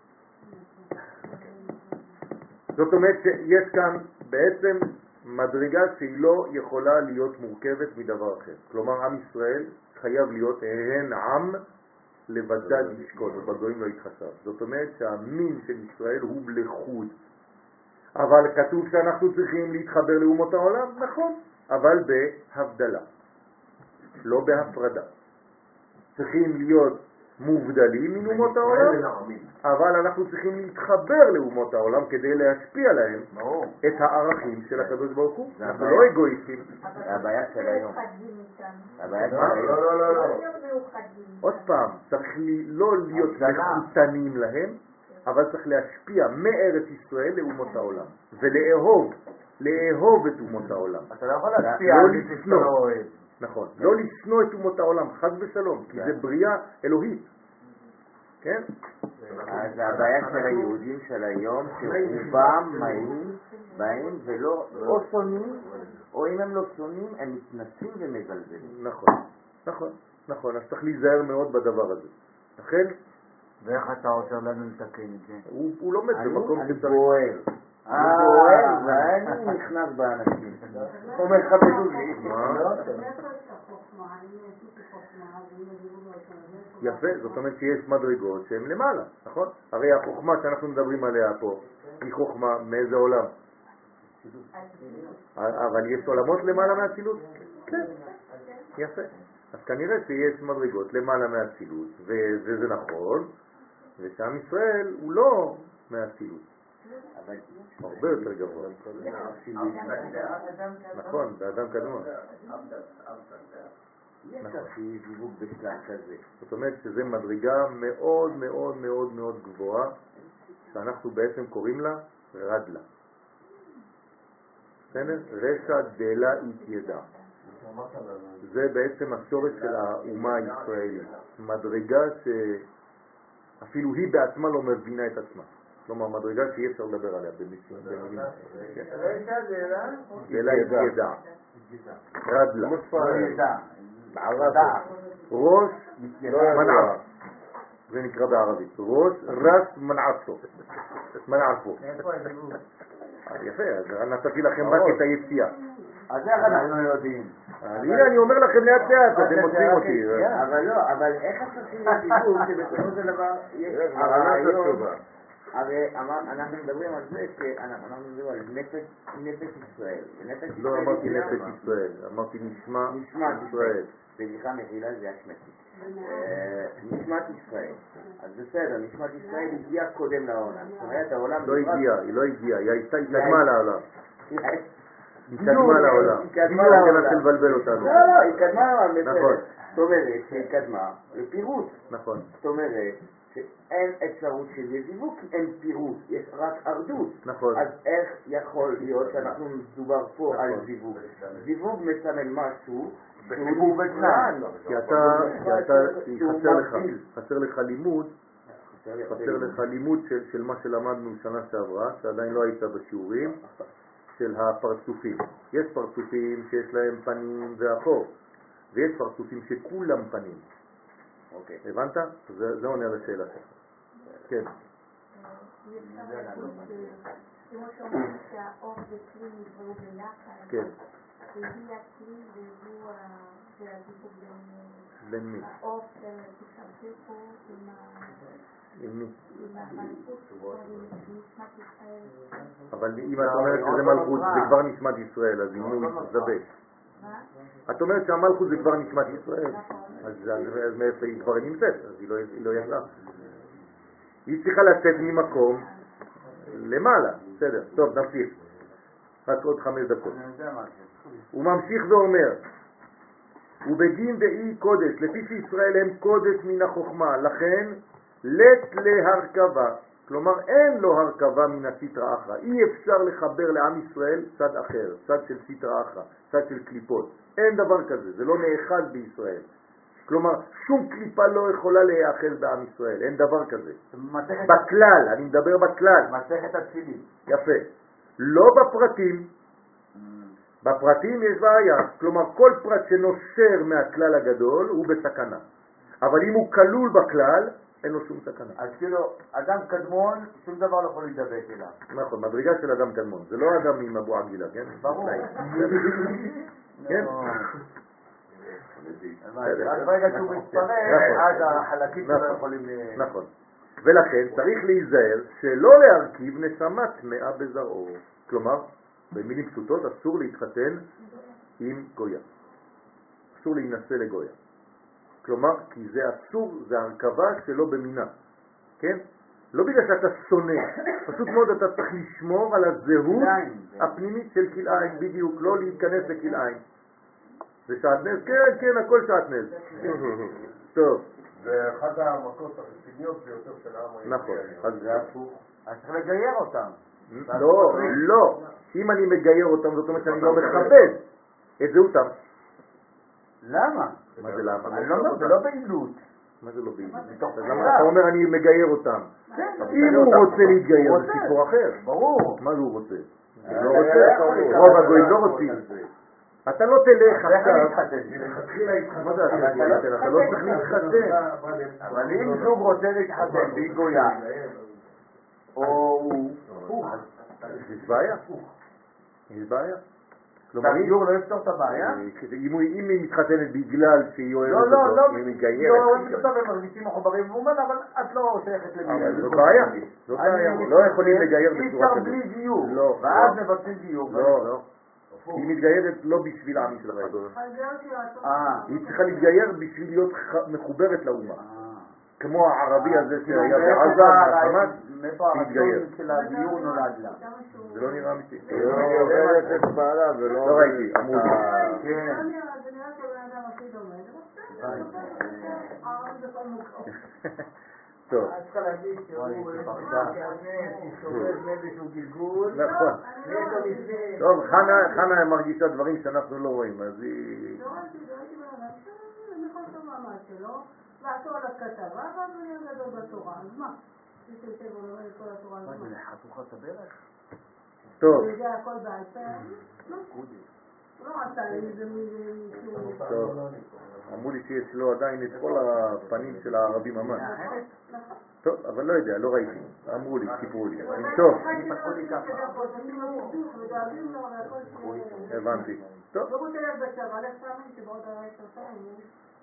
זאת אומרת שיש כאן בעצם מדרגה שהיא לא יכולה להיות מורכבת מדבר אחר. כלומר, עם ישראל חייב להיות הן עם לבדד ישכון, ובגויים לא יתחשב. זאת אומרת שהמין של ישראל הוא לחוד. אבל כתוב שאנחנו צריכים להתחבר לאומות העולם, נכון, אבל בהבדלה, לא בהפרדה. צריכים להיות מובדלים מן אומות העולם, אבל אנחנו צריכים להתחבר לאומות העולם כדי להשפיע להם את הערכים של הקדוש ברוך הוא. אנחנו לא אגואיסטים. זה הבעיה של היום. הבעיה של לא, היום. לא, לא, לא. עוד פעם, צריך לא להיות מחותנים להם, אבל צריך להשפיע מארץ ישראל לאומות העולם, ולאהוב, לאהוב את אומות העולם. אתה לא יכול להשפיע לא על מי שאתה לא לשנוא. אוהב. נכון, לא לשנוא את אומות העולם, חס ושלום, כי זה בריאה אלוהית. כן? אז הבעיה של היהודים של היום, שרובם באים, באים ולא או שונאים, או אם הם לא שונאים, הם מתנסים ומזלזלים. נכון, נכון, נכון, אז צריך להיזהר מאוד בדבר הזה. לכן, ואיך אתה עוזר לנו לתקן את זה? הוא הוא לומד במקום אני שצריך. בוער. אני בוער, ואני נכנס באנשים. אומר לך בדולי. יפה, זאת אומרת שיש מדרגות שהן למעלה, נכון? הרי החוכמה שאנחנו מדברים עליה פה היא חוכמה מאיזה עולם? אבל יש עולמות למעלה מהאצילות? כן, יפה. אז כנראה שיש מדרגות למעלה מהאצילות, וזה נכון, ושעם ישראל הוא לא מהאצילות. הרבה יותר גבוה. נכון, באדם קדמון. זאת אומרת שזה מדרגה מאוד מאוד מאוד מאוד גבוהה, שאנחנו בעצם קוראים לה רדלה. רשע דלה התיידע. זה בעצם השורש של האומה הישראלית. מדרגה שאפילו היא בעצמה לא מבינה את עצמה. כלומר, מדרגה שאי אפשר לדבר עליה במילים. רשע דלה? דלה התיידע. רדלה. בערדה. ראש מנעה. זה נקרא בערבית. ראש רס מנעפו. מנעפו. איפה הדיבור? יפה, אז נתתי לכם רק את היציאה. אז איך אנחנו יודעים? הנה אני אומר לכם לאט לאט, אתם מוצאים אותי. אבל לא, אבל איך עושים לדיבור שבסופו של דבר יש הרעיון, הרי אנחנו מדברים על זה שאנחנו מדברים על נפש ישראל. לא אמרתי נפש ישראל, אמרתי נשמת ישראל. סליחה מחילה זה השמטית. נשמת ישראל. אז בסדר, נשמת ישראל הגיעה קודם לעולם. זאת אומרת העולם... לא הגיעה, היא לא הגיעה, היא הייתה התקדמה לעולם. היא קדמה לעולם. היא קדמה לעולם. היא קדמה לבלבל אותנו. לא, לא, היא קדמה לעולם, בסדר. נכון. זאת אומרת שהיא קדמה לפירוט. נכון. זאת אומרת שאין אפשרות של זיווג, אין פירוט, יש רק ארדות. נכון. אז איך יכול להיות שאנחנו מדובר פה על זיווג? זיווג מסמל משהו בחיבור ותנאי. כי אתה, כי אתה, חסר לך, חסר לך לימוד, חסר לך לימוד של, של מה שלמדנו שנה שעברה, שעדיין לא היית בשיעורים, של הפרצופים. יש פרצופים שיש להם פנים ואחור, ויש פרצופים שכולם פנים. אוקיי. הבנת? זה, זה עונה לשאלה שלך. כן. כמו שאומרים שהאור וכלי נבראו ביחד, כן. והיא הכלי והוא הדיבור בין מי? האור שתשתמשו פה עם המלכות, נשמת ישראל. אבל אם את אומרת שזה מלכות, זה כבר נשמת ישראל, אז אם הוא יתזבש. את אומרת שהמלכות זה כבר נשמת ישראל, אז מאיפה היא כבר נמצאת, אז היא לא יצאה. היא צריכה לצאת ממקום למעלה, בסדר, טוב, נמשיך. רק עוד חמש דקות. הוא ממשיך ואומר, ובדין דאי קודש, לפי שישראל הם קודש מן החוכמה, לכן לת להרכבה, כלומר אין לו הרכבה מן הסטרא אחרא, אי אפשר לחבר לעם ישראל צד אחר, צד של סטרא אחרא, צד של קליפות, אין דבר כזה, זה לא נאחז בישראל. כלומר, שום קליפה לא יכולה להיאחז בעם ישראל, אין דבר כזה. בכלל, אני מדבר בכלל. מסכת התפילין. יפה. לא בפרטים. בפרטים יש בעיה. כלומר, כל פרט שנושר מהכלל הגדול הוא בסכנה. אבל אם הוא כלול בכלל, אין לו שום סכנה. אז כאילו, אדם קדמון, שום דבר לא יכול להידבק אליו. נכון, מדרגה של אדם קדמון. זה לא אדם עם אבו עגילה, כן? ברור. כן? אז ברגע שהוא מתפרק, אז החלקים שלו יכולים... נכון. ולכן צריך להיזהר שלא להרכיב נשמה טמאה בזרעו. כלומר, במילים פשוטות, אסור להתחתן עם גויה. אסור להינשא לגויה. כלומר, כי זה אסור, זה הרכבה שלא במינה. כן? לא בגלל שאתה שונא, פשוט מאוד אתה צריך לשמור על הזהות הפנימית של כלאיים, בדיוק, לא להיכנס לכלאיים. זה שעטנז? כן, כן, הכל שעטנז. טוב. זה אחד המכות הרציניות ביותר של העם היהודי. נכון. אז זה הפוך. אז צריך לגייר אותם. לא, לא. אם אני מגייר אותם, זאת אומרת שאני לא מכבד את זהותם. למה? מה זה למה? אני לא אומר, זה לא בעילות. מה זה לא בעילות? אז למה אתה אומר אני מגייר אותם? כן. אם הוא רוצה להתגייר, זה סיפור אחר. ברור. מה הוא רוצה? לא רוצה. רוב הגויים לא רוצים. אתה לא תלך עכשיו, מה זה אתה לא צריך להתחתן. אבל אם זוג רוצה להתחתן והיא גויה, או הוא... יש בעיה. יש בעיה. הגיור לא יפתור את הבעיה? אם היא מתחתנת בגלל שהיא אוהבת אותו, אם היא מגיירת. לא, הם פתאום הם מרגישים מחוברים, והוא אומר, אבל את לא שייכת לגיור. זאת בעיה. זאת בעיה. לא יכולים לגייר בצורה אי אפשר כזאת. בלי גיור. לא. ואז מבצעים גיור. לא, לא. היא מתגיירת לא בשביל העם ישראל. אה. היא צריכה להתגייר בשביל להיות מחוברת לאומה. כמו הערבי הזה שהיה בעזה, מהחמאס, מאיפה הרצון של הגיור נולד לה? זה לא נראה אמיתי. היא עוברת את בעלה ולא... לא ראיתי, אמרו לי. כן. זה נראה שהבן אדם הכי דומה. טוב. את צריכה להגיד שהוא סובב מאיזשהו גלגול. נכון. טוב, חנה מרגישה דברים שאנחנו לא רואים, אז היא... לא ראיתי, לא ראיתי בן אדם, אני יכול לעשות מעמד שלו, לעצור על הכתבה, ואז אני אגדול בתורה, אז מה? מי שיושב ולומד את כל התורה, אז מה? חתוכת הברך? טוב. הוא יודע הכל בעל פה? לא. לא עשה איזה מישהו. טוב, אמרו לי שיש לו עדיין את כל הפנים של הערבים ממש. טוב, אבל לא יודע, לא ראיתי. אמרו לי, סיפרו לי. טוב, הבנתי. טוב. לא רוצה להיות בצבא, לך פעמים שבעוד עשר שנים.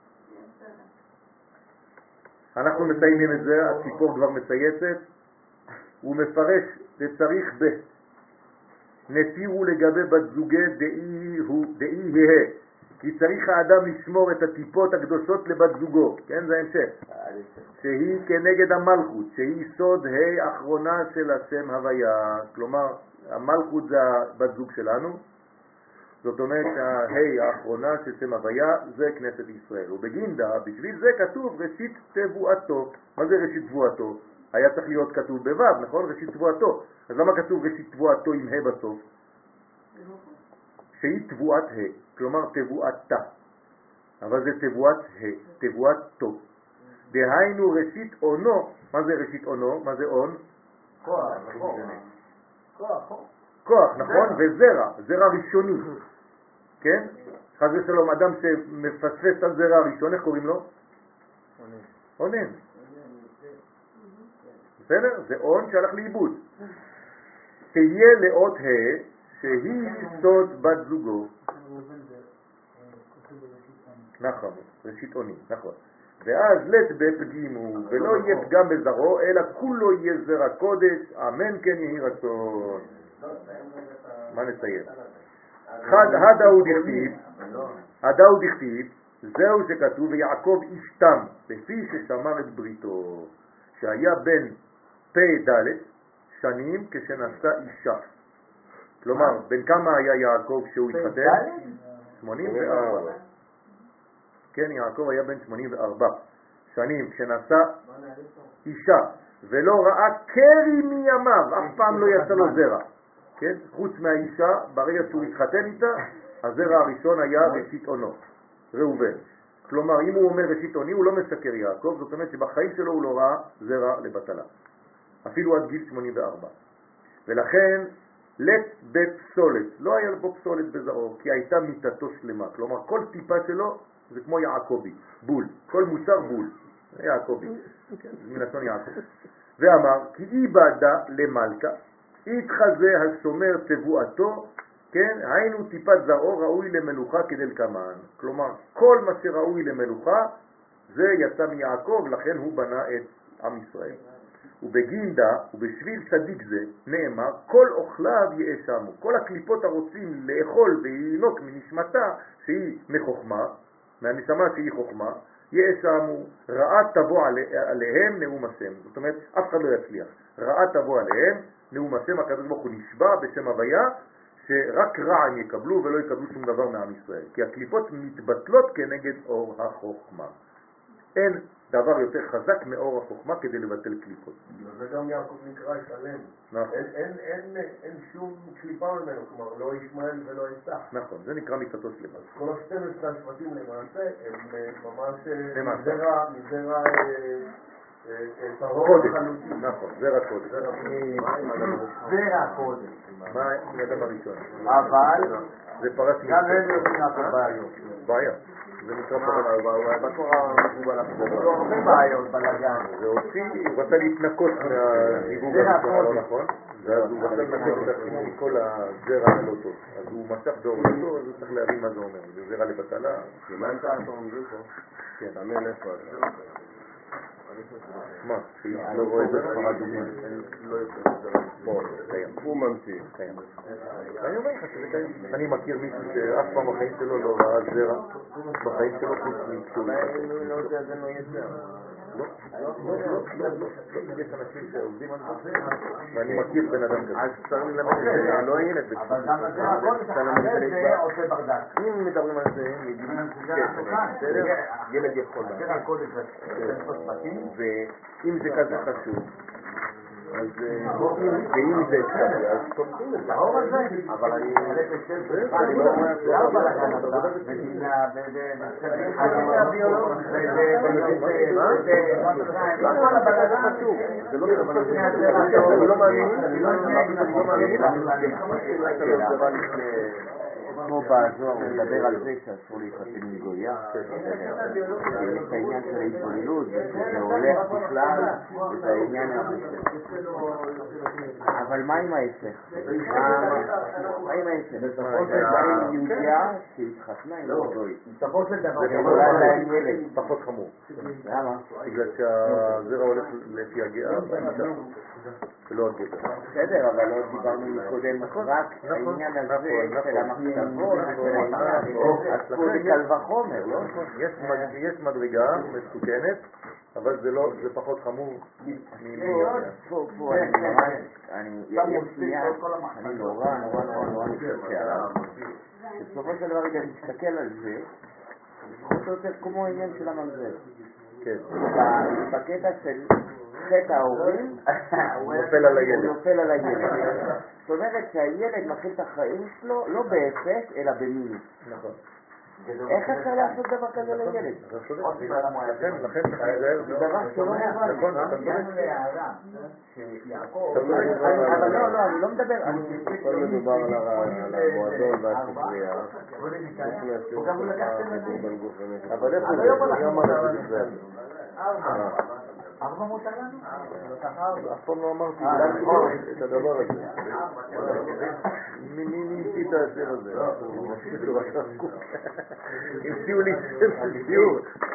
אנחנו מסיימים את זה, הציפור כבר מצייצת. הוא מפרש לצריך ב. נתירו לגבי בת זוגי דאי הוא, דאי הה. כי צריך האדם לשמור את הטיפות הקדושות לבת זוגו, כן, זה המשך, שהיא כנגד המלכות, שהיא סוד ה' האחרונה של השם הוויה, כלומר המלכות זה הבת זוג שלנו, זאת אומרת שהה' האחרונה של שם הוויה זה כנסת ישראל, ובגינדה בשביל זה כתוב ראשית תבואתו. מה זה ראשית תבואתו? היה צריך להיות כתוב בו', נכון? ראשית תבואתו. אז למה כתוב ראשית תבואתו עם ה' בסוף? שהיא תבואת ה', כלומר תבואתה, אבל זה תבואת ה', תבואתו. דהיינו ראשית עונו. מה זה ראשית עונו? מה זה עון? כוח, כוח, כוח, נכון? וזרע, זרע ראשוני, כן? חס ושלום, אדם שמפספס על זרע ראשון, איך קוראים לו? עונן. בסדר? זה עון שהלך לאיבוד. תהיה לאות ה' שהיא סוד בת זוגו. נכון, ראשית עוני, נכון. ואז לת בפגימו, ולא יהיה פגם בזרעו, אלא כולו יהיה זרע קודש, אמן כן יהי רצון. מה נסיים? חד הדאו דכתיב, הדאו דכתיב, זהו שכתוב, ויעקב אישתם, לפי ששמר את בריתו, שהיה בן פי ד' שנים כשנשא אישה. כלומר, בין כמה היה יעקב כשהוא התחתן? שמונים וארבע. כן, יעקב היה בן שמונים וארבע שנים כשנשא אישה, ולא ראה קרי מימיו, אף פעם לא יצא לו זרע. כן, חוץ מהאישה, ברגע שהוא התחתן איתה, הזרע הראשון היה ראשית עונו, ראובן. כלומר, אם הוא אומר ראשית עוני, הוא לא משקר יעקב, זאת אומרת שבחיים שלו הוא לא ראה זרע לבטלה. אפילו עד גיל שמונים וארבע. ולכן, לת בפסולת, לא היה בו פסולת בזרעו, כי הייתה מיטתו שלמה. כלומר, כל טיפה שלו זה כמו יעקבי, בול. כל מוצר בול. יעקבי, מלשון יעקב. ואמר, כי איבדה למלכה, התחזה השומר תבואתו, כן, היינו טיפת זרעו ראוי למלוכה כדלקמן. כלומר, כל מה שראוי למלוכה, זה יצא מיעקב, לכן הוא בנה את עם ישראל. ובגינדה, ובשביל צדיק זה, נאמר, כל אוכליו יאשמו. כל הקליפות הרוצים לאכול וינוק מנשמתה, שהיא מחוכמה, מהנשמה שהיא חוכמה, יאשמו, רעה תבוא עליהם נאום השם. זאת אומרת, אף אחד לא יצליח. רעה תבוא עליהם נאום השם, הקדוש ברוך הוא נשבע בשם הוויה, שרק רע הם יקבלו ולא יקבלו שום דבר מעם ישראל. כי הקליפות מתבטלות כנגד אור החוכמה. אין דבר יותר חזק מאור החוכמה כדי לבטל קליפות. זה גם יעקב נקרא שלם. נכון. אין, אין, אין, אין שום קליפה ממנו, כלומר לא ישמעאל ולא יצח. נכון, זה נקרא מיטתו שלמה. אז כל ה-שנים עשר השבטים למעשה הם ממש למעשה. מזרע, מזרע טהור קודש. לחלוטין. נכון, זרע קודש. זרע קודש. מה האדם הראשון? אבל זה פרש גם הם יודעים לעשות בעיות. בעיה. זה נקרא פרש. בתורה מקובל יש לו הרבה בעיות בלגן. זה הוציא, הוא רצה להתנקות מהזיווג הראשון, לא נכון? ואז הוא רצה לנקות את עצמו מכל הזרע הלא טוב. אז הוא משך דור לטוב, אז הוא צריך להבין מה זה אומר. זה זרע לבטלה. מה אתה אומרים פה? כן. תאמן איפה אתה? מה? לא רואה את הספרד דוגמה. לא יוצא את זה. פה, קיים. הוא ממציא. קיים. אני אומר לך שזה קיים. אני מכיר מישהו שאף פעם בחיים שלו לא ראה זרע בחיים שלו חוץ מכשהו. לא יודע, זה לא יצא. לא, לא, לא, לא, לא. יש אנשים שעובדים על זה, ואני מכיר בן אדם כזה. אז צריך ללמד את זה, לא הילד. אבל גם הזרע קודש, אחרי זה עושה ברדק. אם מדברים על זה, בסדר? ילד יכול. הזרע קודש זה פספסים. ואם זה כזה חשוב, אז ואם זה אפשרי, אז תומכים את זה. אבל אני... אני לא אומר... זה לא בלגן אתה, מדינה, זה לא אני לא מאמין, אני לא מאמין, אני לא מאמין, פה בזוהר הוא מדבר על זה שאסור להתחתן עם גויה, יש את העניין של ההתבוללות, שזה הולך בכלל, את העניין הזה של... אבל מה עם ההפך? מה עם ההפך? מה עם יהודיה שהתחתנה עם גוי? בסופו של דבר, זה אולי להם ילד. פחות חמור. למה? בגלל שהזרע הולך לפי הגאה באישה, ולא הגבר. בסדר, אבל לא דיברנו מקודם רק העניין הזה של המחשבות, של העניין, אז פה זה קל וחומר, לא? יש מדרגה מסוכנת, אבל זה לא, זה פחות חמור ממיליון. פה, פה, אני ממש, אני, יש עניין, אני נורא, נורא, נורא, נורא מתקשה עליו. בסופו של דבר, אם נסתכל על זה, זה פחות או יותר כמו העניין של הממזר. כן. בקטע של חטא ההורים, הוא נופל על הילד. הוא נופל על הילד. זאת אומרת שהילד מתחיל את החיים שלו לא באפס, אלא במינוס. נכון. איך אפשר לעשות דבר כזה לילד? לכן, לכן, זה דבר שלא נראה. נכון, אתה צודק. אבל לא, לא, אני לא מדבר. כל מדובר על המועדון והספרייה. אבל איפה זה? מי אמר את זה? ארבע מותר לנו? אף פעם לא אמרתי את הדבר הזה. מי המציא את הסר הזה? המציאו לי סר ציור.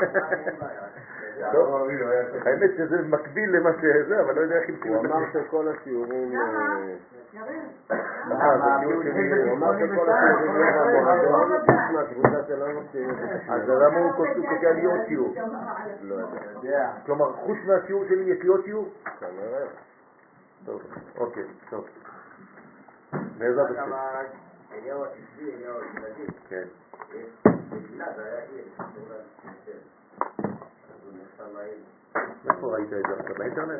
האמת שזה מקביל למה שזה, אבל לא יודע איך המציאו את זה. הוא אמר שכל השיעורים... הוא אמר שכל השיעורים לא במועדון, מהקבוצה שלנו אז למה הוא קוקע לי עוד שיעור? לא יודע. כלומר, חוץ מהשיעור שלי יש לי עוד שיעור? כנראה. טוב, אוקיי, טוב. בעזרת השם. אליהו הצבי, אליהו הצבי. כן. בגילה זה היה עיר. איפה ראית את זה עכשיו? באינטרנט?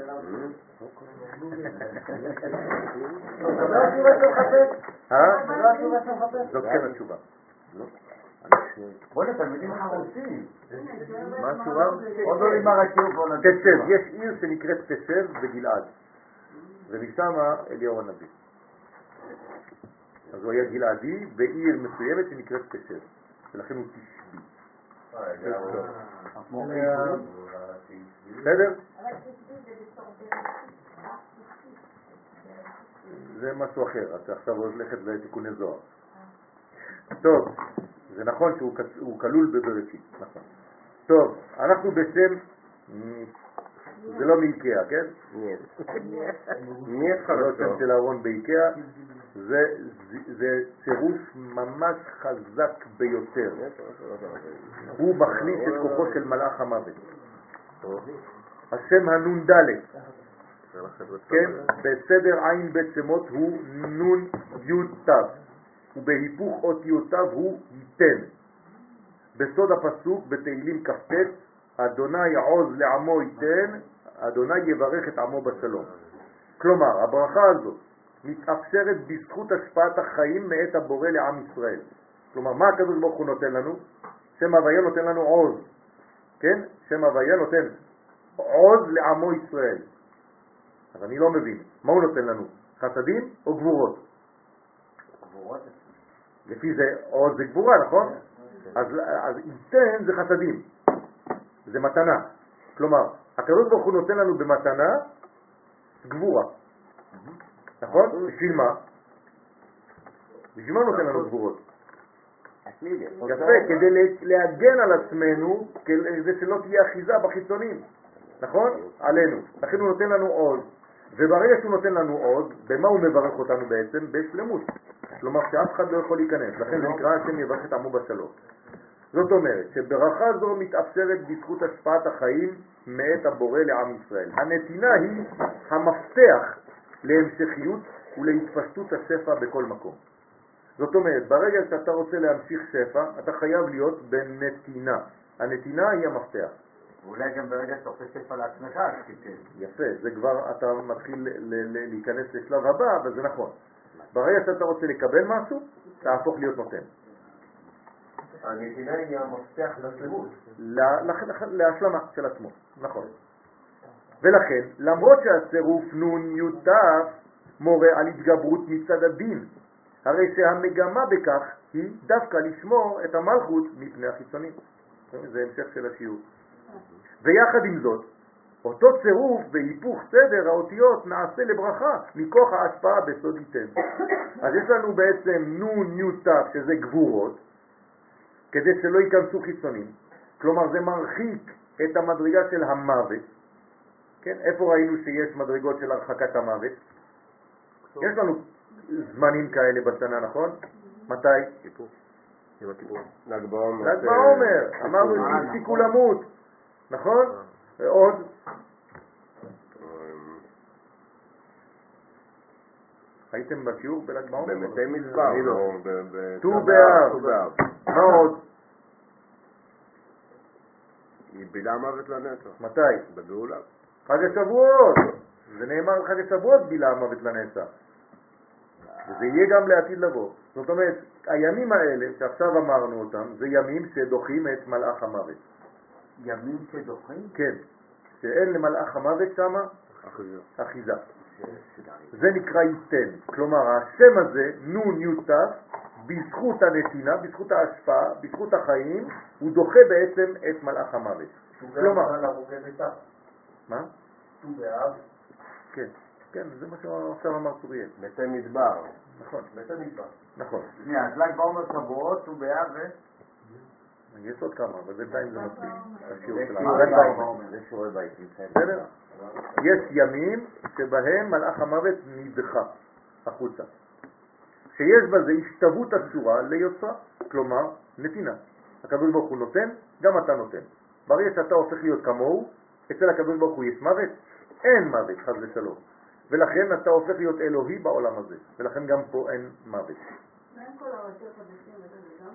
זה לא התשובה של חפש? אה? זה לא התשובה של חפש? זאת כן התשובה. בוא לתלמידים חרוצים. מה התשובה? עוד לא נגמר השיעור בוא נתחיל. תשב, יש עיר שנקראת תשב בגלעד, ומשמה אליהו הנביא. אז הוא היה גלעדי בעיר מסוימת שנקראת תשב, ולכן הוא תשבי. בסדר? זה משהו אחר, אתה עכשיו הולכת לתיקוני זוהר. טוב, זה נכון שהוא כלול בבראשית, נכון. טוב, אנחנו בשם, זה לא מאיקאה, כן? מי יש לך לא לצור? שם של אהרון באיקאה, זה, זה צירוף ממש חזק ביותר. הוא מחליט את כוחו של מלאך המוות. השם הנון ד', כן, בסדר עין בית שמות הוא נון יוד תו, ובהיפוך אותיותיו הוא ייתן. בסוד הפסוק בתהילים כ"ט, אדוני עוז לעמו ייתן, אדוני יברך את עמו בשלום. כלומר, הברכה הזאת מתאפשרת בזכות השפעת החיים מאת הבורא לעם ישראל. כלומר, מה הקדוש ברוך הוא נותן לנו? שם הוויה נותן לנו עוז, כן? שם הוויה נותן עוז לעמו ישראל. אז אני לא מבין, מה הוא נותן לנו? חסדים או גבורות? גבורות. לפי זה עוז זה גבורה, נכון? אז, אז ייתן זה חסדים, זה מתנה. כלומר, הקדוש ברוך הוא נותן לנו במתנה גבורה. נכון? בשביל מה? בשביל מה נותן לנו גבורות? יפה, כדי להגן על עצמנו, כדי שלא תהיה אחיזה בחיצונים, נכון? עלינו. לכן הוא נותן לנו עוז, וברגע שהוא נותן לנו עוז, במה הוא מברך אותנו בעצם? בשלמות. כלומר שאף אחד לא יכול להיכנס, לכן זה נקרא השם יברך את עמו בשלום. זאת אומרת שברכה זו מתאפשרת בזכות השפעת החיים מאת הבורא לעם ישראל. הנתינה היא המפתח להמשכיות ולהתפשטות השפע בכל מקום. זאת אומרת, ברגע שאתה רוצה להמשיך שפע, אתה חייב להיות בנתינה. הנתינה היא המפתח. ואולי גם ברגע שאתה עושה שפע לעצמך, תיתן. יפה, זה כבר, אתה מתחיל להיכנס לשלב הבא, אבל זה נכון. ברגע שאתה רוצה לקבל משהו, תהפוך להיות נותן. הנתינה היא המפתח לשלמות. להשלמה של עצמו, נכון. ולכן, למרות שהצירוף נון יוטף מורה על התגברות מצד הדין, הרי שהמגמה בכך היא דווקא לשמור את המלכות מפני החיצונים. זה המשך של השיעור. ויחד עם זאת, אותו צירוף והיפוך סדר האותיות נעשה לברכה מכוח ההשפעה בסוד ייתן. אז יש לנו בעצם נון ניו תף שזה גבורות, כדי שלא ייכנסו חיצונים. כלומר זה מרחיק את המדרגה של המוות. כן? איפה ראינו שיש מדרגות של הרחקת המוות? יש לנו זמנים כאלה בשנה, נכון? מתי? כיפור. עם הכיפור. ל"ג בעומר. ל"ג בעומר. אמרנו שהפסיקו למות. נכון? ועוד? הייתם בשיעור בל"ג בעומר? במתי מדבר. ט"ו באב. מה עוד? היא בילה המוות לנצח. מתי? בגאולה. חג השבועות. זה נאמר על חג השבועות בילה המוות לנצח. וזה יהיה גם לעתיד לבוא. זאת אומרת, הימים האלה שעכשיו אמרנו אותם, זה ימים שדוחים את מלאך המוות. ימים שדוחים? כן. שאין למלאך המוות שמה אחיזה. אחיזה. זה נקרא ייתן. כלומר, השם הזה, נון יוטף, בזכות הנתינה, בזכות ההשפעה, בזכות החיים, הוא דוחה בעצם את מלאך המוות. כלומר, מה? ט"ו באב. כן, כן, זה מה שעכשיו אמר צוריאל. מתי מדבר. נכון. מתי מדבר. נכון. שנייה, אז ל"ג בעומר שבועות, ט"ו באב ו... יש עוד כמה, אבל בינתיים זה מספיק. השיעור זה של שיעורי העולם. בית, זה שיעורי בית. בסדר? יש ימים שבהם מלאך המוות נדחה החוצה. שיש בזה השתוות הצורה ליוצרה, כלומר נתינה. הקדוש ברוך הוא נותן, גם אתה נותן. ברגע שאתה הופך להיות כמוהו, אצל הקדוש ברוך הוא יש מוות, אין מוות, חס ושלום. ולכן אתה הופך להיות אלוהי בעולם הזה, ולכן גם פה אין מוות. ואין כל הראשי חדשים וזה גם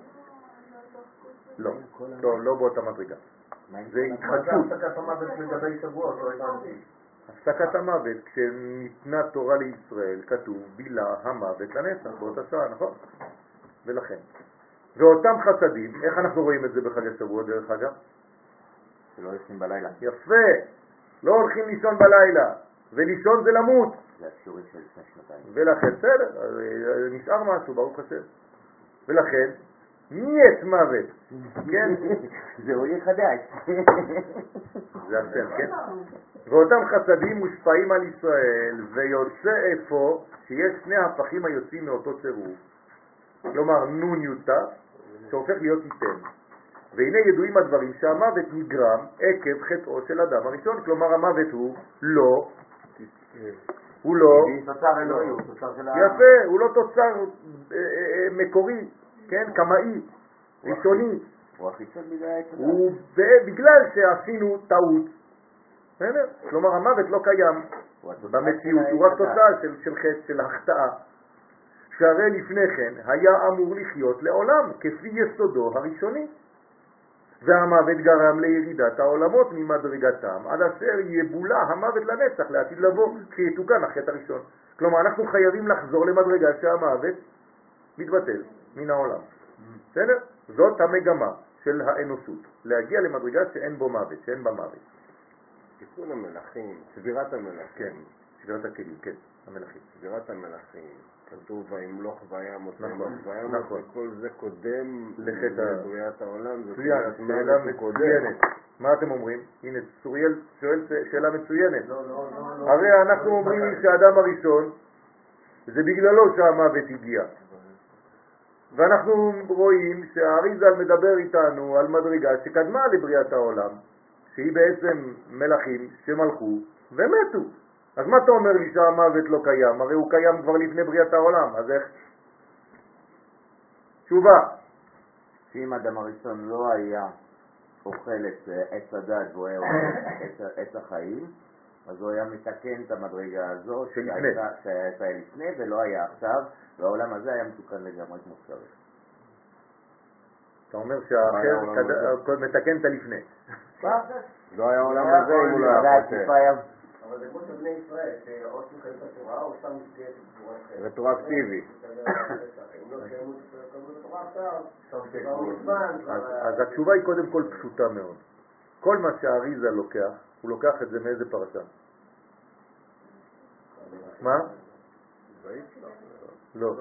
לא, לא, לא באותה מדרגה. זה מה התחדשות. זה הפסקת המוות לגבי שבועות? לא הבנתי. הפסקת המוות, כשניתנה תורה לישראל, כתוב בילה המוות לנצח, באותה שעה, נכון? ולכן. ואותם חסדים, איך אנחנו רואים את זה בחג השבוע דרך אגב? שלא יושבים בלילה. יפה, לא הולכים לישון בלילה, ולישון זה למות. זה השיעורים של לפני שנתיים. ולכן, בסדר, נשאר משהו, ברוך השם. ולכן, ניית מוות, כן? זהו יהיה חדש. זה השם, כן? ואותם חסדים מושפעים על ישראל, ויוצא איפה שיש שני הפכים היוצאים מאותו צירוף. כלומר, נון יוטה, שהופך להיות ייתן. והנה ידועים הדברים שהמוות נגרם עקב חטאו של אדם הראשון. כלומר, המוות הוא לא, הוא לא, תוצר אלוהי, הוא תוצר של ה... יפה, הוא לא תוצר מקורי, כן, קמאי, ראשוני. הוא החיצון בגלל... הוא בגלל שעשינו טעות. בסדר? כלומר, המוות לא קיים במציאות, הוא רק תוצאה של, של חטא, של החטאה. שהרי לפני כן היה אמור לחיות לעולם, כפי יסודו הראשוני. והמוות גרם לירידת העולמות ממדרגתם, עד אשר יבולה המוות לנצח לעתיד לבוא, כשיתוקן החטא הראשון. כלומר, אנחנו חייבים לחזור למדרגה שהמוות מתבטל מן העולם. בסדר? זאת המגמה של האנושות, להגיע למדרגה שאין בו מוות, שאין בה מוות. תיקון המלאכים, סבירת המלאכים. כן, סבירת הכלים, כן, המלאכים. סבירת המלאכים. כתוב וימלוך וימות נכון, וימות, נכון. וכל זה קודם לחטא לבריאת העולם. זאת מצוין, אומרת, שאלה מוות הוא מצוינת. מה אתם אומרים? הנה, צוריאל שואל שאלה מצוינת. לא, לא, לא, לא. הרי אנחנו אומרים שהאדם הראשון, זה בגללו שהמוות הגיע. ואנחנו רואים שהאריזל מדבר איתנו על מדרגה שקדמה לבריאת העולם, שהיא בעצם מלאכים שמלכו ומתו. אז מה אתה אומר לי שהמוות לא קיים? הרי הוא קיים כבר לפני בריאת העולם, אז איך? תשובה. שאם האדם הראשון לא היה אוכל את עץ הדת והוא היה אוכל את עץ החיים, אז הוא היה מתקן את המדרגה הזו שהייתה לפני ולא היה עכשיו, והעולם הזה היה מתוקן לגמרי כמו שצריך. אתה אומר שהאחר מתקן את הלפני. לא היה העולם הזה אם הוא לא היה חוטא. אבל זה כמו שבני ישראל, שאו שמחיים את התורה או סתם מסגרת את תורה אחרת. רטרואקטיבי. אם לא קיימו את התורה עכשיו, אז התשובה היא קודם כל פשוטה מאוד. כל מה שהאריזה לוקח, הוא לוקח את זה מאיזה פרשה? מה? לא.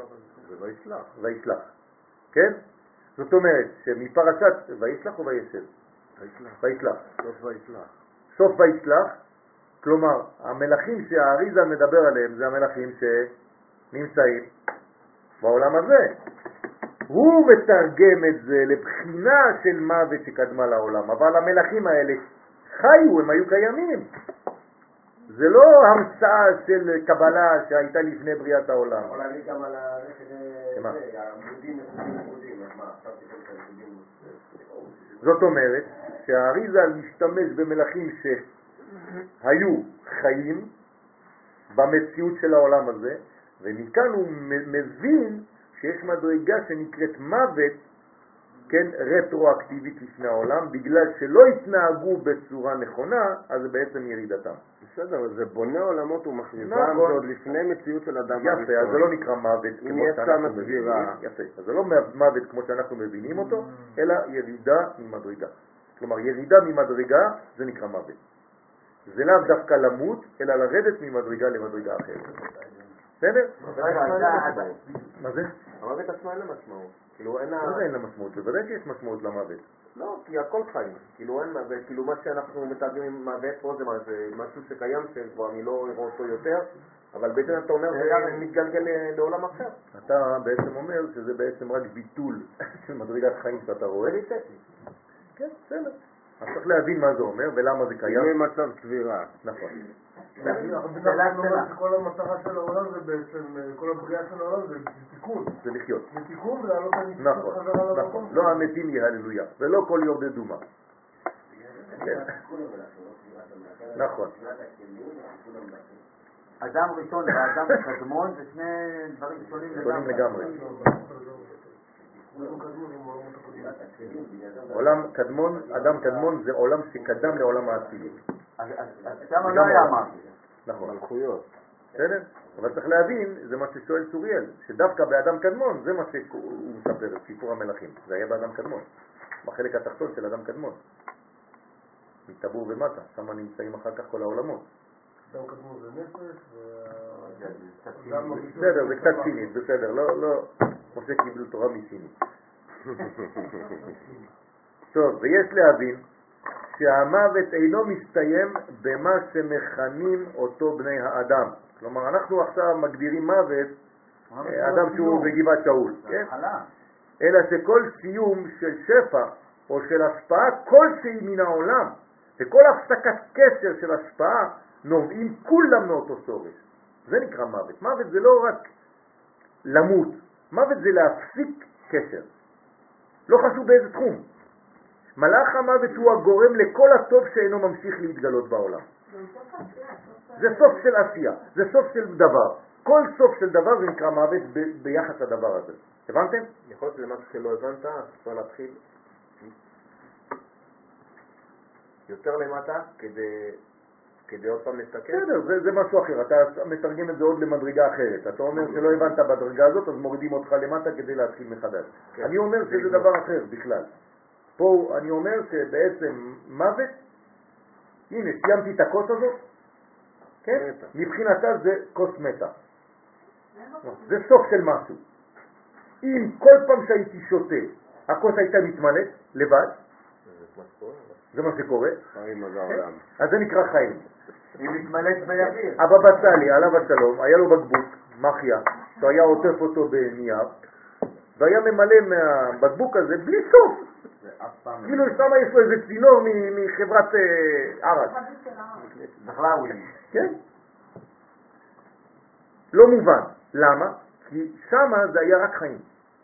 זה וישלח. וישלח. כן? זאת אומרת שמפרשת וישלח או וישב? וישלח. וישלח. סוף וישלח. סוף וישלח, כלומר המלאכים שהאריזה מדבר עליהם זה המלאכים שנמצאים בעולם הזה. הוא מתרגם את זה לבחינה של מוות שקדמה לעולם, אבל המלאכים האלה חיו, הם היו קיימים. זה לא המצאה של קבלה שהייתה לפני בריאת העולם. יכול להגיד גם על שמה? העמודים עמודים, אז מה, עכשיו תקרא את העמודים? זאת אומרת שהאריזה משתמש במלאכים שהיו חיים במציאות של העולם הזה, ומכאן הוא מבין שיש מדרגה שנקראת מוות, כן, רטרואקטיבית לפני העולם, בגלל שלא התנהגו בצורה נכונה, אז זה בעצם ירידתם. בסדר, זה בונה עולמות ומכריזם, נכון. זה עוד לפני מציאות של אדם הראשון. יפה, אז זה לא נקרא מוות אם כמו יש שאנחנו כאן מבינים. סגירה. יפה, אז זה לא מוות כמו שאנחנו מבינים אותו, אלא ירידה ממדרגה. כלומר, ירידה ממדרגה זה נקרא מוות. זה לאו דווקא למות, אלא לרדת ממדרגה למדרגה אחרת. בסדר? רגע, אתה... מה זה? המוות עצמו אין לה משמעות. כאילו אין לה... מה זה אין לה משמעות? בוודאי שיש משמעות למוות. לא, כי הכל חיים. כאילו אין מוות, כאילו מה שאנחנו מתרגמים עם מוות פה זה, מה, זה משהו שקיים, שכבר אני לא אראה אותו יותר, אבל בעצם אתה אומר זה מתגלגל לעולם אחר. אתה בעצם אומר שזה בעצם רק ביטול של מדרגת חיים שאתה רואה. כן, בסדר. אז צריך להבין מה זה אומר ולמה זה קיים. זה מצב צבירה. נכון. שאלה קטנה. כל המטרה של העולם זה בעצם, כל הבריאה של העולם זה תיקון. זה לחיות. זה תיקון ולהעלות את הניסים נכון, חזרה נכון. למקום. לא המתים יהללויה, ולא כל יורדי דומה. נכון. אדם ראשון ואדם קדמון זה שני דברים שונים שונים לגמרי. לגמרי. עולם קדמון, אדם קדמון זה עולם שקדם לעולם האצילות. אז שם לא היה אמרתי. נכון. מלכויות. בסדר? אבל צריך להבין, זה מה ששואל צוריאל, שדווקא באדם קדמון זה מה שהוא מספר, את סיפור המלאכים. זה היה באדם קדמון, בחלק התחתון של אדם קדמון. מטבור ומטה, שם נמצאים אחר כך כל העולמות. אדם קדמון זה נפש, בסדר, זה קצת סינית, בסדר, לא, לא, משה קיבלו תורה מסינית. טוב, ויש להבין שהמוות אינו מסתיים במה שמכנים אותו בני האדם. כלומר, אנחנו עכשיו מגדירים מוות אדם שהוא בגבעת שאול, כן? אלא שכל סיום של שפע או של השפעה כלשהי מן העולם, וכל הפסקת קשר של השפעה נובעים כולם מאותו שורש. זה נקרא מוות. מוות זה לא רק למות, מוות זה להפסיק קשר. לא חשוב באיזה תחום. מלאך המוות הוא הגורם לכל הטוב שאינו ממשיך להתגלות בעולם. זה סוף של עשייה, זה סוף של דבר. כל סוף של דבר זה נקרא מוות ב- ביחס לדבר הזה. הבנתם? יכול להיות למשהו שלא הבנת, אז אפשר להתחיל יותר למטה כדי, כדי עוד פעם להסתכל. בסדר, זה, זה משהו אחר. אתה מתרגם את זה עוד למדרגה אחרת. אתה אומר שלא הבנת בדרגה הזאת, אז מורידים אותך למטה כדי להתחיל מחדש. כן. אני אומר שזה דבר אחר בכלל. פה אני אומר שבעצם מוות, הנה, סיימתי את הכוס הזאת, כן? מבחינתה זה כוס מתה. זה סוף של משהו. אם כל פעם שהייתי שותה, הכוס הייתה מתמלאת לבד, זה מה שקורה, חיים על העולם. אז זה נקרא חיים. היא מתמלאת באוויר. הבבא סאלי, עליו השלום, היה לו בקבוק, מחיה, שהוא היה עוטף אותו בנייר, והיה ממלא מהבקבוק הזה בלי סוף. כאילו שמה יש לו איזה צינור מחברת ערק. בכלל הוא כן? לא מובן. למה? כי שמה זה היה רק חיים.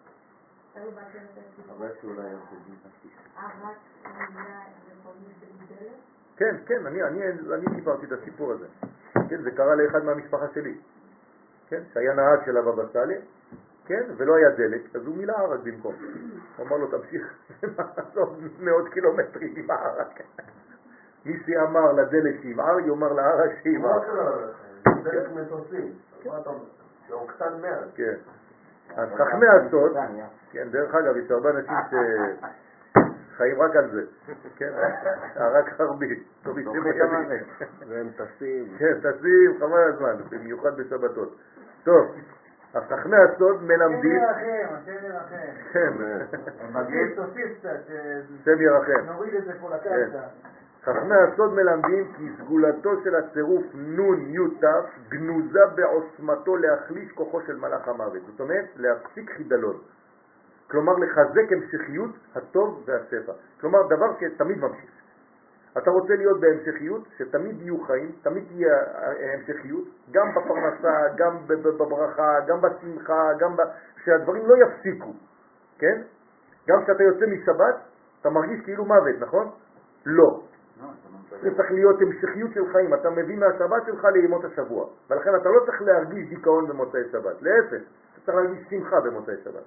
כן, כן, אני, אני, אני סיפרתי את הסיפור הזה. כן, זה קרה לאחד מהמשפחה שלי. כן, שהיה נהג של הבבא סאלי, כן, ולא היה דלק, אז הוא מילא ערק במקום. הוא אמר לו, תמשיך, עוד מאות קילומטרים עם הערק. מי שאמר לדלק שימער, יאמר לערק שימער. דלק מטוסים. מה אתה אומר? זה אוקטן מאה. כן. אז חכמי הסוד, כן, דרך אגב, יש הרבה אנשים שחיים רק על זה, כן, רק הרבי, והם טסים. כן, טסים, חבל הזמן, במיוחד בשבתות. טוב, אז חכמי הסוד מלמדים... השם ירחם, השם ירחם. כן. מגיע, תוסיף קצת, השם ירחם. נוריד את זה פה לקרקע. חכמי הסוד מלמדים כי סגולתו של הצירוף נון יוטף גנוזה בעוצמתו להחליש כוחו של מלאך המוות. זאת אומרת, להפסיק חידלון. כלומר, לחזק המשכיות הטוב והשפע. כלומר, דבר שתמיד ממשיך. אתה רוצה להיות בהמשכיות, שתמיד יהיו חיים, תמיד תהיה המשכיות, גם בפרנסה, גם בברכה, גם בשמחה, גם ב... שהדברים לא יפסיקו, כן? גם כשאתה יוצא משבת, אתה מרגיש כאילו מוות, נכון? לא. זה צריך להיות המשכיות של חיים, אתה מביא מהשבת שלך לימות השבוע, ולכן אתה לא צריך להרגיש דיכאון במוצאי שבת, להפך, אתה צריך להרגיש שמחה במוצאי שבת.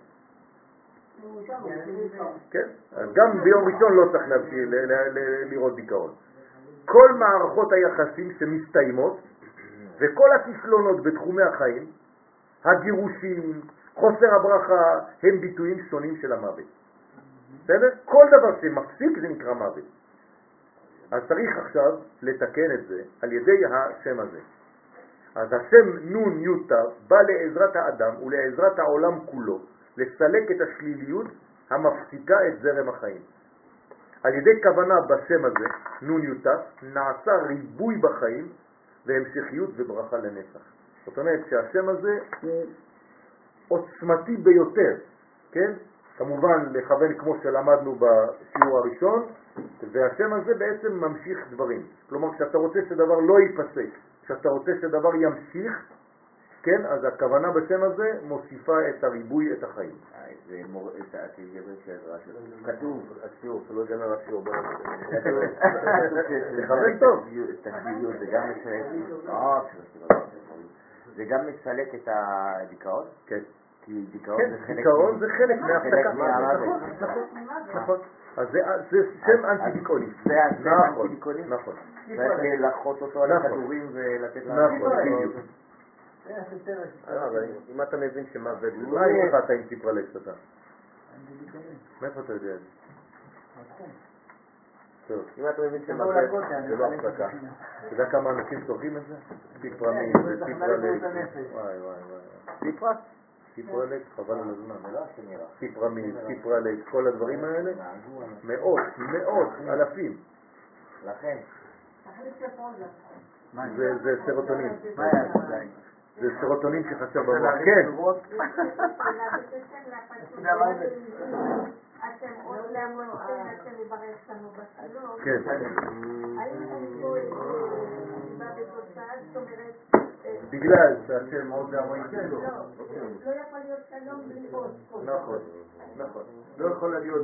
כן, אז גם ביום ראשון לא צריך לראות דיכאון. כל מערכות היחסים שמסתיימות וכל הכישלונות בתחומי החיים, הגירושים, חוסר הברכה, הם ביטויים שונים של המוות. בסדר? כל דבר שמפסיק זה נקרא מוות. אז צריך עכשיו לתקן את זה על ידי השם הזה. אז השם נון יוטה בא לעזרת האדם ולעזרת העולם כולו לסלק את השליליות המפסיקה את זרם החיים. על ידי כוונה בשם הזה, נון יוטף, נעשה ריבוי בחיים והמשכיות וברכה לנצח. זאת אומרת שהשם הזה הוא עוצמתי ביותר, כן? כמובן לכוון כמו שלמדנו בשיעור הראשון, והשם הזה בעצם ממשיך דברים. כלומר, כשאתה רוצה שדבר לא ייפסק, כשאתה רוצה שדבר ימשיך, כן, אז הכוונה בשם הזה מוסיפה את הריבוי, את החיים. זה מורה, את הגבר של העזרה שלו. כתוב, השיעור, שלא יגמר השיעור. תכוון טוב. את השליליות, זה גם מסלק, זה גם מסלק את הדיכאון? כן. כי דיכאון כן, זה חלק... דיכאון זה חלק מההפסקה. מהמוות. נכון, נכון. אז זה שם אנטי-דיכאוני. זה השם אנטי-דיכאוני? נכון. צריך לחוט אותו על הכדורים ולתת לה... נכון, בדיוק. אם אתה מבין שמוות... מה יש לך אתה עם ציפרלקס אתה? מאיפה אתה יודע את זה? טוב. אם אתה מבין שמוות זה לא הפסקה. אתה יודע כמה אנשים צורכים את זה? ציפרמין וציפרלקס. וואי וואי וואי. ציפרה? ציפרלקס, חבל על הזמן. ציפרמין, ציפרלקס, כל הדברים האלה, מאות, מאות, אלפים. לכן. זה סרוטונין. מה היה? זה סרוטונין שחסר במוח. כן. אתם עוד לעמוד, אתם מברך לנו בשלום. כן. האם אני פה בא בתוצאה, זאת אומרת... בגלל שהשם עוד לעמוד. לא יכול להיות שלום בלי עוד. נכון, נכון. לא יכול להיות